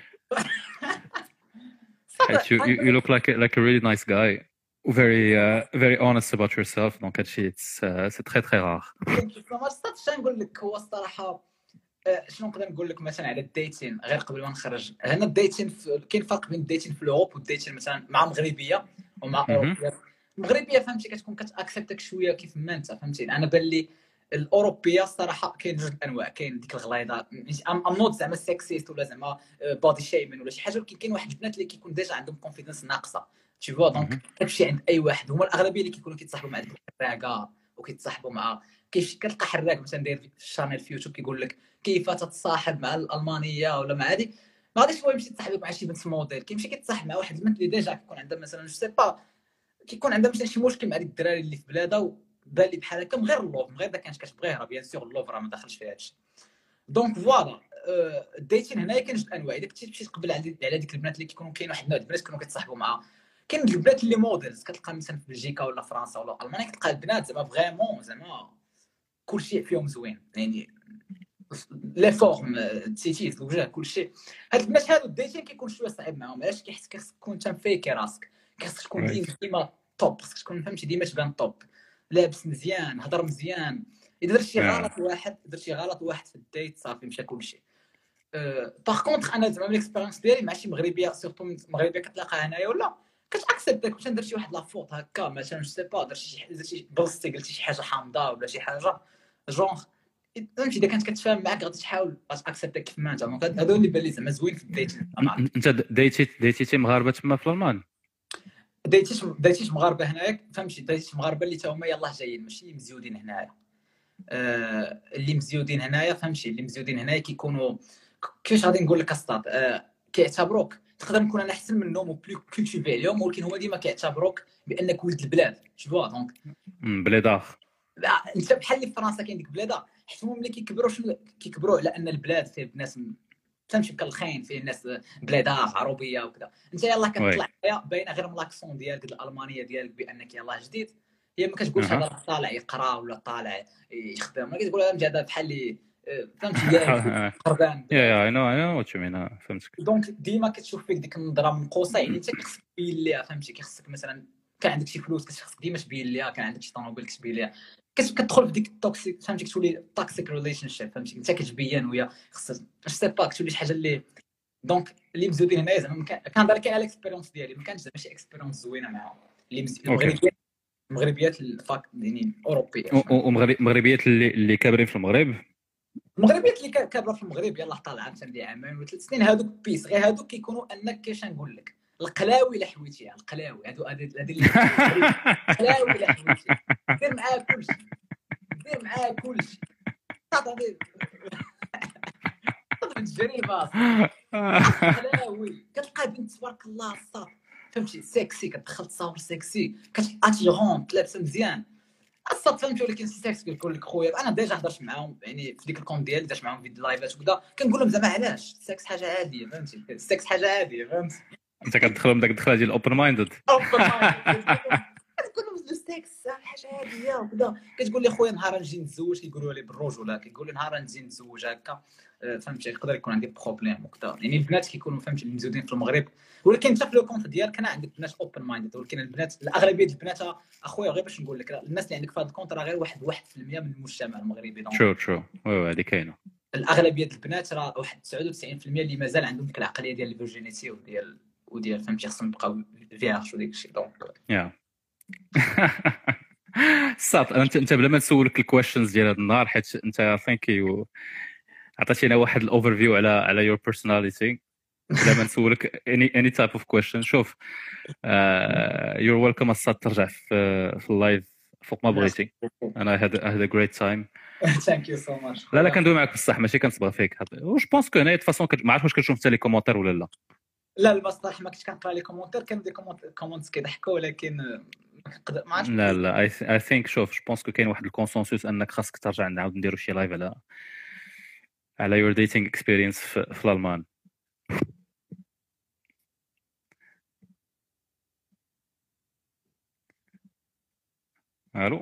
you look like a really nice guy very honest about yourself donc هادشي c'est très très rare ما صدقتش نقول لك هو الصراحه شنو نقدر نقول لك مثلا على الديتين غير قبل ما نخرج هنا الديتين كاين فرق بين الديتين في الاوروب والديتين مثلا مع مغربيه ومع اوروبيه المغربيه فهمتي كتكون كتاكسبتك شويه كيف ما انت فهمتي انا بان لي الاوروبيه الصراحه كاين جوج الانواع كاين ديك الغليظه ام نوت زعما سكسيست ولا زعما بودي شيمين ولا شي حاجه ولكن كاين واحد البنات اللي كيكون ديجا عندهم كونفيدنس ناقصه تي فوا دونك كتمشي عند اي واحد هما الاغلبيه اللي كيكونوا كيتصاحبوا مع ديك الحراقه وكيتصاحبوا مع كتلقى حراق مثلا داير في الشانيل في يوتيوب كيقول لك كيف تتصاحب مع الالمانيه ولا مع هذه ما غاديش هو يمشي يتصاحب مع شي بنت موديل كيمشي كيتصاحب مع واحد البنت اللي ديجا كيكون عندها مثلا جو سي با كيكون عندها مثلا شي مشكل مع ديك الدراري اللي في بلادها وبان لي بحال هكا من غير اللوف من غير اذا كانت كتبغيه راه بيان سور اللوف راه ما داخلش فيها هادشي دونك فوالا الديتين هنا كاين جوج انواع اذا كنتي تمشي تقبل على ديك البنات اللي كيكونوا كاين واحد النوع البنات كيكونوا كيتصاحبوا مع كاين البنات اللي موديلز كتلقى مثلا في بلجيكا ولا فرنسا ولا المانيا كتلقى البنات زعما فريمون زعما كلشي فيهم زوين يعني لي فورم تيتيز الوجه كلشي هاد البنات هادو الديتين كيكون شويه صعيب معاهم علاش كيحس خصك تكون انت مفيكي راسك خصك تكون ديما توب خصك تكون فهمتي ديما تبان توب لابس مزيان هضر مزيان اذا درت شي غلط واحد في الديت صافي مشى كلشي باغ كونطخ انا زعما ليكسبيريونس ديالي مع شي مغربيه سورتو مغربيه كتلاقاها هنايا ولا كتاكسبتك مثلا درتي واحد لافوت هكا مثلا جو سي با درتي بلصتي قلتي شي حاجه حامضه ولا شي حاجه جونغ فهمتي اذا كانت كتفاهم معاك غادي تحاول اكسبتك كيف ما انت هادو اللي بان لي زعما زوين في الديت انت ديتي مغاربه تما في الالمان ديتيش مغاربه هنايا فهمتي ديتيش مغاربه اللي تا هما يلاه جايين ماشي مزيودين هنايا اللي مزيودين هنايا فهمتي اللي مزيودين هنايا كيكونوا كيفاش غادي نقول لك اسطات كيعتبروك تقدر نكون انا احسن منهم وبلو كولتيفي عليهم ولكن هما ديما كيعتبروك بانك ولد البلاد شفوا دونك بليدار. انت بحال اللي في فرنسا كاين ديك بلاده حيت هما ملي كيكبروا على ان البلاد فيه ناس فهمتي كالخاين فيه الناس بلادها عربيه وكذا انت يلاه كتطلع باينه غير من لاكسون ديالك الالمانيه ديالك بانك يلاه جديد هي ما كتقولش هذا طالع يقرا ولا طالع يخدم ما كتقول هذا بحال اللي فهمتي قربان اي نو وات يو مين فهمتك دونك ديما كتشوف فيك ديك النظره من قوسين يعني انت كتخصك تبين ليها فهمتي كيخصك مثلا كان عندك شي فلوس كتخصك ديما تبين ليها كان عندك شي طوموبيل كتبين ليها كتدخل في ديك التوكسيك فهمتي كتولي توكسيك ريليشن شيب فهمتي انت كتبين وهي خصها سي با كتولي شي حاجه اللي دونك اللي مزودين هنايا زعما كنهضر كاع على الاكسبيريونس ديالي ما كانش زعما شي اكسبيريونس زوينه معاهم اللي المغربيات الفاك يعني اوروبيه ومغربيات اللي كابرين في المغرب المغربيات اللي كابره في المغرب يلاه طالعه مثلا ديال عامين وثلاث سنين هادوك بيس غير هادوك كيكونوا انك كيفاش نقول لك القلاوي الا حويتيها القلاوي هادو القلاوي الا حويتيها دير معاه كلشي صافي تجري الباص القلاوي كتلقى بنت تبارك الله الصاط فهمتي سكسي كتدخل تصاور سكسي كتاتيغون لابسه مزيان الصاد فهمتي ولكن السكس كيقول لك خويا انا ديجا هضرت معاهم يعني في ديك الكونت ديالي درت معاهم فيديو لايفات وكذا كنقول لهم زعما علاش السكس حاجه عاديه فهمتي السكس حاجه عاديه فهمتي انت كتدخلهم داك الدخله ديال اوبن مايندد كتقول لهم السكس حاجه عاديه وكذا كتقول لي خويا نهار نجي نتزوج كيقولوا لي بالرجوله كيقول لي نهار نجي نتزوج هكا فهمتي يقدر يكون عندي بروبليم وكذا يعني البنات كيكونوا فهمتي مزودين في المغرب ولكن انت في لو كونت ديالك انا عندك بنات اوبن مايندد ولكن البنات الاغلبيه ديال البنات اخويا غير باش نقول لك الناس اللي عندك في هذا الكونت راه غير 1% من المجتمع المغربي شو وي هذه كاينه الاغلبيه ديال البنات راه واحد 99% اللي مازال عندهم ديك العقليه ديال الفيرجينيتي وديال فهمتي خصهم يبقاو فيرج وديك الشيء دونك يا صافي انت بلا ما نسولك الكويشنز ديال هذا النهار حيت انت ثانك يو عطيتينا واحد الاوفر فيو على يور بيرسوناليتي بلا ما نسولك اني تايب اوف كويشن شوف يور ويلكم الصاد ترجع في اللايف فوق ما بغيتي انا هذا جريت تايم ثانك يو سو ماتش لا كندوي معاك بصح ماشي كنصبغ فيك واش بونس كو هنايا د فاصون ما عرفتش واش كنشوف حتى لي كومونتير ولا لا البصح ما كنتش كنقرا لي كومونتير كانوا دي كومونتس كيضحكوا ولكن ما عرفتش لا اي ثينك شوف جو بونس كو كاين واحد الكونسنسوس انك خاصك ترجع نعاود نديرو شي لايف على يور ديتينغ اكسبيرينس في الالمان الو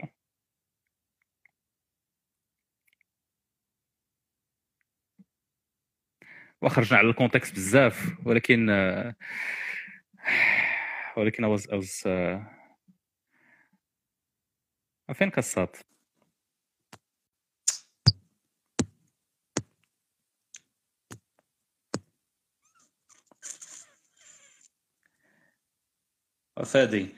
وخرجنا على الكونتكست بزاف ولكن أوز فين كصات فادي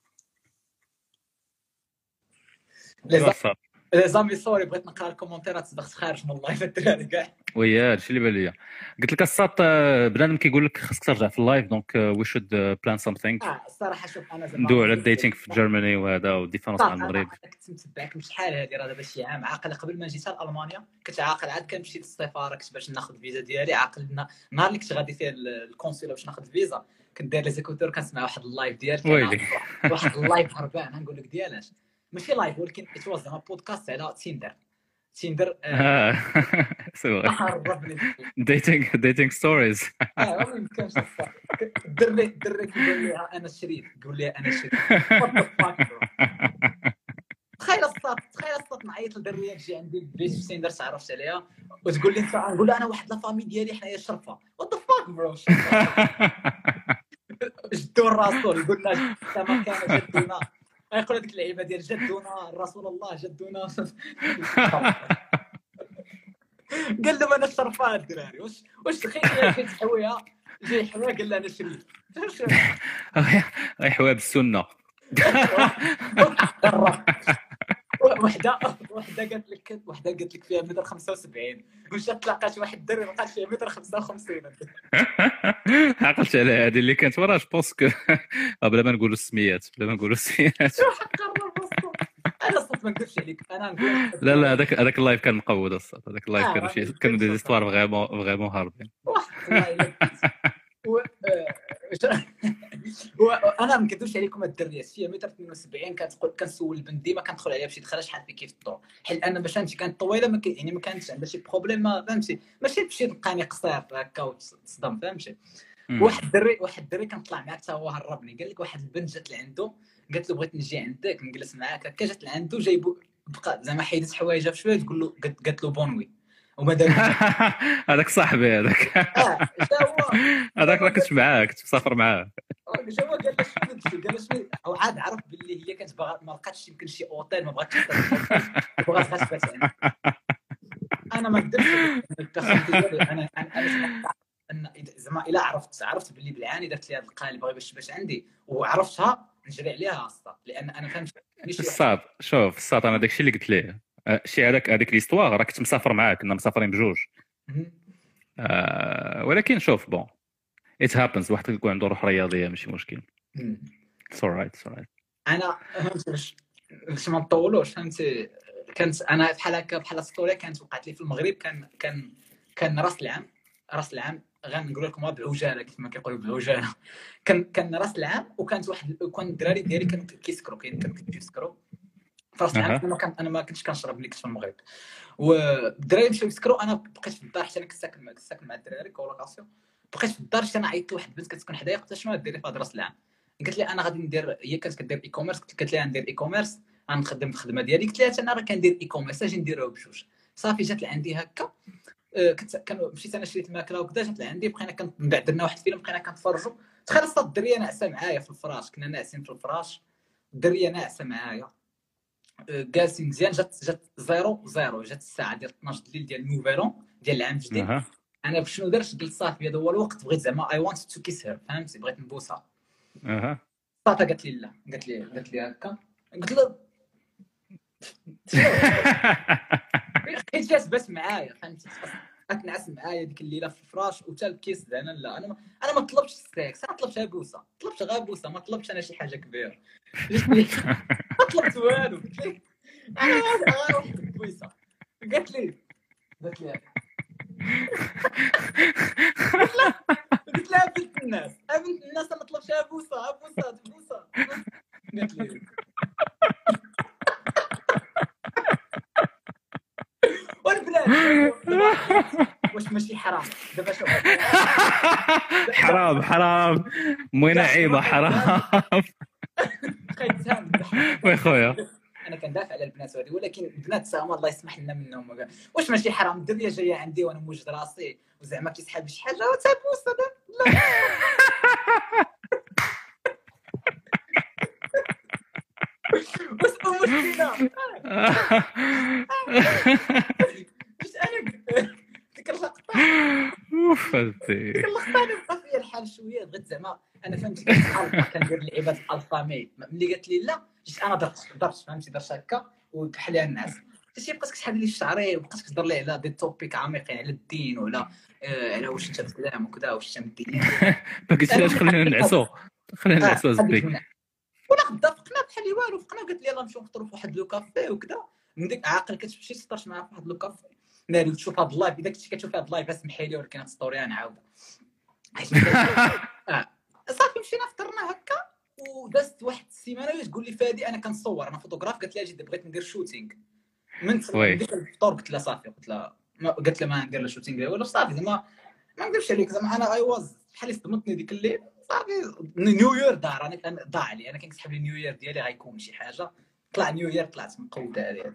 لي زامي سوري بغيت نقرا الكومونتيرات صدقت خارج من اللايف الدراري كاع ويا هادشي اللي بان ليا قلت لك الصاط بنادم كيقول لك خاصك ترجع في اللايف دونك وي شود بلان سامثينغ الصراحه شوف انا زعما ندوي على الديتينغ في جيرماني وهذا والديفرنس مع المغرب كنت متبعك من شحال هذه راه دابا شي عام عاقل قبل ما جيت لالمانيا كنت عاقل عاد كنمشي للسفاره كنت باش ناخذ الفيزا ديالي عاقل نهار اللي كنت غادي فيه الكونسولا باش ناخذ الفيزا كنت داير لي زيكوتور كنسمع واحد اللايف ديالك واحد اللايف هربان نقول لك ديالاش ماشي لايف ولكن اتواز زعما بودكاست على تيندر ديتينغ ستوريز ما يمكنش الدري كيقول لي انا شريف تقول لي انا شريف تخيل الصوت نعيط لدريه تجي عندي البيت في تيندر تعرفت عليها وتقول لي انت نقول لها انا واحد لا فامي ديالي حنايا شرفه وات ذا فاك برو جدو الرسول يقول لنا كما كان جدنا يقول هذيك اللعيبه ديال جدونا رسول الله جدونا قال له انا شرفان الدراري واش تخيل جيت حويها جاي حوا قال له انا شريف حوا بالسنه وحده قالت لك فيها متر 75 ومشات تلاقات واحد الدري لقات فيها متر 55 عقلت على هذه اللي كانت ورا جو بونس كو بلا ما نقولوا السميات انا صوت ما نكذبش عليك انا نقول لا لا هذاك اللايف كان مقود الصاد، هذاك اللايف كانوا دي زيستوار فغيمون هاربين. وانا ما نكذبش عليكم الدريه فيها متر 72 كنسول البنت ديما كندخل عليها باش يدخلها شحال في كيف الطول، حيت انا باش فهمتي كانت طويله يعني ما كانتش عندها شي بروبليم، فهمتي ماشي تمشي تلقاني قصير هكا وتصدم فهمتي. واحد الدري كنطلع معاه حتى هو هربني، قال لك واحد البنت جات لعندو قالت له بغيت نجي عندك نجلس معاك هكا، جات لعندو جايبو بقى زعما حيدت حوايجها بشويه تقول له قالت له بونوي وما دار هذاك صاحبي هذاك هذاك راه كنت معاه كنت مسافر معاه. جا هو قال له شنو او عاد عرف باللي هي كانت باغا ما لقاتش يمكن شي اوتيل ما بغاتش بغات غير تبات عندها. انا ما نقدرش انا زعما الا عرفت باللي بالعاني درت لي هذا القالب باغي باش عندي وعرفتها نجري عليها اصلا، لان انا فهمت الصاد. شوف الصاد انا داكشي اللي قلت ليه شي هذيك ليستوار راه كنت مسافر معاه، كنا مسافرين بجوج. ولكن شوف بون ات هابنز، واحد يكون عنده روح رياضيه ماشي مشكل. سورايت انا فهمت باش ما نطولوش فهمتي. كانت انا بحال هكا بحال ستوري كانت وقعت لي في المغرب. كان راس العام غنقول لكم بعجاله كيف ما كيقولوا بعجاله. كان راس العام وكانت كان الدراري ديالي كانوا كيسكروا كيسكروا فراس العام. انا ما كنتش كنشرب ملي كنت في المغرب، والدراري مشاو يسكروا. انا بقيت في الدار حتى انا كنت ساكن مع الدراري كولوكاسيون. بقيت في الدار حتى انا عيطت لواحد البنت كتسكن حدايا، قلت لها شنو غديري في هذا راس العام؟ قالت لي انا غادي ندير، هي كانت كدير اي كوميرس، قلت لها ندير اي كوميرس غنخدم الخدمه ديالي. قلت لها انا راه كندير اي كوميرس اجي نديروه بجوج. صافي جات لعندي هكا، مشيت انا شريت الماكله وكذا، جات لعندي بقينا من بعد درنا واحد الفيلم بقينا كنتفرجوا. تخيل الصاد الدريه ناعسه معايا في الفراش، كنا ناعسين في الفراش الدريه ناعسه معايا جالسين مزيان. جات 00 جات الساعه ديال 12 الليل ديال النوفالون ديال العام الجديد. انا شنو درت؟ قلت صافي هذا هو الوقت، بغيت زعما اي وانت تو كيس هير فهمتي، بغيت نبوسها. صافي قالت لي لا، قالت لي هكا. قلت له حيت جات بس معايا فهمتي، كتنعس معايا ديك الليله في الفراش وتا الكيس. انا لا انا ما طلبتش السكس، انا طلبت بوسه، طلبت غير بوسه، ما طلبتش انا شي حاجه كبيره. ما طلبت والو، قلت لك انا غير واحد البوسه. قالت لي قلت لها بنت الناس ما طلبتش بوسه. قالت لي والبنات واش ماشي حرام دابا؟ شوف حرام موينه عيبه حرام. وي خويا انا كندافع على البنات هذه، ولكن البنات ساهما الله يسمح لنا منهم. واش ماشي حرام الدريه جايه عندي وانا موجد راسي وزعما كيسحب شي حاجه وتبوس؟ لا واش المشكله؟ باش انا ديك اللقطه ديك اللقطه بقى فيا الحال شويه. بغيت زعما انا فهمتي كندير لعيبات الفامي. ملي قالت لي لا جيت انا درت فهمتي، درت هكا وكحل ليها الناس. شي بقيت كتحل لي شعري وبقيت كتهضر لي على دي توبيك عميقين على الدين ولا على واش انت الاسلام وكذا واش انت الدين. قلت لها خلينا نعسو زبيك ولا غدا فقنا بحال والو. فقنا وقالت لي يلاه نمشيو نفطروا في واحد لو كافي وكذا. من ديك عاقل كتمشي تفطر معاها في واحد لو كافي ناري تشوف هاد اللايف. اذا كنتي كتشوف هاد اللايف اسمحي لي، ولكن ستوري نعاودها صافي. مشينا فطرنا هكا ودازت واحد السيمانه تقول لي فادي انا كنصور انا فوتوغراف. قالت لي اجي بغيت ندير شوتينغ من ديك الفطور. قلت لها صافي، قلت لها ما ندير لا شوتينغ ولا صافي. زعما ما نكذبش عليك زعما انا اي واز بحال صدمتني ديك الليل. صافي نيو يير دار انا ضاع علي. انا كنسحب لي نيو يير ديالي غيكون شي حاجه. طلع نيو يير طلعت مقوده عليه.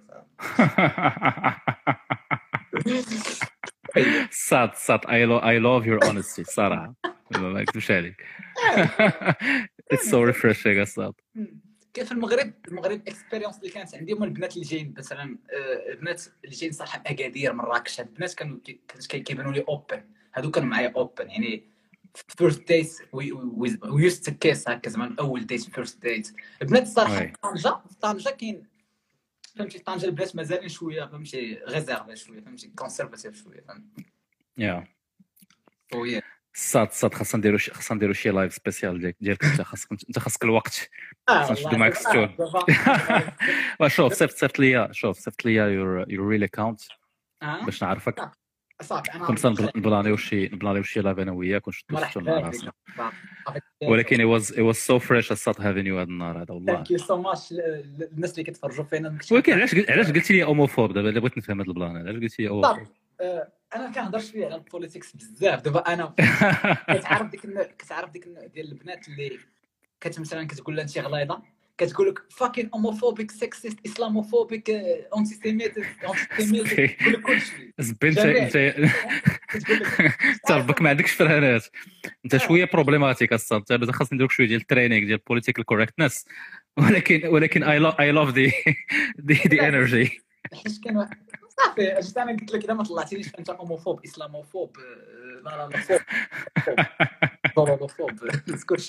صاد I love your honesty صراحه ما نكذبش عليك. It's so refreshing صاد. كيف المغرب اكسبيريونس اللي كانت عندي هما البنات اللي جايين مثلا البنات اللي جايين صراحه من اكادير مراكش. هاد البنات كانوا كيبانوا لي اوبن. هادو كانوا معايا اوبن يعني فيرست ديت وي يوست تو كيس هكا زعما اول ديت فيرست ديت. البنات صراحه في طنجه كاين فهمتي. طنجه البنات مازالين شويه فهمتي غيزيرفي شويه فهمتي كونسيرفاتيف شويه فهمتي. يا صاد خاصنا نديرو شي لايف سبيسيال ديالك انت خاصك الوقت خاصنا نشدو معاك ستون شوف صيفط ليا يور ريل اكونت باش نعرفك صافي انا كنت نبلانيو شي لايف انا وياك ونشدو ستون مع راسنا ولكن it was so fresh الصاد having you هذا النهار هذا والله ثانك يو سو ماتش الناس اللي كيتفرجوا فينا ولكن علاش قلتي لي اوموفوب دابا بغيت نفهم هذا البلان علاش قلتي لي اوموفوب انا كنهضرش فيه على البوليتيكس بزاف دابا انا كتعرف ديك النوع ديال البنات اللي مثلا كتقول لها انت غليظه كتقول لك فاكين اوموفوبيك سكسيست اسلاموفوبيك اونتي سيميت كلشي زبنت انت ربك ما عندكش فرهانات انت شويه بروبليماتيك الصاد انت خاص نديرك شويه ديال الترينينغ ديال بوليتيكال كوريكتنس ولكن اي لاف دي انرجي حيت كاين صافي اجي انا قلت لك اذا ما طلعتينيش انت اوموفوب اسلاموفوب لا فوب كلشي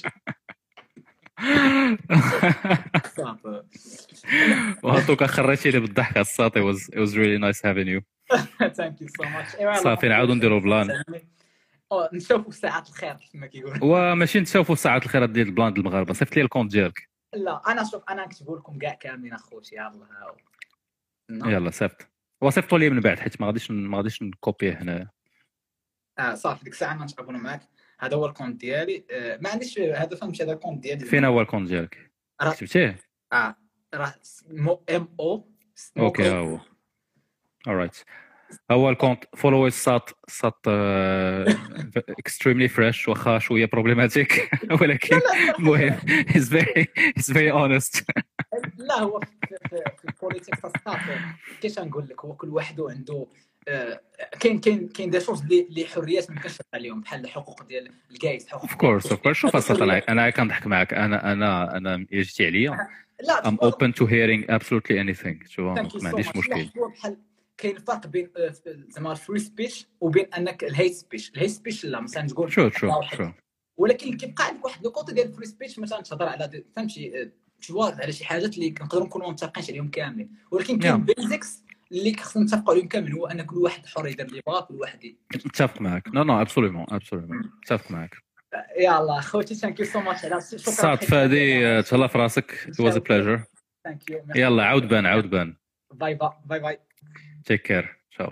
صافي وهاتوك خريتيني بالضحك الصاطي it was really nice having you ثانك يو سو ماتش صافي نعاودو نديرو بلان نشوفوا ساعات الخير كما كيقولوا وماشي نشوفوا ساعات الخير ديال البلان ديال المغاربه صيفط لي الكونت ديالك لا انا شوف انا نكتبوا لكم كاع كاملين اخوتي يلا صيفط وصيفطوا لي من بعد حيت ما غاديش نكوبيه هنا صافي ديك الساعه نتعاونوا معاك هذا هو الكونت ديالي ما عنديش هذا فهمتي هذا الكونت ديالي فين هو الكونت ديالك كتبتيه راه ام او اوكي هو alright هو الكونت فولو سات extremely fresh واخا شويه بروبليماتيك ولكن المهم he's very honest لا هو في البوليتيك صافي كيفاش نقول لك هو كل واحد عنده كاين دي شوز اللي حريات ما يمكنش عليهم بحال الحقوق ديال الكايس حقوق اوف كورس شوف اصلا انا كنضحك معاك انا جيتي عليا I'm open to hearing absolutely anything شوف ما عنديش مشكل بحال كاين فرق بين زعما الفري سبيتش وبين انك الهيت سبيتش لا مثلا تقول شو ولكن كيبقى عندك واحد لو كوتي ديال الفري سبيتش مثلا تهضر على فهمتي تشوار على شي حاجات اللي كنقدروا نكونوا متفقينش عليهم كاملين ولكن كاين بيزكس اللي خصنا نتفقوا عليهم كامل هو ان كل واحد حر يدير اللي بغا كل واحد متفق معك نو ابسولومون متفق معك يلا خوتي ثانك يو سو ماتش على شكرا صاد فادي تهلا في راسك it was a pleasure ثانك يو يلا عاود بان باي باي تيك كير تشاو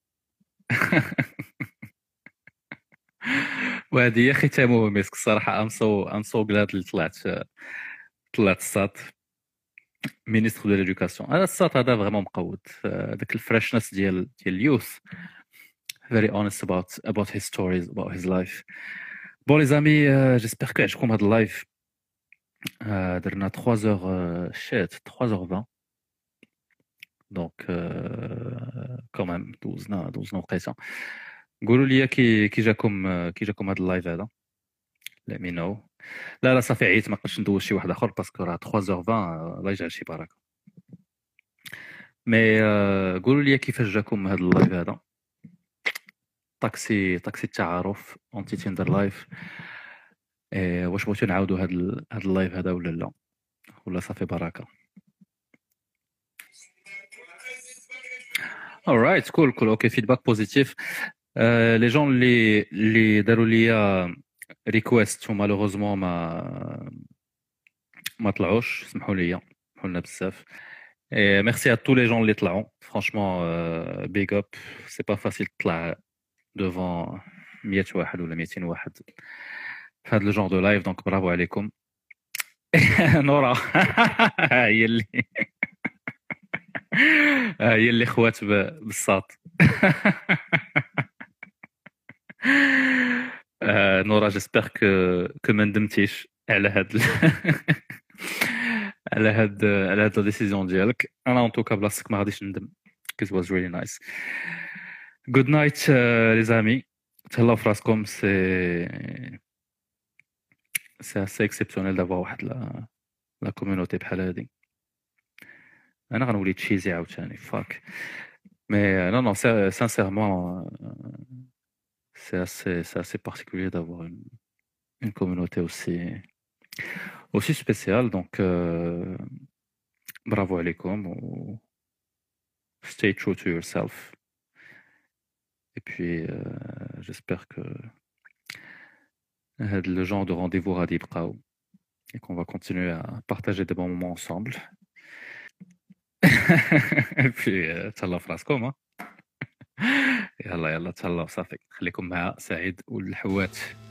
وهذه هي ختامه مسك الصراحه ام سو غلاد اللي طلعت الصاد مينيستر دو ليدوكاسيون هذا الصاد هذا فريمون مقود داك الفريشنس ديال اليوث very honest about his stories about his life bon les amis j'espère que عجبكم هذا اللايف درنا 3h شات 3h20 دونك quand même دوزنا وقيته قولوا لي كي جاكم هذا اللايف هذا let me know لا صافي عييت ما نقدرش ندوز شي واحد اخر باسكو راه 3h20 الله يجعل شي بركه مي قولوا لي كيفاش جاكم هذا اللايف هذا طاكسي التعارف اونتي تيندر لايف واش بغيتو نعاودوا هذا اللايف هذا ولا صافي بركه alright cool اوكي فيدباك بوزيتيف لي جون اللي داروا لي ريكويست ومالوغوزمون ما طلعوش سمحوا لنا بزاف ميرسي ا تو لي جون اللي طلعوا فرانشمون بيغ اب سي با فاسيل تطلع devant 100 واحد ولا 200 واحد في هذا الجون دو لايف دونك برافو عليكم نورا هي اللي خوات بالصاط نورا جيسبر كو ما ندمتيش على هاد لا ديسيزيون ديالك انا ان توكا بلاصتك ما غاديش ندم it was really nice good night les amis تهلاو في راسكم c'est assez exceptionnel d'avoir واحد لا كوميونيتي بحال هادي انا غنولي تشيزي عاوتاني فاك مي non sincèrement c'est assez particulier d'avoir une communauté aussi spéciale donc bravo عليكم و stay true to yourself et puis j'espère que le genre de rendez-vous غادي يبقاو et qu'on va continuer à partager des bons moments ensemble. Et puis تهلاو في راسكم يلا تهلاو صافي خليكم مع سعيد والحوات.